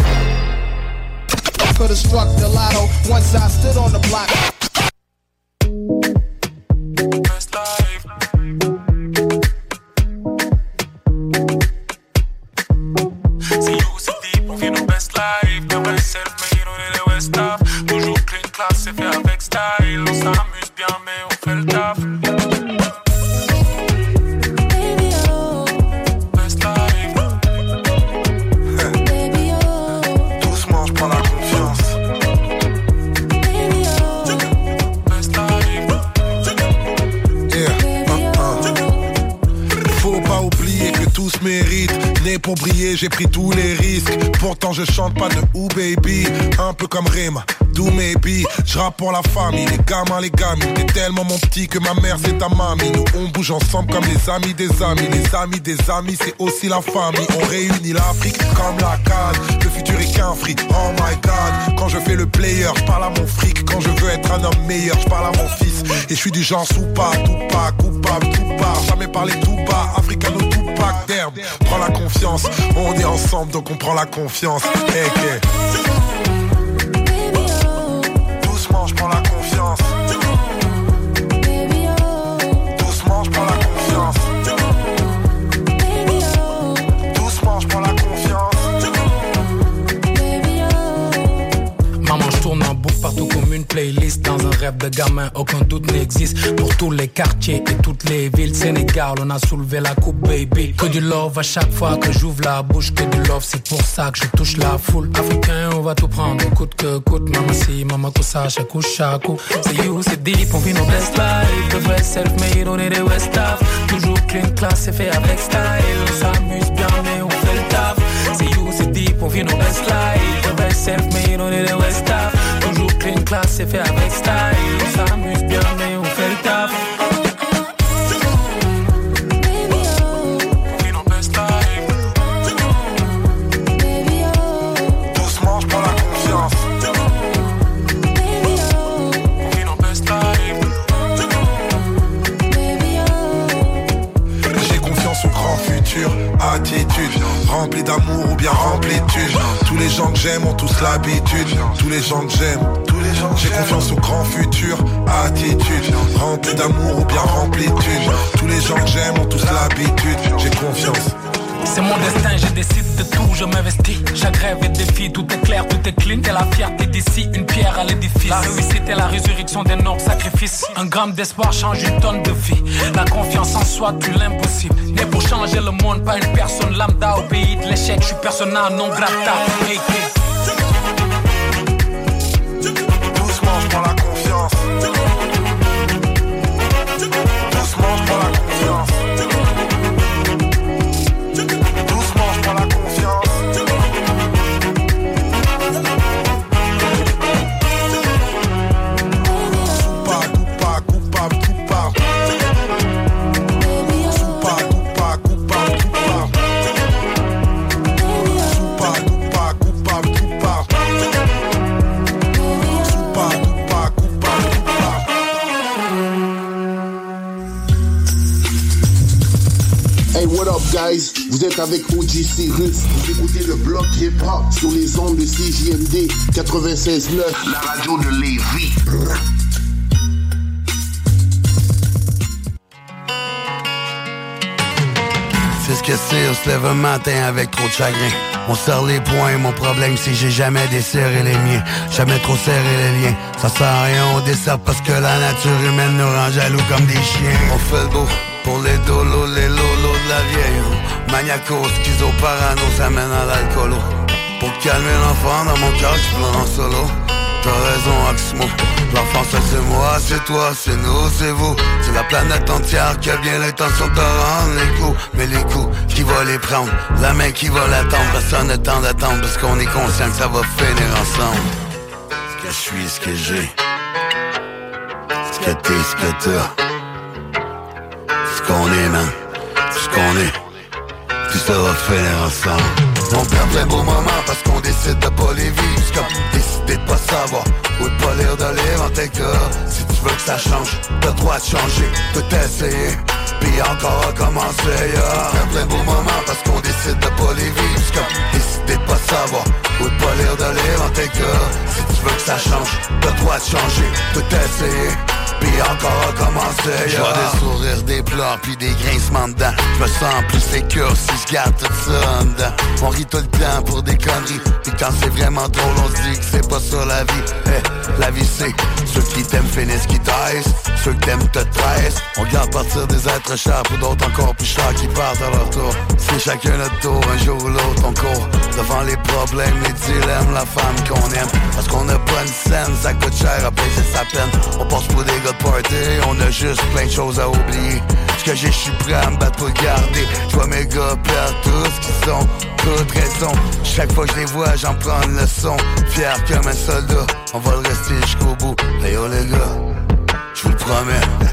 Could've struck the lotto once I stood on the block. C'est you, c'est deep, on vit nos best life. Comme un self-made, on est les West Af. Toujours clean class, c'est fait avec style. On s'amuse bien, mais on fait le taf. Doucement, j'prends la confiance. pour briller, j'ai pris tous les risques. Pourtant je chante pas de Ooh baby, un peu comme Rema, do maybe. Je rappe pour la famille, les gamins, les gamines. T'es tellement mon petit que ma mère c'est ta mamie. Nous on bouge ensemble comme les amis des amis. Les amis des amis c'est aussi la famille. On réunit l'Afrique comme la canne. Le futur est qu'un fric, oh my god. Quand je fais le player, je parle à mon fric. Quand je veux être un homme meilleur, je parle à mon fils. Et je suis du genre soupa, tout pas, coupable, tout part. Jamais parler tout bas, africano tout pack d'herbe. Prends la confiance, on est ensemble donc on prend la confiance. Hey, hey. Doucement, je prends la confiance. Doucement, je prends la confiance. Doucement, je prends la confiance. Maman, je tourne en boucle partout comme une playlist. Dans un rêve de gamin, aucun doute n'existe. Pour tous les quartiers et toutes les villes Sénégal, on a soulevé la coupe, baby. Que du love à chaque fois que j'ouvre la bouche. Que du love, c'est pour ça que je touche la foule. Africain, on va tout prendre, coûte que coûte. Maman si, maman ça, chaque coup, chaque coup. C'est you, c'est deep, on vit nos best life. De vrai self-made, on est des West-Af. Toujours clean, class, c'est fait avec style. On s'amuse bien, mais on fait le taf. C'est you, c'est deep, on vit nos best life. De vrai self-made, on est des West-Af. Toujours clean, class, c'est fait avec style. On s'amuse bien, mais on fait le taf. Doucement, je prends la confiance. J'ai confiance au grand futur. Attitude, rempli d'amour ou bien rempli de thunes. Tous les gens que j'aime ont tous l'habitude. Tous les gens que j'aime, tous les gens. J'ai confiance au grand futur. Attitude, rempli d'amour ou bien rempli de thunes. Tous les gens que j'aime ont tous l'habitude. J'ai confiance. C'est mon destin, je décide de tout, je m'investis. Chaque rêve est défi, tout est clair, tout est clean. T'es la fierté d'ici, une pierre à l'édifice. La réussite est la résurrection des nobles sacrifices. Un gramme d'espoir change une tonne de vie. La confiance en soi tue l'impossible. Né pour changer le monde, pas une personne lambda. Au pays de l'échec, je suis persona non grata. Hey, hey. Doucement, je prends la confiance. Doucement, je prends la confiance. Doucement, je prends la confiance. Soupa, coupa, coupable, tout part. Soupa, coupa, coupable, tout part. Soupa, coupa, coupable, tout part. Soupa, coupa, coupable, tout part. Hey, what up, guys? Vous êtes avec O G Cyrus. Vous écoutez le bloc hip-hop sur les ondes de C J M D quatre-vingt-seize neuf, la radio de Lévis. C'est ce que c'est, on se lève un matin avec trop de chagrin. On serre les poings, mon problème c'est que j'ai jamais desserré les miens. Jamais trop serré les liens. Ça sert à rien, on dessert parce que la nature humaine nous rend jaloux comme des chiens. On fait le beau pour les dolos, les lolos de la vieille. Maniaco, schizo, parano, ça mène à l'alcoolo. Pour calmer l'enfant dans mon cœur, je pleure en solo. T'as raison, Oxmo. L'enfant, ça c'est moi, c'est toi, c'est nous, c'est vous. C'est la planète entière qui a bien l'intention de te rendre les coups. Mais les coups, qui va les prendre? La main qui va l'attendre? Personne n'a temps d'attendre parce qu'on est conscient que ça va finir ensemble. Ce que je suis, ce que j'ai. Ce que t'es, ce que t'as. Ce qu'on est, man. Ce qu'on est. Tout ça va finir ensemble. On perd plein beaux moments parce qu'on décide de pas les vivre. C'est comme décider de pas savoir ou de pas lire de livre en tes cas. Si tu veux que ça change, t'as le droit de changer, tout essayer, puis encore recommencer. Yeah. On perd plein beaux moments parce qu'on décide de pas les vivre. C'est comme décider de pas savoir ou de pas lire de livre en tes cas. Si tu veux que ça change, t'as le droit de changer, tout essayer, puis encore recommencer. Je vois des sourires, des pleurs, puis des grincements dedans. Je me sens plus sécure si je garde tout ça en dedans. On rit tout le temps pour des conneries, puis quand c'est vraiment drôle, on se dit que c'est pas ça la vie. Hey, la vie c'est ceux qui t'aiment finissent qui taisent, ceux qui t'aiment te tressent. On garde partir des êtres chers pour d'autres encore plus chers qui partent à leur tour. C'est chacun notre tour, un jour ou l'autre on court devant les problèmes, les dilemmes, la femme qu'on aime. Parce qu'on a pas une scène, ça coûte cher à payer sa peine. On passe pour des gars de party, on a juste plein de choses à oublier. Ce que j'ai, j'suis prêt à me battre pour le garder. J'vois mes gars perdre tout ce qu'ils sont, toute raison. Chaque fois que je les vois, j'en prends une leçon. Fier comme un soldat, on va le rester jusqu'au bout. Hey yo les gars, j'vous le promets.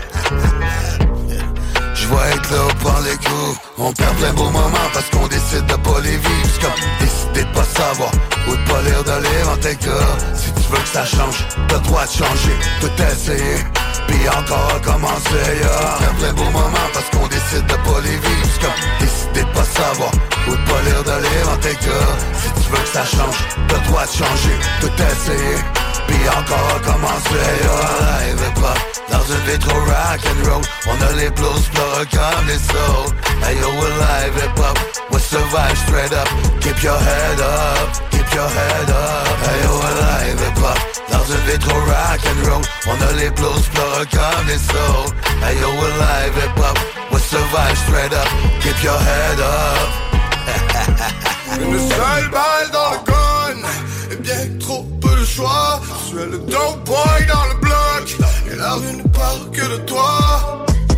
Je vais être là au prendre les coups. On perd plein beaux moments parce qu'on décide de pas les vivre. C'est comme décider de pas savoir ou de pas lire de lire en tes cas. Si tu veux que ça change, t'as le droit de changer, tout essayer, puis encore recommencer, yeah. On perd plein beaux moments parce qu'on décide de pas les vivre. C'est comme décider de pas savoir ou de pas lire de lire en tes cas. Si tu veux que ça change, t'as le droit de changer, tout essayer, puis encore recommencer, yeah. Live et pop dans une vie trop rock and roll. On a les blues, pleureux comme les souls. Hey yo, we're live hip hop, we survive straight up. Keep your head up, keep your head up. Hey yo, we're live hip hop, dans une vie trop rock and roll. On a les blues, pleureux comme les souls. Hey yo, we're live hip hop, we survive straight up. Keep your head up. Une seule balle dans le gun, et bien trop peu de choix. Je suis le dope boy dans le bloc, et la rue ne parle que de toi.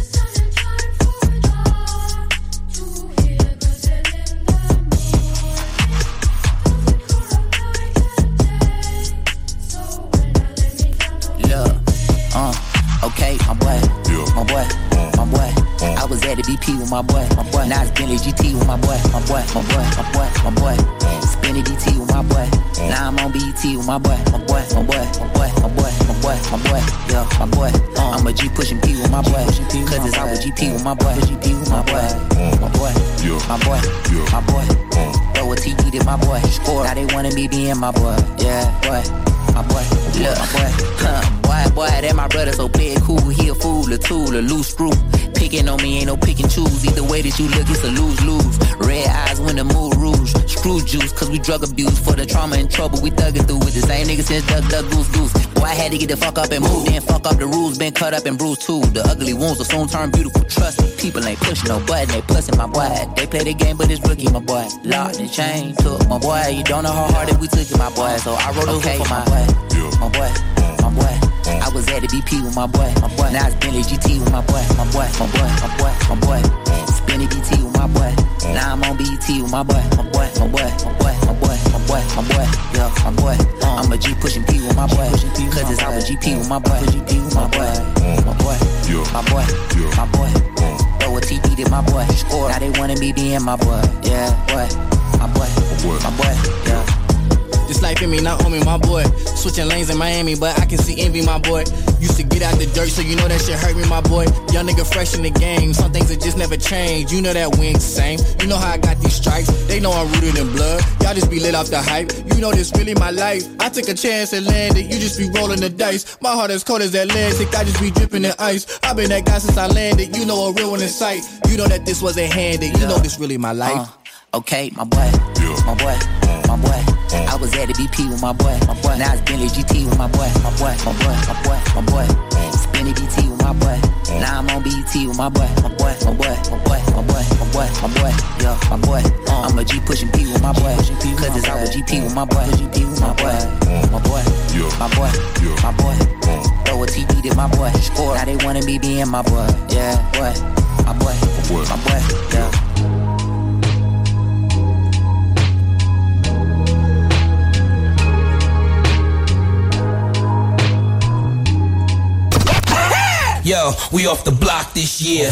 Look, uh, okay, my boy, my boy, my boy. I was at the B P with my boy, my boy. Now it's Bentley G T with my boy, my boy, my boy, my boy, my boy. Spinning D T with my boy. Now I'm on B E T with my boy, my boy, my boy, my boy, my boy, my boy, my boy. Yeah, my boy. Uh, I'm a G pushing P with my boy. Cause it's I with G P with my boy. G P with my boy, my boy, my boy, my boy. Throw a T D to my boy. Score. Now they wanna be being my boy. Yeah, boy. My boy, look, my boy, huh, boy, boy, that my brother, so play it cool. He a fool, a tool, a loose screw. Picking on me ain't no pick and choose. Either way that you look, it's a lose-lose. Red eyes when the mood rouge. Screw juice, cause we drug abuse. For the trauma and trouble, we thuggin' through with the same nigga since duck, duck, goose, goose. Boy, I had to get the fuck up and move. Then fuck up the rules, been cut up and bruised too. The ugly wounds will soon turn beautiful. Trust me, people ain't pushing no button, they pussing my boy. They play the game, but it's rookie, my boy. Locked and chain, took my boy. You don't know how hard that we took it, my boy. So I wrote okay, for my boy. My boy, my boy. I was at the B P with my boy, my boy. Now it's Bentley G T with my boy, my boy, my boy, my boy, my boy. Spinning B T with my boy. Now I'm on B E T with my boy, my boy, my boy, my boy, my boy, my boy, my boy. Yeah, my boy. I'm a G pushing P with my boy. Cause it's I with G P with my boy, G P with my boy, my boy, my boy, my boy. Throw a T D to my boy. Score. Now they wanna be being my boy. Yeah, boy, my boy, my boy, yeah. This life in me, not on me, my boy. Switching lanes in Miami, but I can see envy, my boy. Used to get out the dirt, so you know that shit hurt me, my boy. Young nigga fresh in the game, some things that just never change. You know that we ain't the same. You know how I got these stripes, they know I'm rooted in blood. Y'all just be lit off the hype, you know this really my life. I took a chance and landed, you just be rolling the dice. My heart as cold as Atlantic, I just be dripping in ice. I been that guy since I landed, you know a real one in sight. You know that this wasn't handed, you know this really my life. Uh, okay, my boy, my boy, my boy. I was at the B P with my boy, my boy. Now it's Bentley G T with my boy, my boy, my boy, my boy, my boy. Spinning D T with my boy. Now I'm on B E T with my boy, my boy, my boy, my boy, my boy, my boy, my boy. Yeah, my boy. I'm a G pushing P with my boy. Cause it's I with G P with my boy, G P with my boy, my boy, my boy, my boy. Throw a T D to my boy. Score. Now they wanna be being my boy. Yeah, boy, my boy, my boy, yeah. Yo, we off the block this year.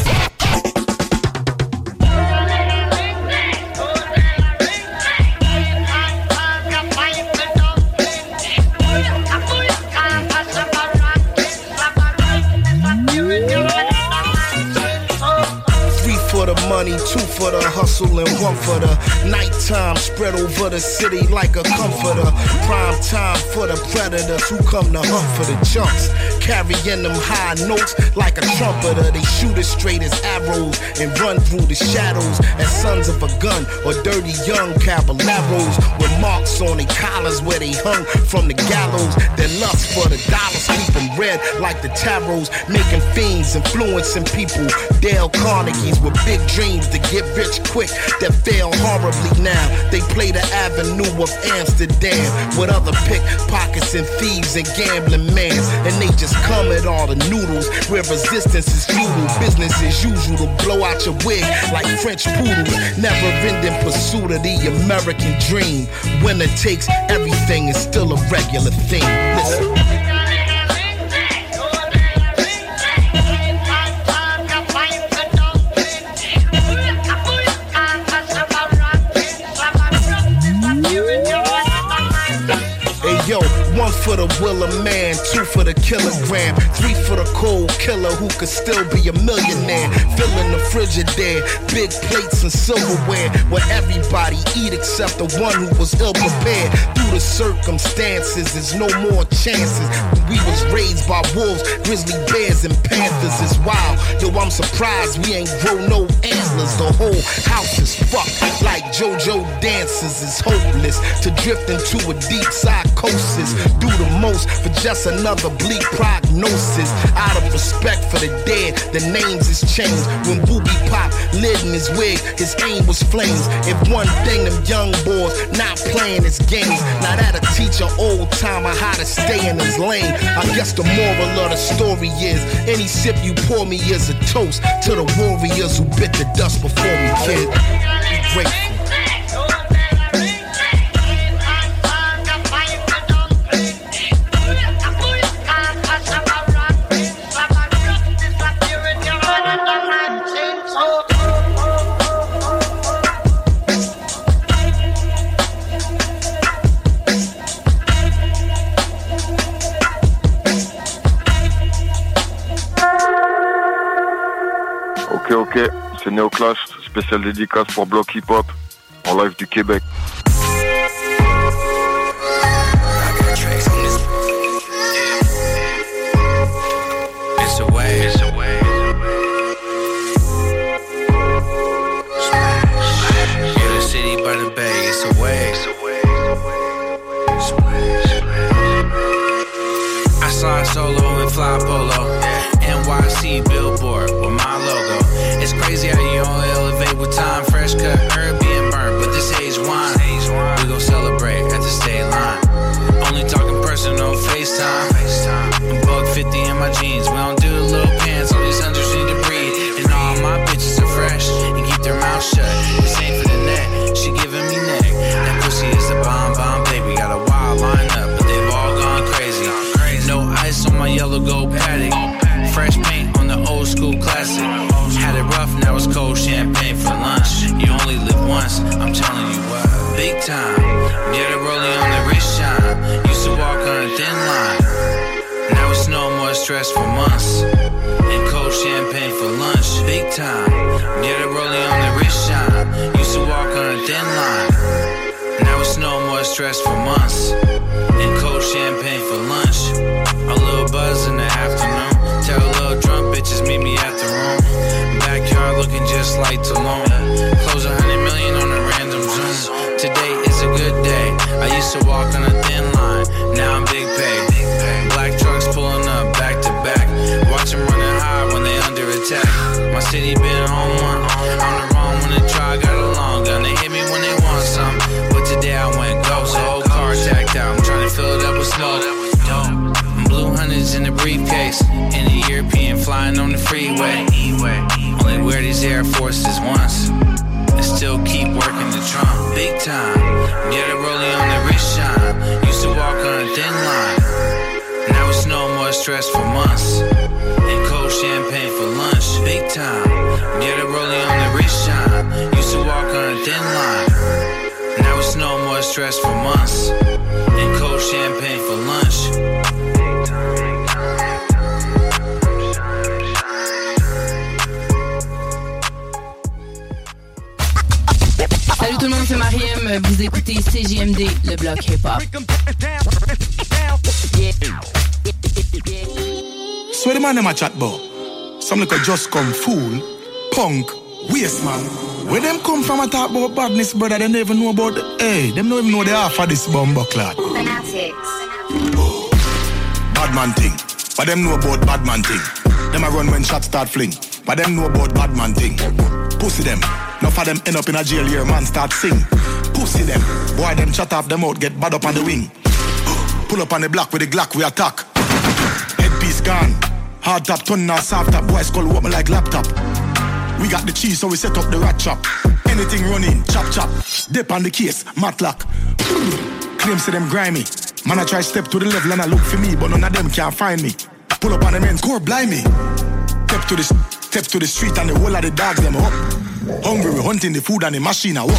For the money, two for the hustle, and one for the nighttime. Spread over the city like a comforter. Prime time for the predators who come to hunt for the chunks. Carrying them high notes like a trumpeter. They shoot as straight as arrows and run through the shadows as sons of a gun or dirty young caballeros with marks on their collars where they hung from the gallows. Their lust for the dollars keep them red like the tarots, making fiends, influencing people. Dale Carnegie's with big dreams to get rich quick that fail horribly now. They play the avenue of Amsterdam with other pickpockets and thieves and gambling mans, and they just come at all the noodles where resistance is futile. Business as usual to blow out your wig like French poodles. Never ending pursuit of the American dream. Winner takes everything is still a regular thing. Listen. Yo, one for the will of man, two for the kilogram, three for the cold killer who could still be a millionaire. Filling the Frigidaire, big plates and silverware, where everybody eat except the one who was ill prepared. Through the circumstances, there's no more chances. We was raised by wolves, grizzly bears, and panthers. It's wild, yo, I'm surprised we ain't grow no antlers. The whole house is fucked like JoJo dances. It's hopeless to drift into a deep psychosis. Do the most for just another bleak prognosis. Out of respect for the dead, the names is changed. When Booby Pop lit in his wig, his aim was flames. If one thing them young boys not playing is games, now that'll teach an old timer how to stay in his lane. I guess the moral of the story is any sip you pour me is a toast to the warriors who bit the dust before me, kid. Be grateful. Ok, ok, c'est Néoclash, spécial dédicace pour Block Hip Hop, en live du Québec. It's a way, it's a way. Yeah, the city by the bay, it's a way. I slide solo and fly polo. N Y C billboard with my logo. It's crazy how you only elevate with time. Fresh cut herb being burnt, but this age wine. We gon' celebrate at the state line. Only talking personal FaceTime. Buck fifty in my jeans. We don't do the little pants. All these hunters need to breathe. And all my bitches are fresh and keep their mouth shut. This ain't for the net. She giving me neck. That pussy is the bomb bomb baby. Got a wild lineup, but they've all gone crazy. No ice on my yellow gold paddock. Fresh paint on the old school classic. Had it rough, now it's cold champagne for lunch. You only live once, I'm telling you what. Big time, get a rollie on the wrist shine. Used to walk on a thin line. Now it's no more stress for months. And cold champagne for lunch. Big time, get a rollie on the wrist shine. Used to walk on a thin line. Now it's no more stress for months. And cold champagne for lunch. A little buzz in the afternoon. Tell little drunk bitches meet me at the room. Backyard looking just like Tulum. Close a hundred million on a random Zoom. Today is a good day. I used to walk on a thin line. Now I'm big pay. Black trucks pulling up back to back. Watch them running high when they under attack. My city been on one. On the wrong when they try. Got a long gun. They hit me when they want some. But today I went ghost. Whole car tacked out. I'm trying to fill it up with smoke. Blue hundreds in the briefcase. In the European flying on the freeway. Only wear these Air Forces once. And still keep working the trunk. Big time. Get a rollie on the wrist shine. Used to walk on a thin line. Now it's no more stress for months. And cold champagne for lunch. Big time. Get a rollie on the wrist shine. Used to walk on a thin line. Now it's no more stress for months. And cold champagne for lunch. Salut tout le monde, c'est Mariem. Vous écoutez C J M D, le bloc hip-hop. So the man them a chat about? Some little just come fool, punk, waste man. Where them come from a talk about badness, brother? They never know about the, hey, them don't even know the half of this bumbo clad. Bad man thing, but them know about bad man thing. Them a run when shots start fling, but them know about bad man thing. Pussy them. Enough of them end up in a jail here, man start sing. Pussy them, boy them chat off them out, get bad up on the wing. Pull up on the block with the Glock, we attack. piece gone. Hard top, ton now soft top. Boys call what me like laptop. We got the cheese, so we set up the rat chop. Anything running, chop chop. Dip on the case, matlock. Claims to them grimy. Man, I try step to the level and I look for me, but none of them can't find me. Pull up on the men's core, blind me. Step to the step to the street and the whole of the dogs them up. Hungry, we hunting the food and the machine I walk.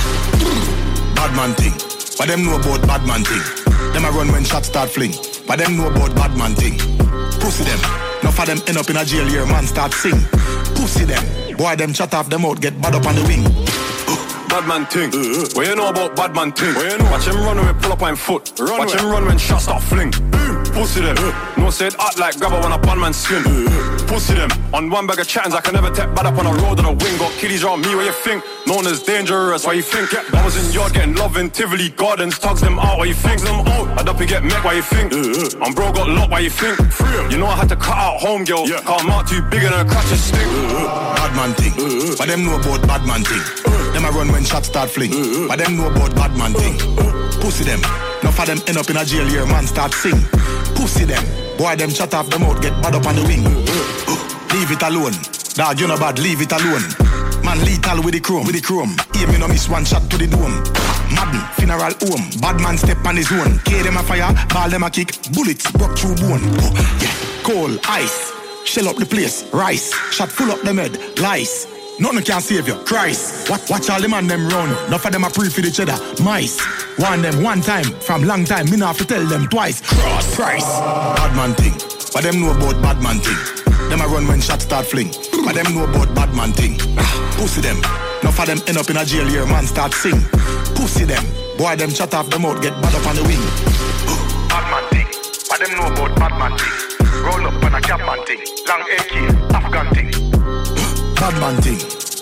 Bad man thing, but them know about bad man thing. Them I run when shots start fling, but them know about bad man thing. Pussy them, enough of them end up in a jail here, man start sing. Pussy them, boy them chat off them out, get bad up on the wing. Bad man ting, uh, what you know about bad man ting? You know? Watch him run when we pull up on foot. Run Watch him run when shots start fling. Uh, Pussy them, uh, no say it hot like grabber when a bad man skin. Uh, Pussy them, on one bag of chattings I can never take bad up on a road on a wing. Got kiddies around me, what you think? Known as dangerous, why you think? I was in yard getting love in Tivoli Gardens, tugs them out, why you think? Them out, I'd up and get met, why you think? Uh, I'm bro got locked, why you think? You know I had to cut out home girl, yeah. Cause I'm out too bigger than a crutch and stick. Uh, bad man thing, uh, but them know about bad man thing. Uh, them I run when shots start fling, uh, but them know about bad man thing. Uh, Pussy them, enough of them end up in a jail here, man start sing. Pussy them, boy them chat off them out, get bad up on the wing. Uh, uh, leave it alone, dog you know bad, leave it alone. Man lethal with the chrome, with the chrome. Aim me no miss one shot to the dome. Madden, funeral home. Bad man step on his own. K them a fire, ball them a kick. Bullets broke through bone. Oh, yeah. Coal, ice. Shell up the place. Rice. Shot full up them head. Lice. Nothing can save you. Christ. Watch, watch all the man them run. Enough of them a pre for each other. Mice. Warn them one time. From long time. Me not have to tell them twice. Cross. Price. Bad man thing. But them know about bad man thing. Them a run when shots start fling. But them know about bad man thing. Pussy them. Enough of them end up in a jail here, man start sing. Pussy them. Boy them chat off them out, get bad up on the wing. Bad man thing. But them know about bad man thing. Roll up on a cap man thing. Long A K, Afghan thing. Bad man thing.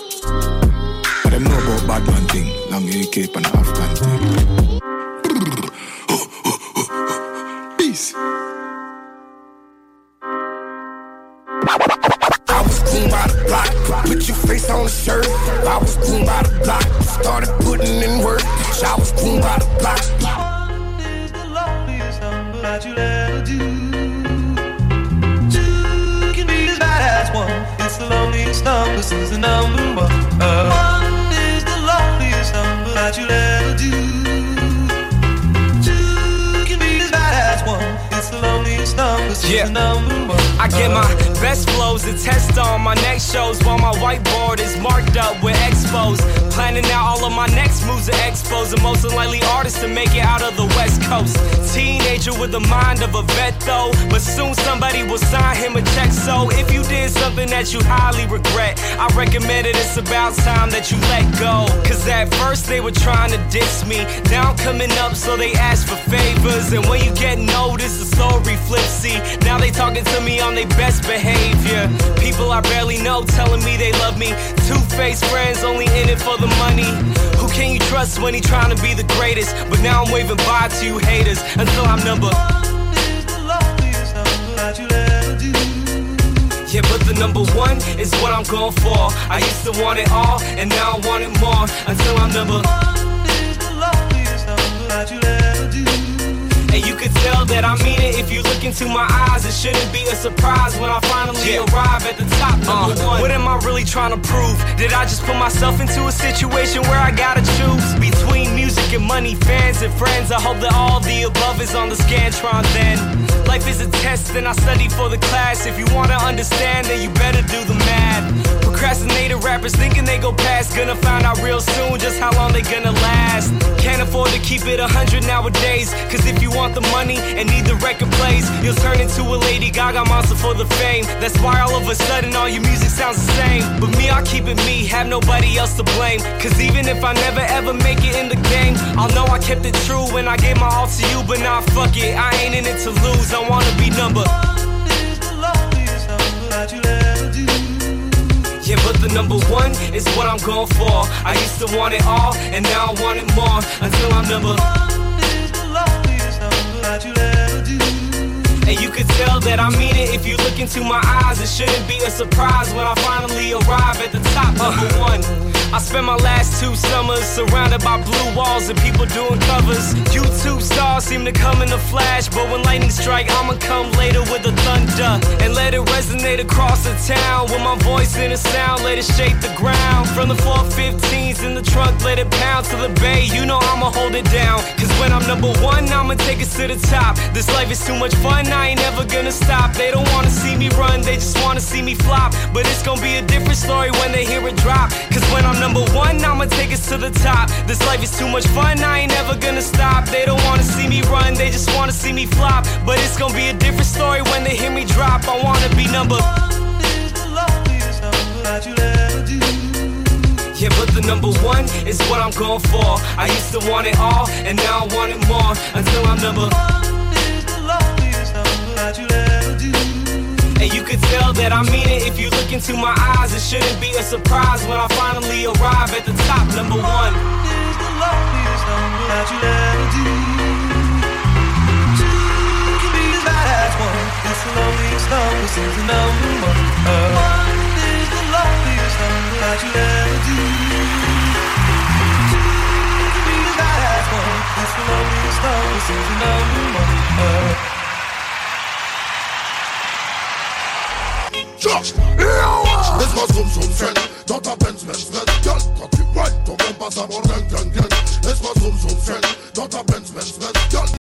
But them know about bad man thing. Long A K and Afghan thing. Peace. I was groomed by the block, put your face on the shirt. I was groomed by the block, started putting in work. I was groomed by the block. One is the loneliest number that you'll ever do. Two can be as bad as one. It's the loneliest number since the number one. Uh, one is the loneliest number that you'll ever do. Two can be as bad as one. It's the loneliest number since yeah. the number one. I get my best flows and test on my next shows while my whiteboard is marked up with expos. Planning out all of my next moves at expos. The most unlikely artist to make it out of the West Coast. Teenager with the mind of a vet though, but soon somebody will sign him a check. So if you did something that you highly regret, I recommend it, it's about time that you let go. Cause at first they were trying to diss me, now I'm coming up so they ask for favors. And when you get noticed, the story flips. See, now they talking to me on their best behavior. People I barely know telling me they love me. Two-faced friends only in it for the money. Who can you trust when he trying to be the greatest? But now I'm waving bye to you haters until I'm number one is the loneliest number that you'll ever do. Yeah, but the number one is what I'm going for. I used to want it all, and now I want it more. Until I'm number one is the loneliest number that you'll ever do. And you can tell that I mean it if you look into my eyes. It shouldn't be a surprise when I finally yeah. arrive at the top, number uh, one. What am I really trying to prove? Did I just put myself into a situation where I gotta choose between music and money, fans and friends? I hope that all the above is on the Scantron then. Life is a test and I study for the class. If you wanna understand, then you better do the math. Procrastinated rappers thinking they go past, gonna find out real soon just how long they gonna last. Can't afford to keep it a hundred nowadays, cause if you want the money and need the record plays, you'll turn into a Lady Gaga monster for the fame. That's why all of a sudden all your music sounds the same. But me, I'll keep it me, have nobody else to blame. Cause even if I never ever make it in the game, I'll know I kept it true when I gave my all to you. But nah, fuck it, I ain't in it to lose, I wanna be number one is the loneliest number that you'll ever do. Yeah, but the number one is what I'm going for. I used to want it all, and now I want it more. Until I'm number one is the loneliest number that you'll ever do. And you can tell that I mean it if you look into my eyes. It shouldn't be a surprise when I finally arrive at the top, number uh, one. I spent my last two summers surrounded by blue walls and people doing covers. YouTube stars seem to come in a flash, but when lightning strike, I'ma come later with the thunder and let it resonate across the town. With my voice in a sound, let it shake the ground. From the four fifteens in the trunk, let it pound to the bay. You know I'ma hold it down, cause when I'm number one, I'ma take it to the top. This life is too much fun, I ain't never gonna stop. They don't wanna see me run, they just wanna see me flop. But it's gonna be a different story when they hear it drop. Cause when I'm number one, I'ma take it to the top. This life is too much fun, I ain't never gonna stop. They don't wanna see me run, they just wanna see me flop. But it's gonna be a different story when they hear me drop. I wanna be number one is the loneliest number that you'll ever do. Yeah, but the number one is what I'm going for. I used to want it all, and now I want it more. Until I'm number one is the loneliest number that you'll ever do. And you could tell that I mean it if you look into my eyes. It shouldn't be a surprise when I finally arrive at the top. Number one is the loneliest number that you'll ever do. Two can be as bad as one. It's the loneliest number since the number one. Uh, one is the loneliest number that you'll ever do. Two can be as bad as one. It's the loneliest number since the number one. Uh, Laisse-moi zoom zoom friend dans ta Benz Benz Benz. Girl, quand tu whine, ton bon passe à mon gang gang gang. Laisse-moi zoom zoom friend dans ta Benz Benz Benz. Girl.